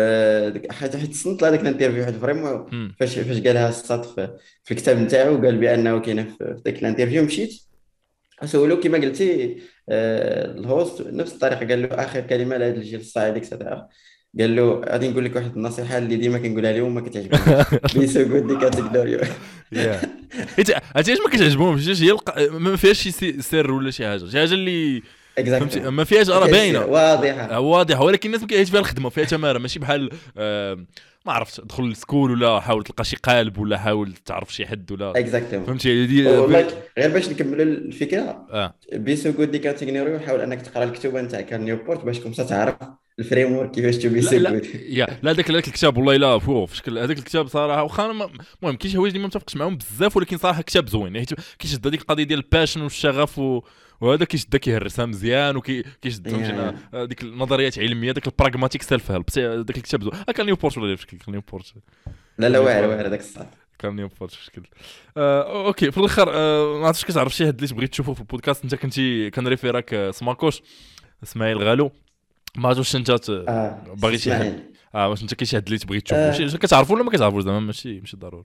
حيت تصنت لهذاك الانترفيو واحد فريمون فاش قالها الساط في الكتاب نتاعو، قال بانه كاينه في ذاك الانترفيو. مشيت سولو كما قلتي الهوست نفس الطريقه، قال له اخر كلمه لهذا الجيل الصاعد اكسترا، قال له غادي نقول لك واحد النصيحه اللي ديما كنقولها لهم ما كتعجبنيش، بيسو قول لي كاتيجوريو. يا حتى ما كتعجبهمش، هي ما فيهاش شي سر ولا شي حاجه اللي فهمتي، ما فيهاش راه باينه واضحه، ولكن الناس ما كيعيش فيها الخدمه، فيها تماره ماشي بحال ما عرفتش دخل للسكول ولا حاول تلقى شي قالب ولا حاول تعرف شي حد ولا فهمتي غير باش نكملوا الفكره. بيسو جود دي كاتيجوري، وحاول انك تقرا الكتوبه نتاع كان نيوبورت باش كنت تعرف الفريم ورك كيفاش تبي سو جود. لا هذاك الكتاب والله لا فوق شكل هذاك الكتاب صراحه، واخا المهم كاين شي حوايج اللي ما متفقش معاهم بزاف، ولكن صراحه كتاب زوين كيشد هذيك القضيه ديال الباشن والشغف وهذا كيشدك كيهرسها مزيان وكيشد فهمتينا ديك النظريات علميه، داك البراغماتيك سيلف هيلب. داك الكتاب زوين. كان نيوبورت ولا بشكل كان نيوبورت لا واعر هذاك الصح كان نيوبورت بشكل اوكي. في الاخر ما عرفتش كتعرف شي حد اللي بغيت تشوفه في البودكاست؟ انت كنتي كنريفيراك سماكوش اسماعيل غالو، ما عرفتش انت باغي شي حد واش انت كاين شي حد اللي تبغي تشوفه شي كتعرفوا ولا ما كتعرفوش؟ زعما ماشي ضروري.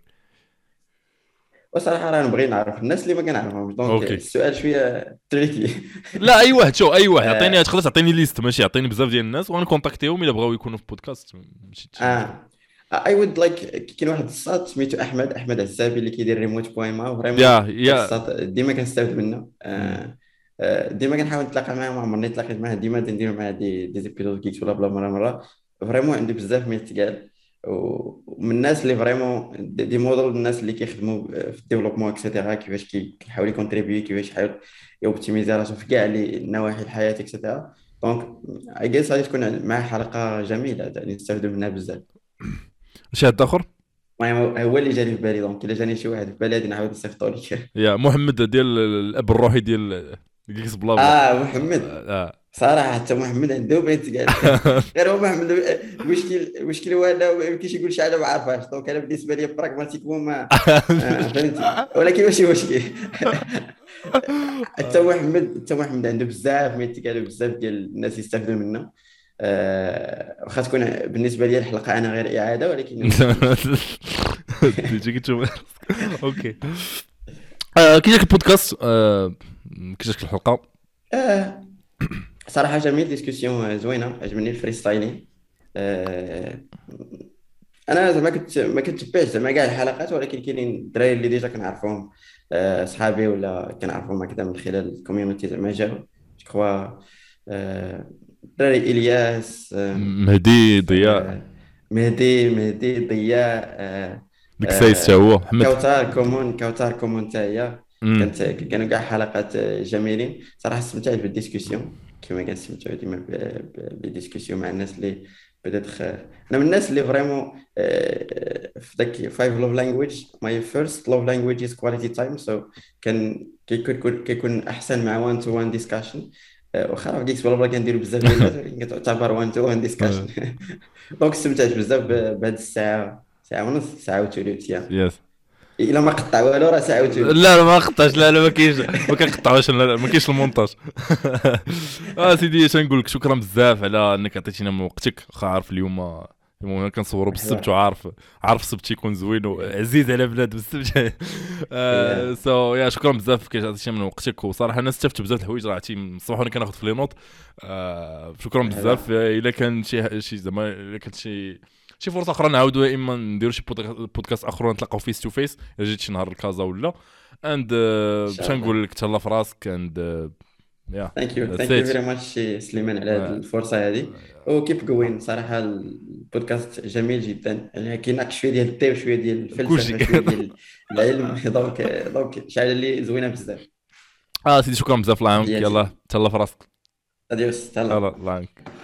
وصراحه راه نبغي نعرف الناس اللي ما كنعرفهمش، دونك السؤال شويه تريكي. لا اي واحد عطيني تقدر تعطيني ليست، ماشي عطيني بزاف ديال الناس ونكونتاكتيهم الا بغاو يكونوا في بودكاست. اي وود لايك. كاين واحد الساط سميتو احمد عزابي اللي كيدير ريموت بويما، فريمون ديما كنستافد منه. ديما كنحاول نتلاقى معاه، ما عمرني تلاقيت معاه، ديما ندير معاه دي زيبيزود كيكس ولا بلا مره. فريمون عنده بزاف من التقال، ومن الناس اللي فريمون دي موديل الناس اللي كيخدموا في الديفلوبمون اكسيتيرا، كيفاش كيحاول يكونتريبيي، كيفاش يحاول يوبتيميزي راسو في كاع النواحي الحياه اكسيتيرا. دونك اي جيس غادي تكون معاه حلقه جميله يعني نستافدوا منها بزاف. شي حد اخر هو اللي جاني في بالي، دونك الا جاني شي واحد في بالي غادي نعاود نصيفطو لك. يا محمد ديال الاب الروحي ديال كيكس بلا محمد صراحه حتى محمد عنده بنت كاع غير هو محمد. المشكل هو انه ما يمكنش يقول شي حاجه ما عارفهاش، دونك انا بالنسبه لي براغماتيكمون ما فهمتي، ولكن ماشي مشكل. حتى محمد عنده بزاف من التقال، بزاف ديال الناس يستافدوا منه. واخا تكون بالنسبه لي الحلقه انا غير اعاده، ولكن تيجي تشوف. اوكي كي جاك البودكاست كي جاك الحلقه؟ صراحه جميل، ديسكوسيون زوينه، عجبني الفري ستايلين. انا زعما ما كنتبعش زعما كاع الحلقات، ولكن كاينين الدراري اللي ديجا كنعرفهم، صحابي ولا كنعرفهم هكذا من خلال الكوميونيتي زعما جاو كوا دراري الياس، مهدي ضياء ديك سايس حتى هو محمد كوثر كومون حتى هي. كانوا كاع حلقات جميلين صراحه. استمتعت بالديسكوسيون كما كنستمتعوا ديما بالديسكوسيون مع الناس اللي بدات انا من الناس اللي فريمون في داك 5 لوف لانجويج. ماي فيرست لوف لانجويج از كواليتي تايم، سو كيكون احسن مع 1 تو 1 ديسكشن. واخا راه كيكس بلا كنديروا بزاف ديال الناس، ولكن كتعتبر 1 تو 1 ديسكشن. دونك استمتعت بزاف بهاد الساعه ونص، ساعه وثلث. يس الا ما قطع والو راه ساعه وثلث. لا ما قطعش، لا ما كاينش، ما كنقطعوش، ما كاينش المونتاج. سيدي اش نقول لك، شكرا بزاف على انك عطيتينا من وقتك. واخا عارف اليوم المهم كنصوروا بالسبت، مرحبا. وعارف السبت يكون زوين وعزيز على بلاد السبت. يا سو يا شكرا بزاف كي عطيتي من وقتك، وصراحه انا استفدت بزاف الحوايج راه عرفتي من الصباح وانا كناخذ في لي نوت. شكرا بزاف. مرحبا. الا كان شي زعما الا كانت شي فرصه اخرى نعاودوا، يا اما نديروا شي بودكاست اخر نتلاقاو فيس تو فيس الا جيت شي نهار لكازا ولا. اند ان باش شاء الله. نقول لك تهلا في راسك. اند يا ثانك ذاتس يو ات. فيري ماتش سليمان على هذه الفرصه هذه. وكيب جوين صراحه البودكاست جميل جدا، يعني كيناقش شويه ديال الطب، شويه ديال كلشي. الفلسفه، شويه ديال العلم. دونك شعل لي زوينه بزاف. سيدي شكرا بزاف، الله يعاونك. تحياتي. يلا تهلا في راسك. اديوس، يلا تهلا. الله يعاونك.